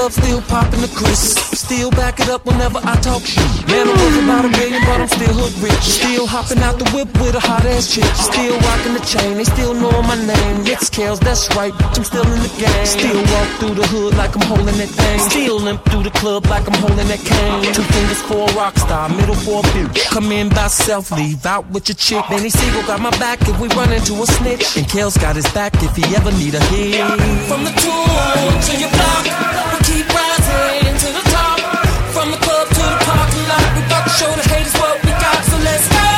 club, still popping the crisp. Still back it up whenever I talk shit. Man, I'm worth about $1 billion, but I'm still hood rich. Still hopping out the whip with a hot ass chick. Still rocking the chain, they still know my name. It's Kels, that's right, I'm still in the game. Still walk through the hood like I'm holding that thing. Still limp through the club like I'm holding that cane. 2 fingers for a rock star, middle for a bitch. Come in by self, leave out with your chick. Benny Siegel got my back if we run into a snitch. And Kels got his back if he ever need a hit. From the tour to your block, we keep rising to the top. From the club to the parking lot, we about to show the haters what we got, so let's go.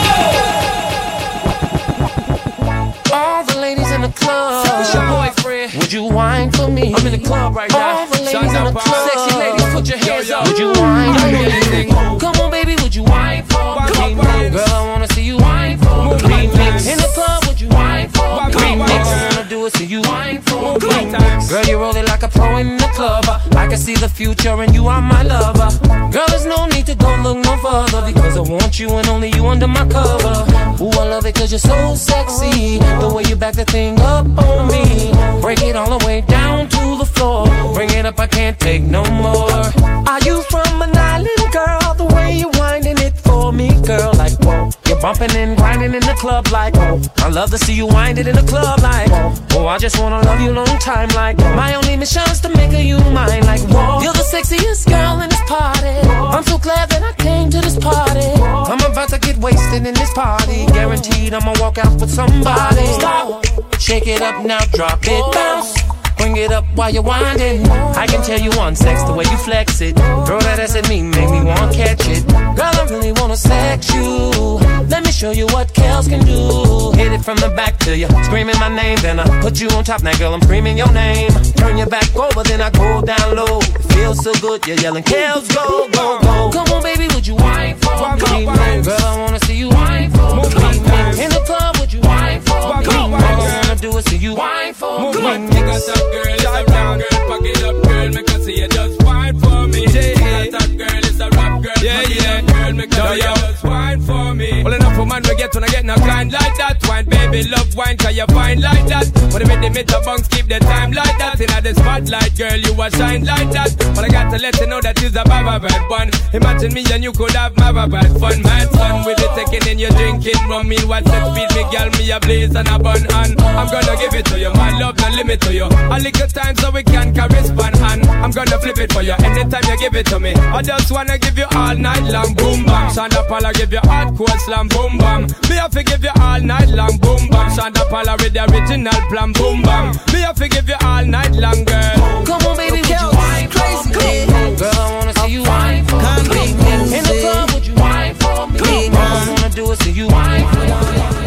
All the ladies in the club, it's your boyfriend. Would you whine for me? I'm in the club right now. All the ladies in the club, sexy ladies, put your hands up. Would you whine for me? Come on, baby, would you whine for me? Girl, I wanna see you whine for me. In the club, would you whine for me? Remix, I wanna do it, see you whine for me. Girl, you roll it like a pro in the club. I can see the future and you are my lover. Girl, there's no need to go look no further, because I want you and only you under my cover. Ooh, I love it cause you're so sexy, the way you back the thing up on me. Break it all the way down to the floor. Bring it up, I can't take no more. Are you from an island, girl? The way you winding it for me, girl, like whoa. You're bumping and grinding in the club like whoa. I love to see you wind it in the club like whoa. Oh, I just wanna love you long time like whoa. My only mission's to make you mine like whoa. You're the sexiest girl in this party. I'm so glad that I came to this party. I'm about to get wasted in this party. Guaranteed I'ma walk out with somebody. Stop, shake it up now, drop it, bounce. Bring it up while you're winding. I can tell you on sex the way you flex it. Girl, that ass at me make me wanna catch it. Girl, I really wanna sex you. Let me show you what Kels can do. Hit it from the back till you screaming my name. Then I put you on top. Now girl, I'm screaming your name. Turn your back over, then I go down low. It feels so good, you're yelling Kels, go, go, go. Come on baby, would you whine for me? Girl, I wanna see you whine for me. In the club, would you whine for me? All I wanna do is see you whine for me. Girl, it's a rap girl, pack it up, girl, make her see you just whine for me. It's a top girl, it's a rap girl, pack it up, girl, make her see you just whine for me. Well enough for man we get when I get no kind like that. Wine, baby, love wine, cause you fine like that. When they make the meter bunks, keep the time like that. In the spotlight, girl, you a shine like that. But I got to let you know that you's a baba bad one. Imagine me and you could have baba bad fun. Mad fun with it, taking in your drinking rum. Meanwhile, set speed, me girl, me a blaze and a bun. And I'm gonna give it to you, my love, no limit to you. A little time so we can correspond, and I'm gonna flip it for you anytime you give it to me. I just wanna give you all night long, boom bam. Shonda Paula give you hardcore slam, boom bam. Me have to give you all night long, boom bam. Shonda Paula with the original plan, boom bam. Me have to give you all night long, girl. Come on baby, would you whine for me? Girl, I wanna see you whine for me. In the club, would you whine for me? All I wanna do is see you whine for me.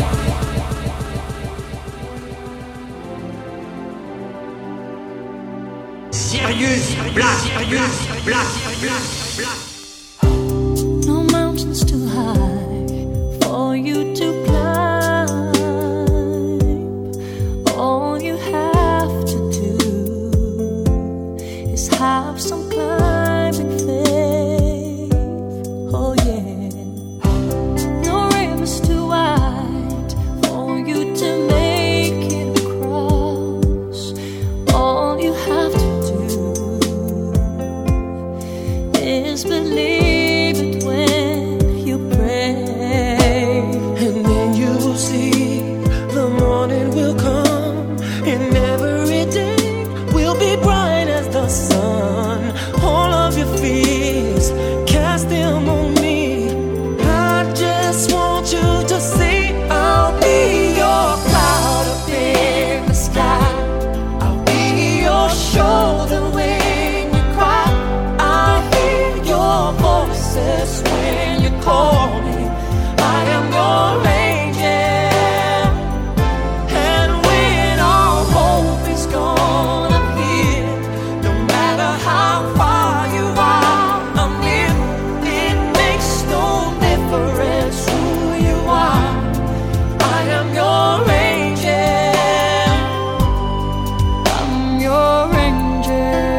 Sirius Black. No mountains too high for you to climb. All you have to do is have some climbing faith. Oh yeah. No river's too wide for you to make it across. All you have to is believe it when you pray. And then you'll see the morning will come, and every day will be bright as the sun. All of your fears, cast them on me. I just want you to see I'll be your cloud up in the sky. I'll be your shoulder when you cry. Your voices when you call me. I am your angel. And when all hope is gone up here, no matter how far you are, I'm near. It makes no difference who you are. I am your angel. I'm your angel.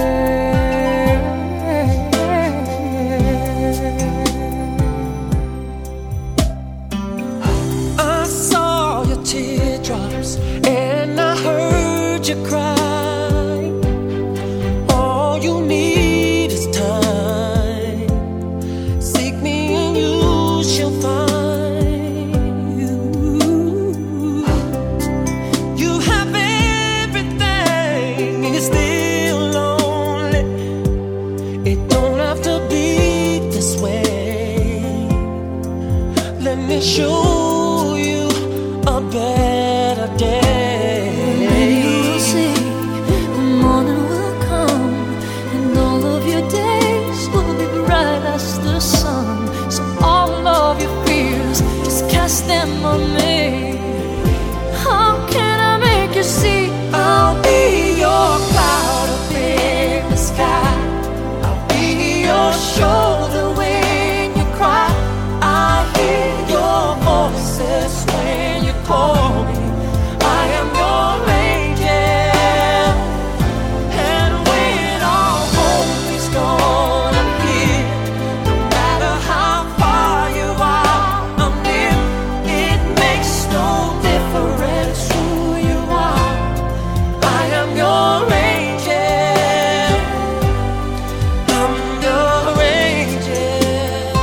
show you a better day. Maybe you'll see the morning will come, and all of your days will be bright as the sun. So all of your fears, just cast them on me. How can I make you see? I'll be your cloud up in the sky. I'll be your shoulder when you cry. I hear your voices when you call me. I am your angel. And when all hope is gone, I'm here. No matter how far you are, I'm near. It makes no difference who you are. I am your angel. I'm your angel.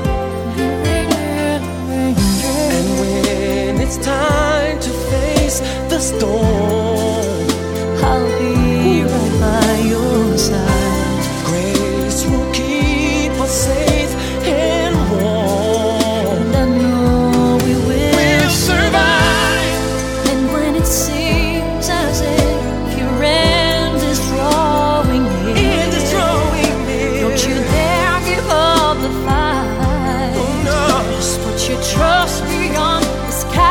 And when it's time to face the storm, I'll be right by your side. grace will keep us safe and warm. And I know we will survive. And when it seems as if your end is drawing near, don't you dare give up the fight. Oh, no. Just put your trust beyond the skies.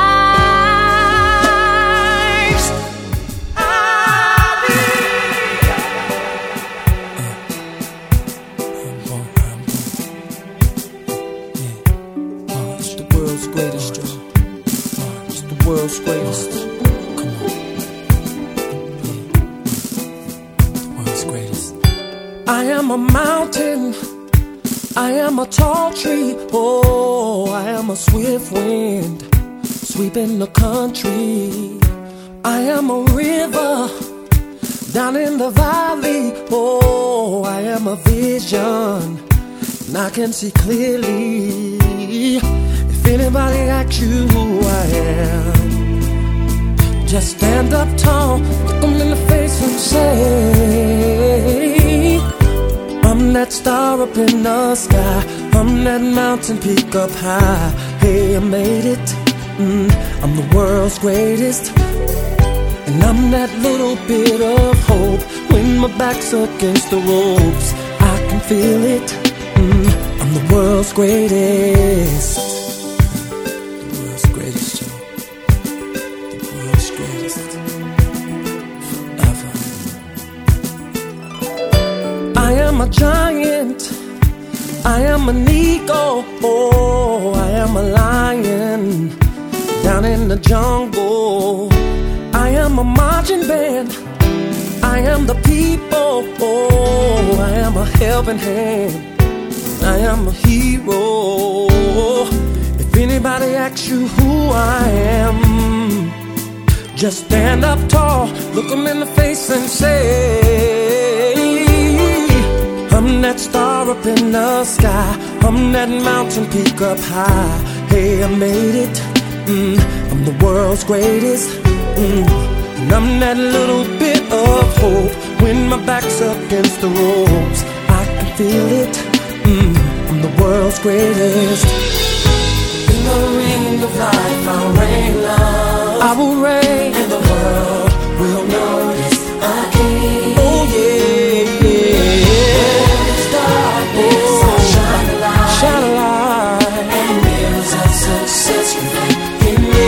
I'll be It's the world's greatest, Joe. It's the world's greatest. Come on. The world's greatest. I am a mountain. I am a tall tree. Oh, I am a swift wind sweeping the country. I am a river down in the valley. Oh, I am a vision, and I can see clearly. If anybody asks you who I am, just stand up tall, look them in the face and say, I'm that star up in the sky, I'm that mountain peak up high. Hey, I made it, I'm the world's greatest. And I'm that little bit of hope when my back's against the ropes. I can feel it, I'm the world's greatest. The world's greatest, Joe. The world's greatest. Forever. I am a giant, I am an eagle, oh, I am a lion down in the jungle. I am a marching band, I am the people, oh, I am a helping hand, I am a hero. If anybody asks you who I am, just stand up tall, look them in the face and say, I'm that star up in the sky, I'm that mountain peak up high. Hey, I made it, I'm the world's greatest. And I'm that little bit of hope when my back's against the ropes. I can feel it, I'm the world's greatest. In the ring of life I'll reign love, I will reign, and the world will notice a king. Oh yeah, yeah. This darkness I'll shine a light, shine a light, and mirrors of success reflect in me.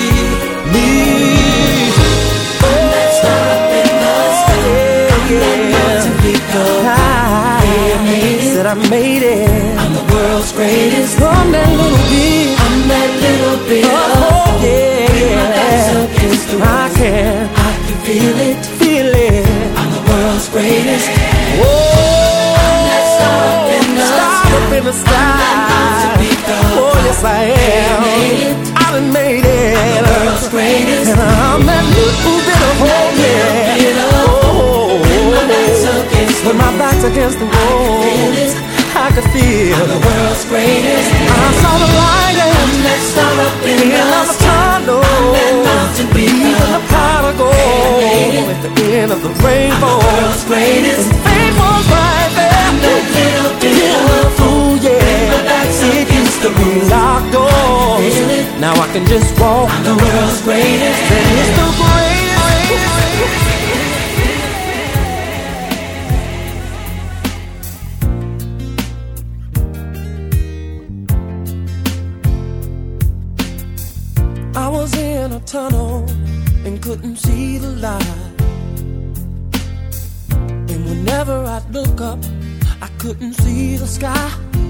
I made it. I'm the world's greatest. I'm that little bit. I'm that little bit. Oh yeah, yeah. I can feel it, feel it. I'm the world's greatest. Whoa, I'm that star up in the sky. Oh yes I am. I done made it. I'm the world's greatest. And I'm that little bit of hope. Yeah. Oh, when my back's against the wall, I could feel the world's greatest. I saw the light and that star up in the tunnel. Even the pot of gold at the end of the rainbow. The world's greatest. And fate was right there. I'm that little bit of fool, yeah. It used to be locked doors. just walk. I'm the world's greatest. Then it's the greatest. I was in a tunnel and couldn't see the light. And whenever I'd look up, I couldn't see the sky.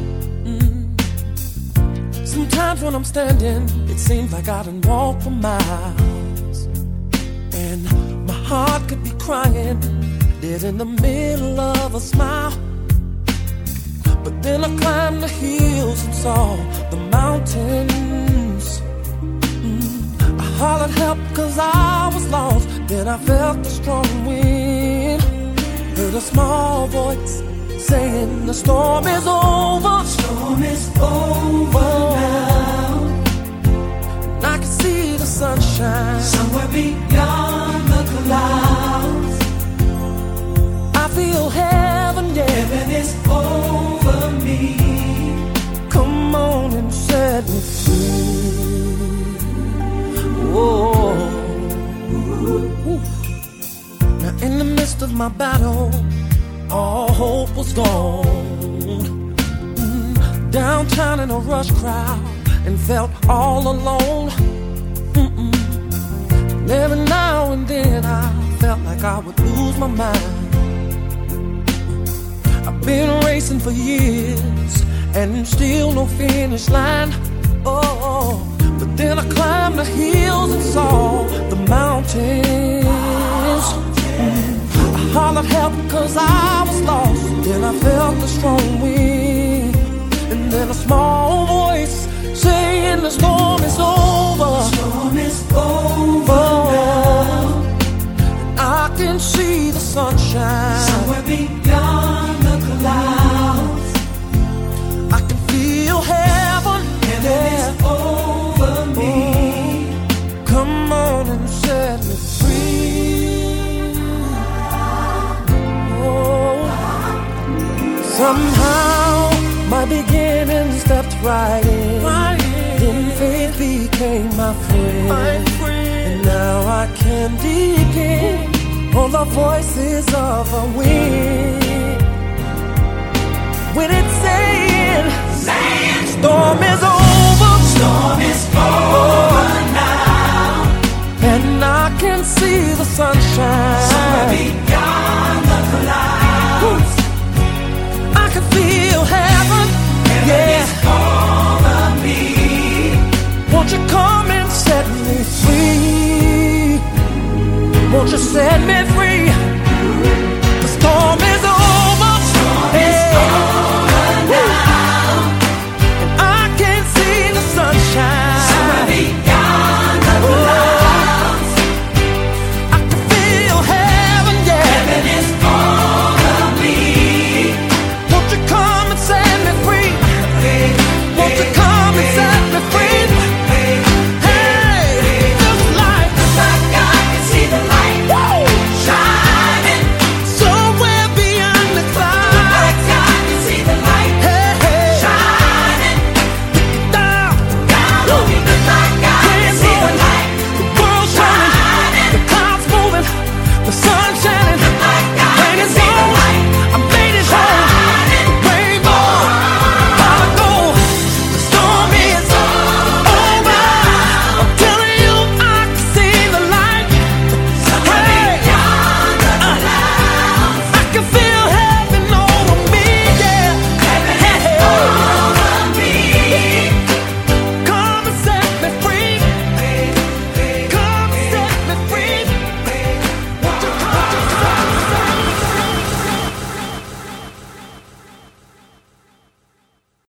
Sometimes when I'm standing, it seems like I done walked for miles. And my heart could be crying, dead in the middle of a smile. But then I climbed the hills and saw the mountains. I hollered help 'cause I was lost. Then I felt the strong wind. Heard a small voice saying the storm is over. The storm is over now. And I can see the sunshine somewhere beyond the clouds. I feel heaven, yeah. Heaven is over me. Come on and set me free. Whoa. Now in the midst of my battle, all hope was gone. Downtown in a rush crowd and felt all alone. And every now and then I felt like I would lose my mind. I've been racing for years and still no finish line. Oh, but then I climbed the hills and saw the mountains. I hollered help 'cause I was lost. Then I felt the strong wind. And then a small voice saying the storm is over. The storm is over now. And I can see the sunshine somewhere beyond the clouds. I can feel heaven. Heaven is over me. Come on and set me free. Oh, somehow my beginning stepped right in. Then faith became my friend. And now I can depend on the voices of the wind. When it's saying, storm is over. Storm is over now. And I can see the sunshine